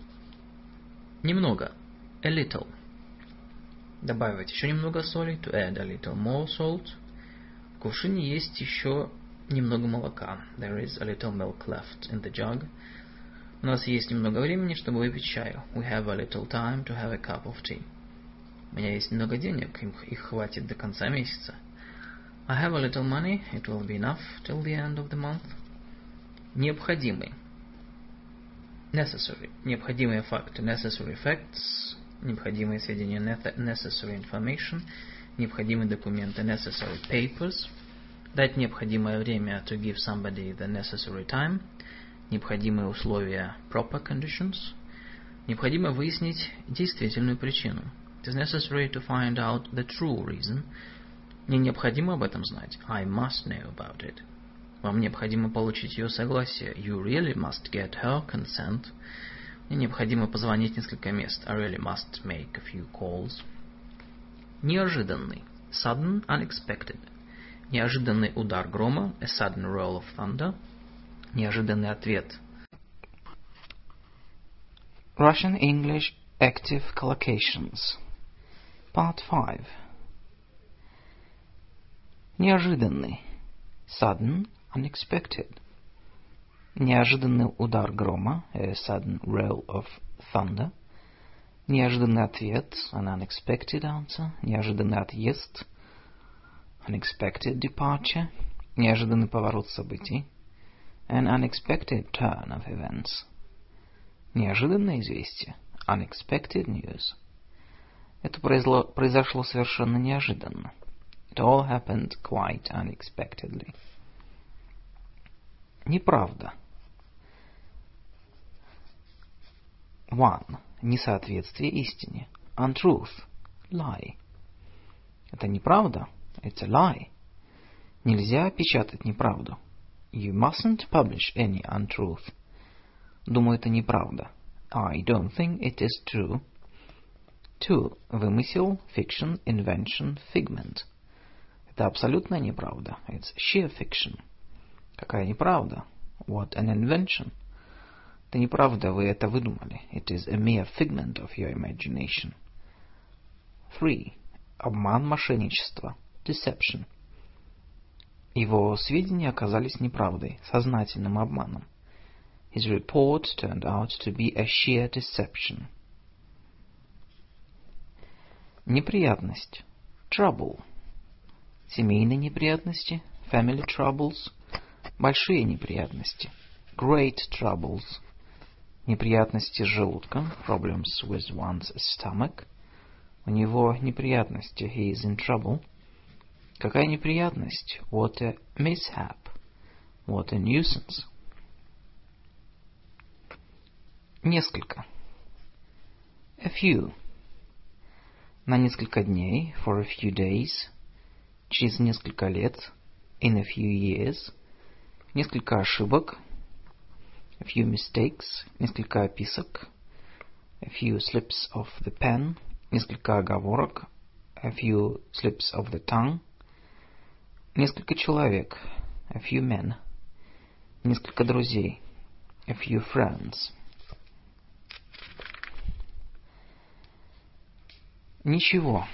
Немного. A little. Добавить еще немного соли. To add a little more salt. В кувшине есть еще немного молока. There is a little milk left in the jug. У нас есть немного времени, чтобы выпить чаю. We have a little time to have a cup of tea. У меня есть немного денег, их хватит до конца месяца. I have a little money. It will be enough till the end of the month. Необходимый. Necessary. Необходимые факты. Necessary facts. Необходимые сведения. Necessary information. Необходимые документы. Necessary papers. Дать необходимое время. To give somebody the necessary time. Необходимые условия. Proper conditions. Необходимо выяснить действительную причину. It is necessary to find out the true reason. Мне необходимо об этом знать. I must know about it. Вам необходимо получить ее согласие. You really must get her consent. Мне необходимо позвонить в несколько мест. I really must make a few calls. Неожиданный. Sudden, unexpected. Неожиданный удар грома. A sudden roll of thunder. Неожиданный ответ. Russian English Active Collocations. Part 5. Неожиданный. Sudden, unexpected. Неожиданный удар грома, a sudden roll of thunder. Неожиданный ответ, an unexpected answer. Неожиданный отъезд, unexpected departure. Неожиданный поворот событий, an unexpected turn of events. Неожиданное известие, unexpected news. Это произошло совершенно неожиданно. It all happened quite unexpectedly. Неправда. One. Несоответствие истине. Untruth. Lie. Это неправда. It's a lie. Нельзя печатать неправду. You mustn't publish any untruth. Думаю, это неправда. I don't think it is true. Two. Вымысел, fiction, invention, figment. Это абсолютная неправда. It's sheer fiction. Какая неправда? What an invention. Это неправда, вы это выдумали. It is a mere figment of your imagination. Three. Обман, мошенничество. Deception. Его сведения оказались неправдой, сознательным обманом. His report turned out to be a sheer deception. Неприятность. Trouble. Семейные неприятности. Family troubles. Большие неприятности. Great troubles. Неприятности с желудком. Problems with one's stomach. У него неприятности. He is in trouble. Какая неприятность? What a mishap. What a nuisance. Несколько. A few. На несколько дней. For a few days. Через несколько лет. In a few years. Несколько ошибок. A few mistakes. Несколько описок. A few slips of the pen. Несколько оговорок. A few slips of the tongue. Несколько человек. A few men. Несколько друзей. A few friends. Ничего.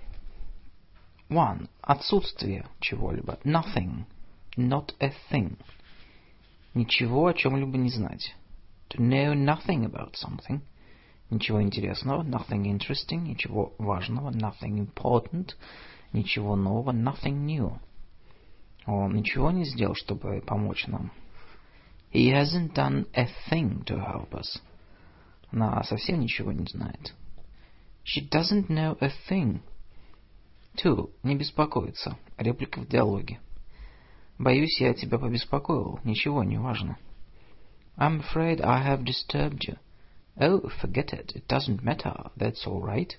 One. Отсутствие чего-либо. Nothing. Not a thing. Ничего о чем-либо не знать. To know nothing about something. Ничего интересного. Nothing interesting. Ничего важного. Nothing important. Ничего нового. Nothing new. Он ничего не сделал, чтобы помочь нам. He hasn't done a thing to help us. Она совсем ничего не знает. She doesn't know a thing. Two. Не беспокоиться. Реплика в диалоге. Боюсь, я тебя побеспокоил. Ничего не важно. I'm afraid I have disturbed you. Oh, forget it. It doesn't matter. That's all right.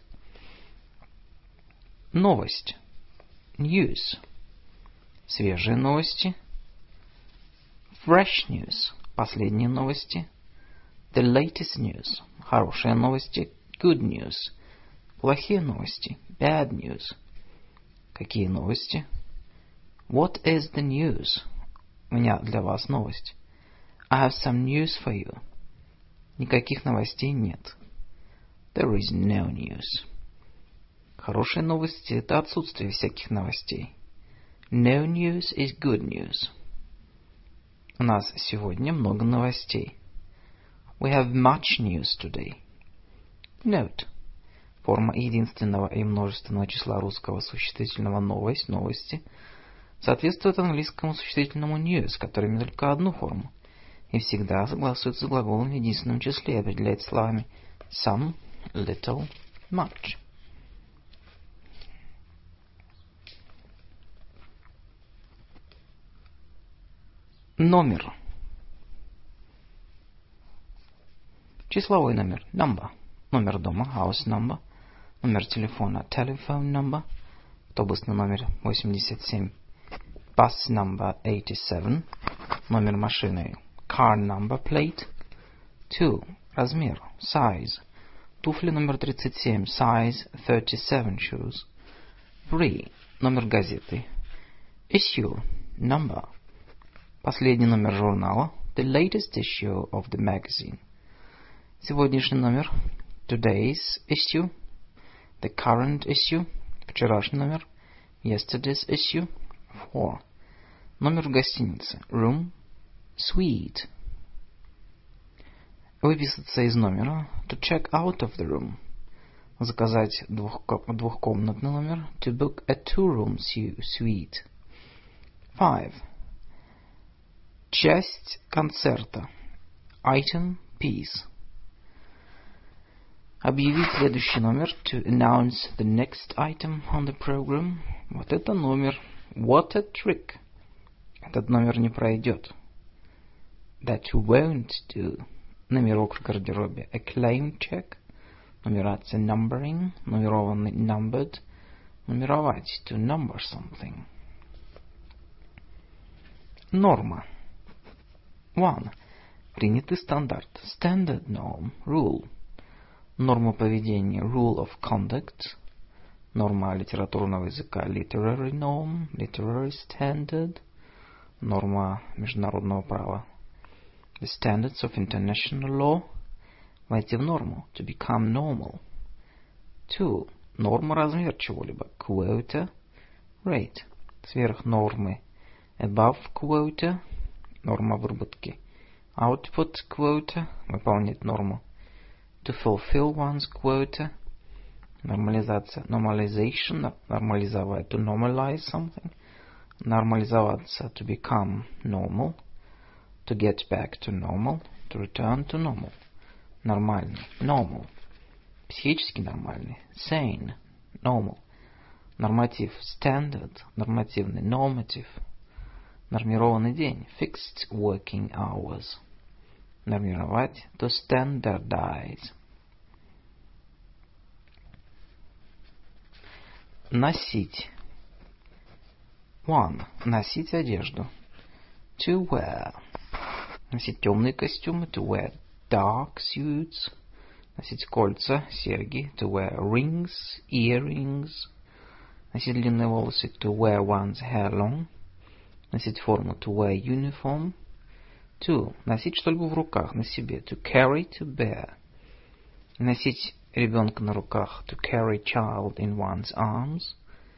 Новость. News. Свежие новости. Fresh news. Последние новости. The latest news. Хорошие новости. Good news. Плохие новости. Bad news. Какие новости? What is the news? У меня для вас новость. I have some news for you. Никаких новостей нет. There is no news. Хорошие новости – это отсутствие всяких новостей. No news is good news. У нас сегодня много новостей. We have much news today. Note. Форма единственного и множественного числа русского существительного «новость», «новости» соответствует английскому существительному news, который имеет только одну форму и всегда согласуется с глаголом в единственном числе и определяется словами some, little, much. Номер. Числовой номер. Number. Номер дома. House number. Номер телефона. Telephone number. Автобусный номер 87. Bus number 87. Номер машины. Car number plate. 2. Размер. Size. Туфли номер 37. Size 37 shoes. 3. Номер газеты. Issue. Number. Последний номер журнала. The latest issue of the magazine. Сегодняшний номер. Today's issue. The current issue. Вчерашний номер. Yesterday's issue. 4. Номер в гостинице. Room. Suite. Выписаться из номера. To check out of the room. Заказать двухкомнатный номер. To book a two-room suite. 5. Часть концерта. Item piece. Объявить следующий номер. To announce the next item on the program. Вот это номер. What a trick. Этот номер не пройдет. That won't do. Номерок в гардеробе. A claim check. Нумерация. Numbering. Нумерованный. Numbered. Нумеровать. To number something. Норма. 1. Принятый стандарт. Standard norm. Rule. Норма поведения. Rule of conduct. Норма литературного языка. Literary norm. Literary standard. Норма международного права. The standards of international law. Войти в норму. To become normal. 2. Норма размер чего-либо. Quota. Rate. Сверх нормы. Above quota. Норма выработки. Output quota. Выполнить норму. To fulfill one's quota. Нормализация. Normalization. Нормализовать. To normalize something. Нормализоваться. To become normal. To get back to normal. To return to normal. Нормальный. Normal. Психически нормальный. Sane. Normal. Норматив. Standard. Нормативный. Normative. Нормированный день. Fixed working hours. Нормировать. To standardize. Носить. 1. Носить одежду. To wear. Носить темные костюмы. To wear dark suits. Носить кольца, серьги. To wear rings, earrings. Носить длинные волосы. To wear one's hair long. Носить форму. To wear uniform. 2. Носить что-либо в руках, на себе. To carry, to bear. Носить ребенка на руках. To carry child in one's arms.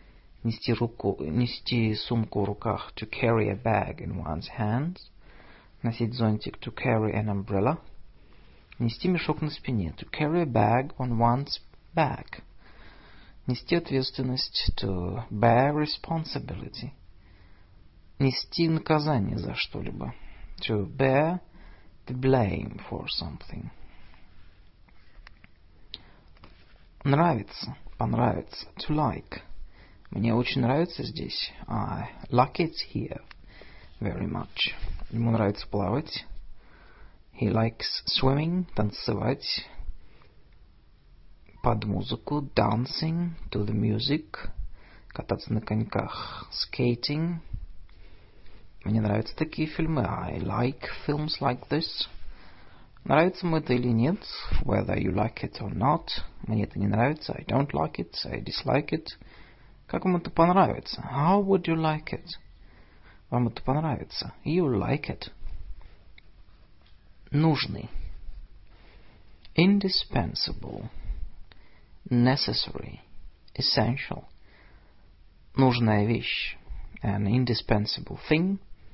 Нести сумку в руках. To carry a bag in one's hands. Носить зонтик. To carry an umbrella. Нести мешок на спине. To carry a bag on one's back. Нести ответственность. To bear responsibility. Нести наказание за что-либо. To bear the blame for something. Нравится. Понравится. To like. Мне очень нравится здесь. I like it here very much. Ему нравится плавать. He likes swimming. Танцевать. Под музыку. Dancing to the music. Кататься на коньках. Skating. Мне нравятся такие фильмы. I like films like this. Нравится мне это или нет. Whether you like it or not. Мне это не нравится. I don't like it. I dislike it. Как вам это понравится? How would you like it? Вам это понравится. You like it. Нужный. Indispensable. Necessary. Essential. Нужная вещь. An indispensable thing.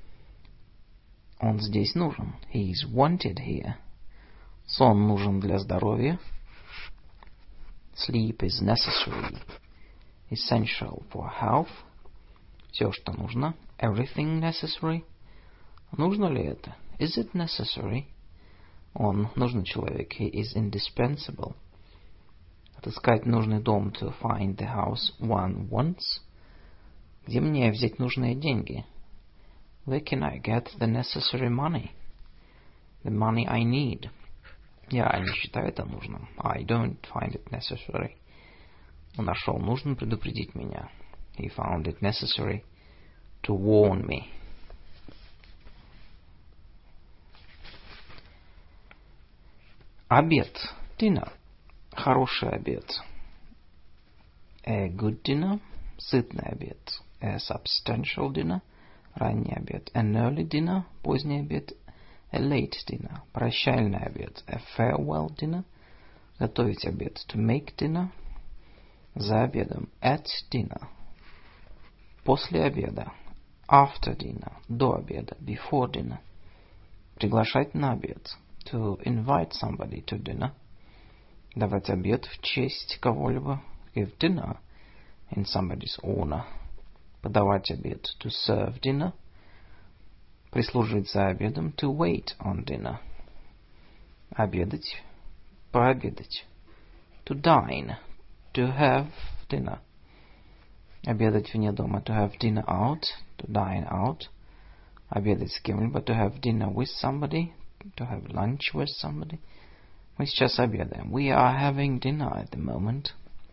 Он здесь нужен. He is wanted here. Сон нужен для здоровья. Sleep is necessary. Essential for health. Все, что нужно. Everything necessary. Нужно ли это? Is it necessary? Он нужный человек. He is indispensable. Отыскать нужный дом. To find the house one wants. Где мне взять нужные деньги? Where can I get the necessary money? The money I need. Я не считаю это нужным. I don't find it necessary. Он нашел нужным предупредить меня. He found it necessary to warn me. Обед. Dinner. Хороший обед. A good dinner. Сытный обед. A substantial dinner. Ранний обед. An early dinner. Поздний обед. A late dinner. Прощальный обед. A farewell dinner. Готовить обед. To make dinner. За обедом. At dinner. После обеда. After dinner. До обеда. Before dinner. Приглашать на обед. To invite somebody to dinner. Давать обед в честь кого-либо. Give dinner in somebody's honor. Подавать обед. To serve dinner. Прислуживать за обедом. To wait on dinner. Обедать. Пообедать. To dine. To have dinner. Обедать вне дома. To have dinner out. To dine out. Обедать с кем-либо. To have dinner with somebody. To have lunch with somebody. Мы сейчас обедаем. We are having dinner at the moment.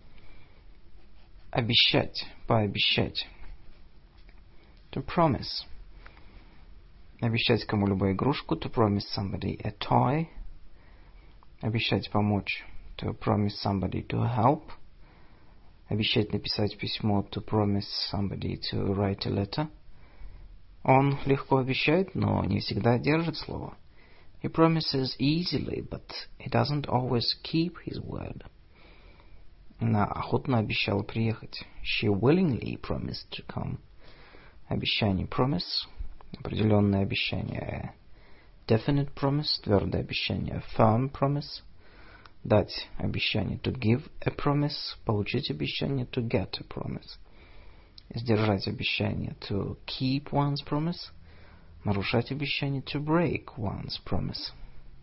Обещать. Пообещать. To promise. Обещать кому-либо игрушку. To promise somebody a toy. Обещать помочь. To promise somebody to help. Обещать написать письмо. To promise somebody to write a letter. Он легко обещает, но не всегда держит слово. He promises easily, but he doesn't always keep his word. Она охотно обещала приехать. She willingly promised to come. Обещание. Promise. Определенное обещание. Definite promise. Твердое обещание. Firm promise. Дать обещание. To give a promise. Получить обещание. To get a promise. Сдержать обещание. To keep one's promise. Нарушать обещание. To break one's promise.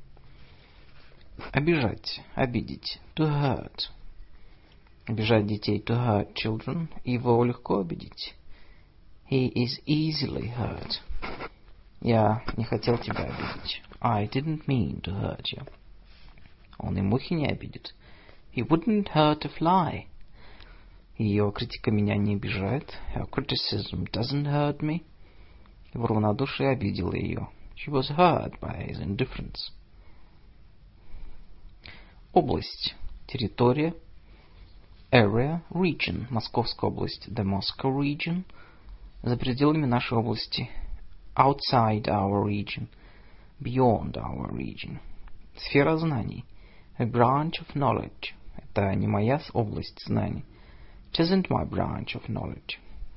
Обижать. Обидеть. To hurt. Обижать детей. To hurt children. Его легко обидеть. He is easily hurt. Я не хотел тебя обидеть. I didn't mean to hurt you. Он и мухи не обидит. He wouldn't hurt a fly. Ее критика меня не обижает. Her criticism doesn't hurt me. Его равнодушие обидело ее. She was hurt by his indifference. Область. Территория. Area. Region. Московская область. The Moscow region. За пределами нашей области. Outside our region. Beyond our region. Сфера знаний. A branch of knowledge. Это не моя область знаний. It isn't my branch of knowledge.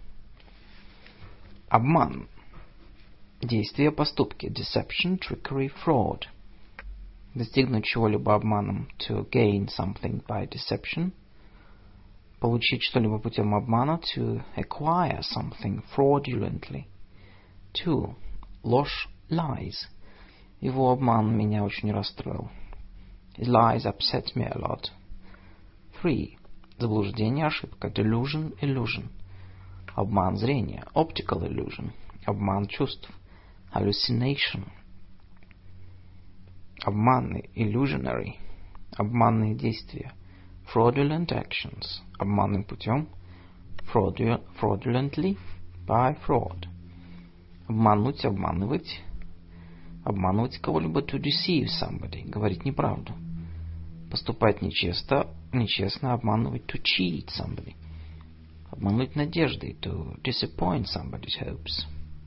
Обман. Действия, поступки. Deception, trickery, fraud. Достигнуть чего-либо обманом. To gain something by deception. Получить что-либо путем обмана. To acquire something fraudulently. 2. Ложь, lies. Его обман меня очень расстроил. His lies upset me a lot. 3. Заблуждение, ошибка. Delusion, illusion. Обман зрения. Optical illusion. Обман чувств. Hallucination. Обманный. Illusionary. Обманные действия. Fraudulent actions. Обманным путем. Fraudulently. By fraud. Обмануть, обманывать. Обманывать кого-либо. To deceive somebody. Говорить неправду. Поступать нечестно, обманывать. To cheat somebody. Обмануть надеждой. To disappoint somebody's hopes.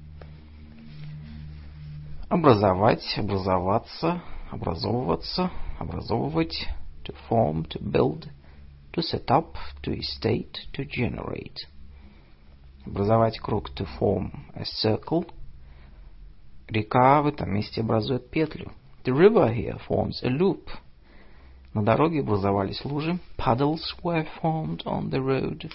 Образовать, образоваться, образовываться, образовывать. To form, to build. To set up, to estate, to generate. Образовать круг. To form a circle. Река в этом месте образует петлю. The river here forms a loop. На дороге образовались лужи. Puddles were formed on the road.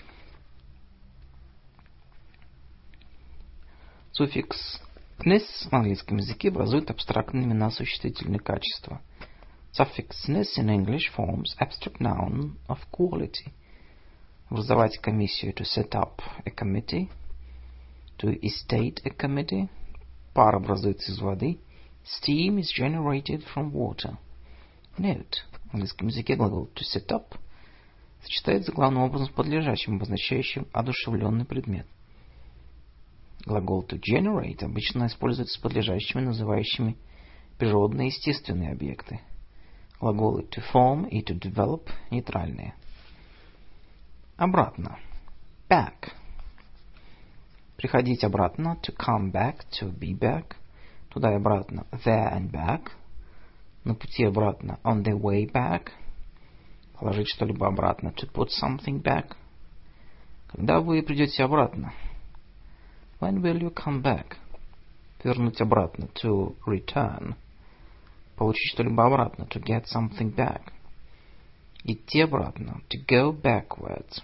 Суффикс «-нess» в английском языке образует абстрактные имена существительные качества. Suffix «-ness» in English forms abstract noun of quality. Образовать комиссию. To set up a committee. To estate a committee. Пар образуется из воды. Steam is generated from water. Note. В английском языке глагол to set up сочетается главным образом с подлежащим, обозначающим одушевленный предмет. Глагол to generate обычно используется с подлежащими, называющими природные и естественные объекты. Глаголы to form и to develop нейтральные. Обратно. Back. Приходить обратно. To come back, to be back. туда и обратно there and back, на пути обратно on the way back, положить что-либо обратно to put something back. Когда вы придете обратно? When will you come back? Вернуть обратно to return. Получить что-либо обратно to get something back. Идти обратно to go backwards.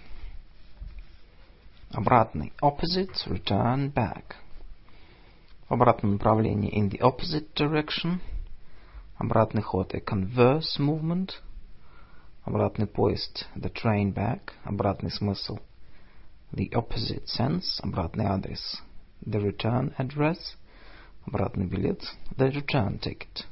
Обратный opposite, return back. В обратном направлении in the opposite direction. Обратный ход converse movement. Обратный поезд the train back. Обратный смысл the opposite sense. Обратный адрес the return address. Обратный билет the return ticket.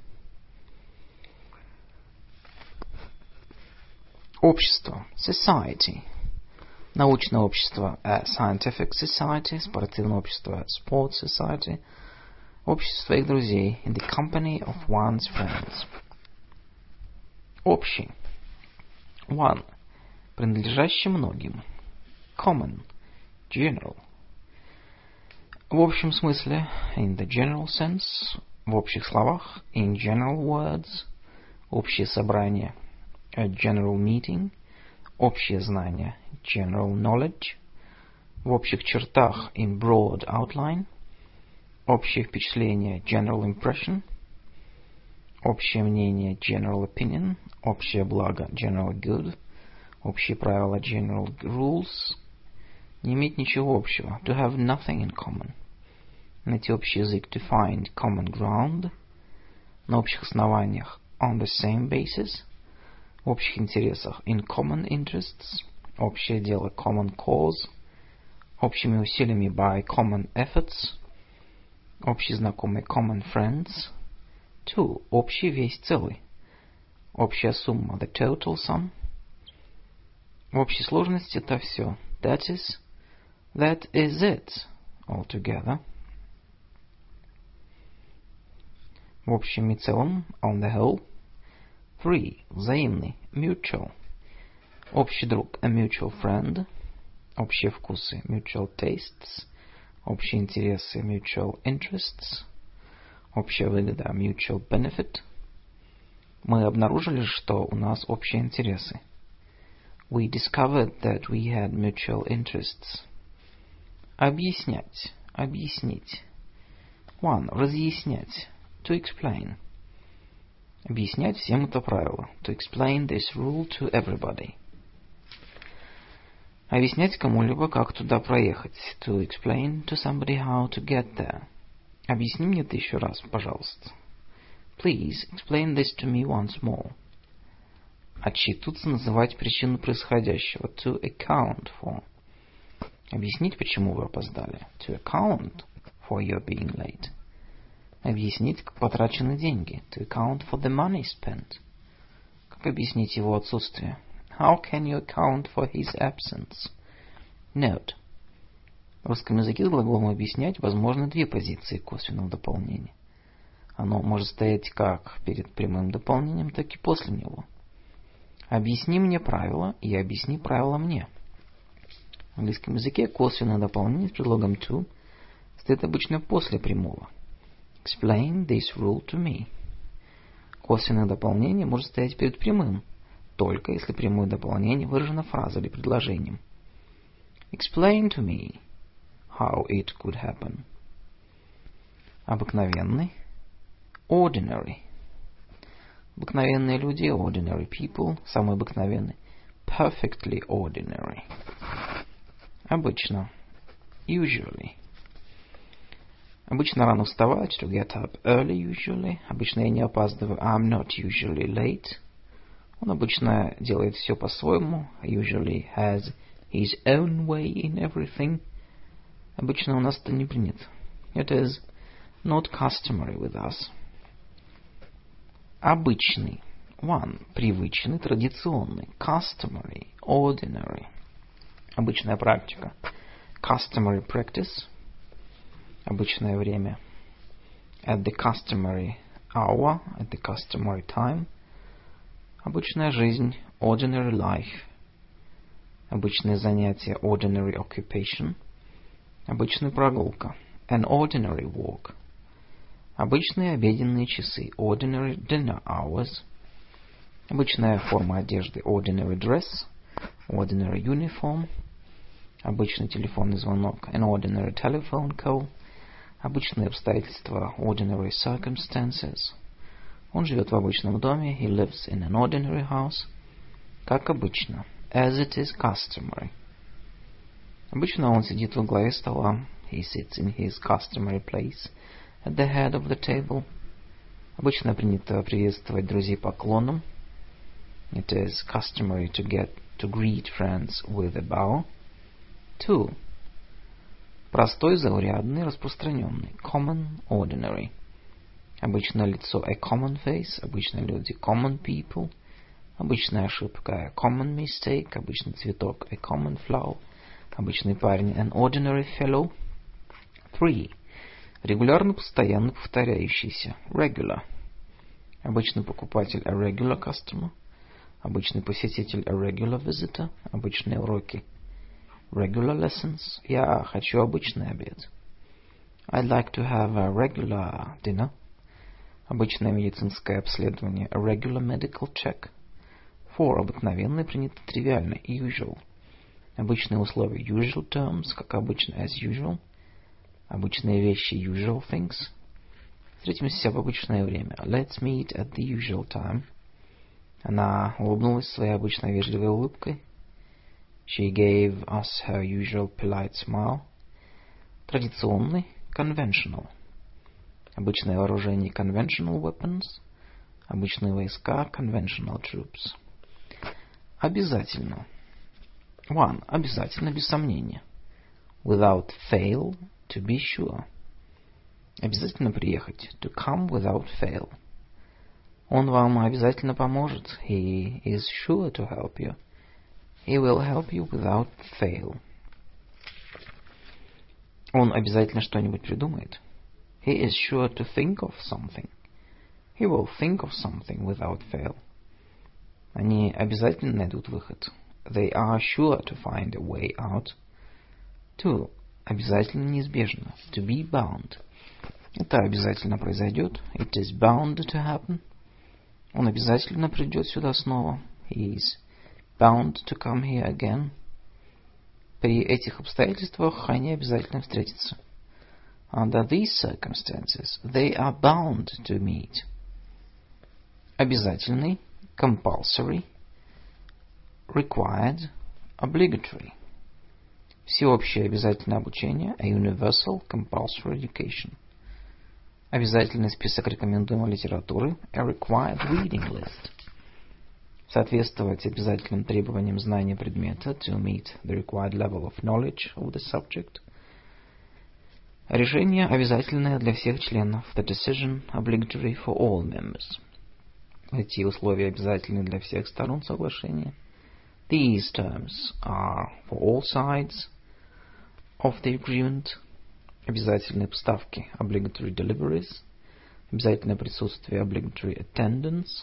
Общество society. Научное общество scientific society. Спортивное общество sports society. Общество своих друзей in the company of one's friends. Общий. One. Принадлежащий многим. Common. General. В общем смысле in the general sense. В общих словах in general words. Общее собрание a general meeting. Общее знание general knowledge. В общих чертах in broad outline. Общее впечатление general impression. Общее мнение general opinion. Общее благо general good. Общие правила general rules. Не иметь ничего общего to have nothing in common. Найти общий язык to find common ground. На общих основаниях on the same basis. В общих интересах in common interests. Общее дело common cause. Общими усилиями by common efforts. Общий знакомый common friends. Two. Общий весь целый. Общая сумма the total sum. В общей сложности это все. That is it altogether. В общем и целом on the whole. Three. Взаимный mutual. Общий друг a mutual friend. Общие вкусы mutual tastes. Общие интересы mutual interests. Общая выгода mutual benefit. Мы обнаружили, что у нас общие интересы. We discovered that we had mutual interests. Объяснять. Объяснить. One. Разъяснять. To explain. Объяснять всем это правило. To explain this rule to everybody. Объяснять кому-либо, как туда проехать. To explain to somebody how to get there. Объясни мне это еще раз, пожалуйста. Please explain this to me once more. Отчитываться, называть причину происходящего. To account for. Объяснить, почему вы опоздали. To account for your being late. Объяснить, как потрачены деньги. To account for the money spent. Как объяснить его отсутствие? How can you account for his absence? Note. В русском языке с глаголом «объяснять» возможны две позиции косвенного дополнения. Оно может стоять как перед прямым дополнением, так и после него. Объясни мне правила и объясни правила мне. В английском языке косвенное дополнение с предлогом to стоит обычно после прямого. Explain this rule to me. Косвенное дополнение может стоять перед прямым, только если прямое дополнение выражено фразой или предложением. Explain to me how it could happen. Обыкновенный. Ordinary. Обыкновенные люди, ordinary people, самый обыкновенный. Perfectly ordinary. Обычно. Usually. Обычно рано вставать, to get up early usually. Обычно я не опаздываю, I'm not usually late. Он обычно делает все по-своему, usually has his own way in everything. Обычно у нас это не принято. It is not customary with us. Обычный. One. Привычный, традиционный. Customary, ordinary. Обычная практика. Customary practice. Обычное время. At the customary hour, at the customary time. Обычная жизнь. Ordinary life. Обычное занятие. Ordinary occupation. Обычная прогулка. An ordinary walk. Обычные обеденные часы. Ordinary dinner hours. Обычная форма одежды. Ordinary dress. Ordinary uniform. Обычный телефонный звонок. An ordinary telephone call. Обычные обстоятельства. Ordinary circumstances. Он живет в обычном доме. He lives in an ordinary house. Как обычно. As it is customary. Обычно он сидит во главе стола. He sits in his customary place at the head of the table. Обычно принято приветствовать друзей поклоном. It is customary to greet friends with a bow. 2. Простой, заурядный, распространенный. Common, ordinary. Обычное лицо. A common face. Обычные люди. Common people. Обычная ошибка. A common mistake. Обычный цветок. A common flower. Обычный парень. An ordinary fellow. 3. Регулярно, постоянно повторяющийся. Regular. Обычный покупатель. A regular customer. Обычный посетитель. A regular visitor. Обычные уроки. Regular lessons. Я хочу обычный обед. I'd like to have a regular dinner. Обычное медицинское обследование. A regular medical check. 4. Обыкновенный, принято, тривиальный. Usual. Обычные условия. Usual terms. Как обычно. As usual. Обычные вещи. Usual things. Встретимся в обычное время. Let's meet at the usual time. Она улыбнулась своей обычной вежливой улыбкой. She gave us her usual polite smile. Традиционный. Conventional. Обычное вооружение. Conventional weapons. Обычные войска. Conventional troops. Обязательно. 1. Обязательно, без сомнения. Without fail. To be sure. Обязательно приехать. To come without fail. Он вам обязательно поможет. He is sure to help you. He will help you without fail. Он обязательно что-нибудь придумает. He is sure to think of something. He will think of something without fail. Они обязательно найдут выход. They are sure to find a way out. 2. Обязательно, неизбежно. To be bound. Это обязательно произойдет. It is bound to happen. Он обязательно придет сюда снова. He is bound to come here again. При этих обстоятельствах они обязательно встретятся. Under these circumstances, they are bound to meet. Обязательный. Compulsory. Required. Obligatory. Всеобщее обязательное обучение. A universal compulsory education. Обязательный список рекомендуемой литературы. A required reading list. Соответствовать обязательным требованиям знания предмета. To meet the required level of knowledge of the subject. Решение обязательное для всех членов. The decision obligatory for all members. Эти условия обязательны для всех сторон соглашения. These terms are for all sides of the agreement. Обязательные поставки. Obligatory deliveries. Обязательное присутствие. Obligatory attendance.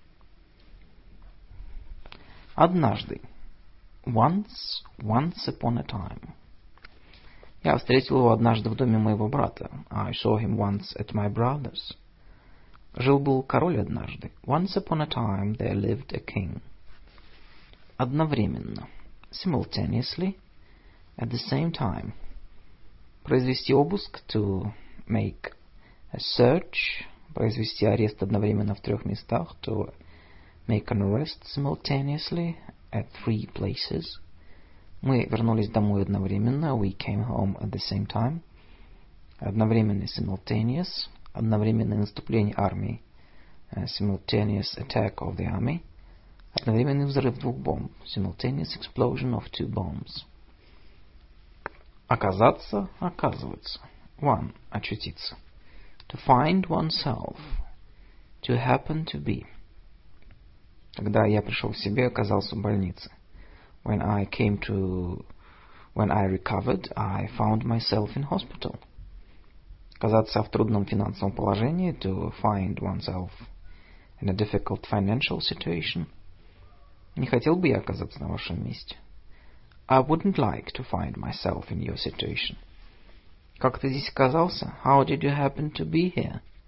Однажды. Once upon a time. Я встретил его однажды в доме моего брата. I saw him once at my brother's. Жил-был король однажды. Once upon a time there lived a king. Одновременно. Simultaneously. At the same time. Произвести обыск. To make a search. Произвести арест одновременно в 3 местах. To make an arrest simultaneously at 3 places. Мы вернулись домой одновременно. We came home at the same time. Одновременный. Simultaneous. Одновременное наступление армии. Simultaneous attack of the army. Одновременный взрыв 2 бомб. Simultaneous explosion of 2 bombs. Оказаться, оказываться. 1. Очутиться. To find oneself. To happen to be. Когда я пришел в себя, оказался в больнице. When I recovered, I found myself in hospital. Оказаться в трудном финансовом положении. To find oneself in a difficult financial situation. Не хотел бы я оказаться на вашем месте. I wouldn't like to find myself in your situation. Как ты здесь оказался? How did you happen to be here?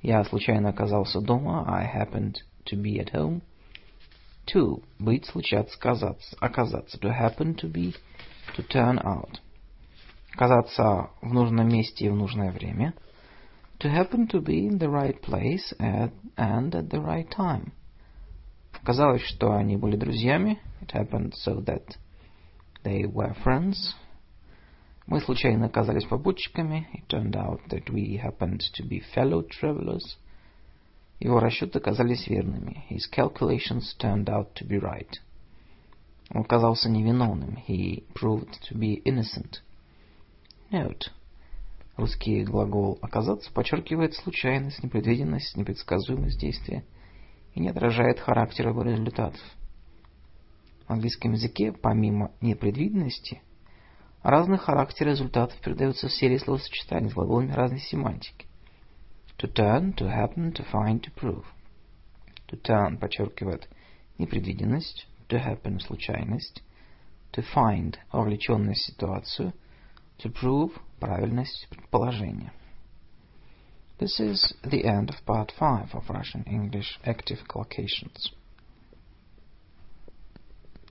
Я случайно оказался дома. I happened to be at home. To. Быть, случаться, оказаться. To happen to be. To turn out. Оказаться в нужном месте и в нужное время. To happen to be in the right place and at the right time. Оказалось, что они были друзьями. It happened so that they were friends. Мы случайно оказались попутчиками. It turned out that we happened to be fellow travelers. Его расчеты оказались верными. His calculations turned out to be right. Он оказался невиновным. He proved to be innocent. Note. Русский глагол «оказаться» подчеркивает случайность, непредвиденность, непредсказуемость действия и не отражает характера его результатов. В английском языке, помимо непредвиденности, разный характер результатов передается в серии словосочетаний с глаголами разной семантики. To turn, to happen, to find, to prove. To turn подчеркивает непредвиденность, to happen – случайность, to find – вовлеченность в ситуацию, to prove – правильность предположения. This is the end of part 5 of Russian English active collocations.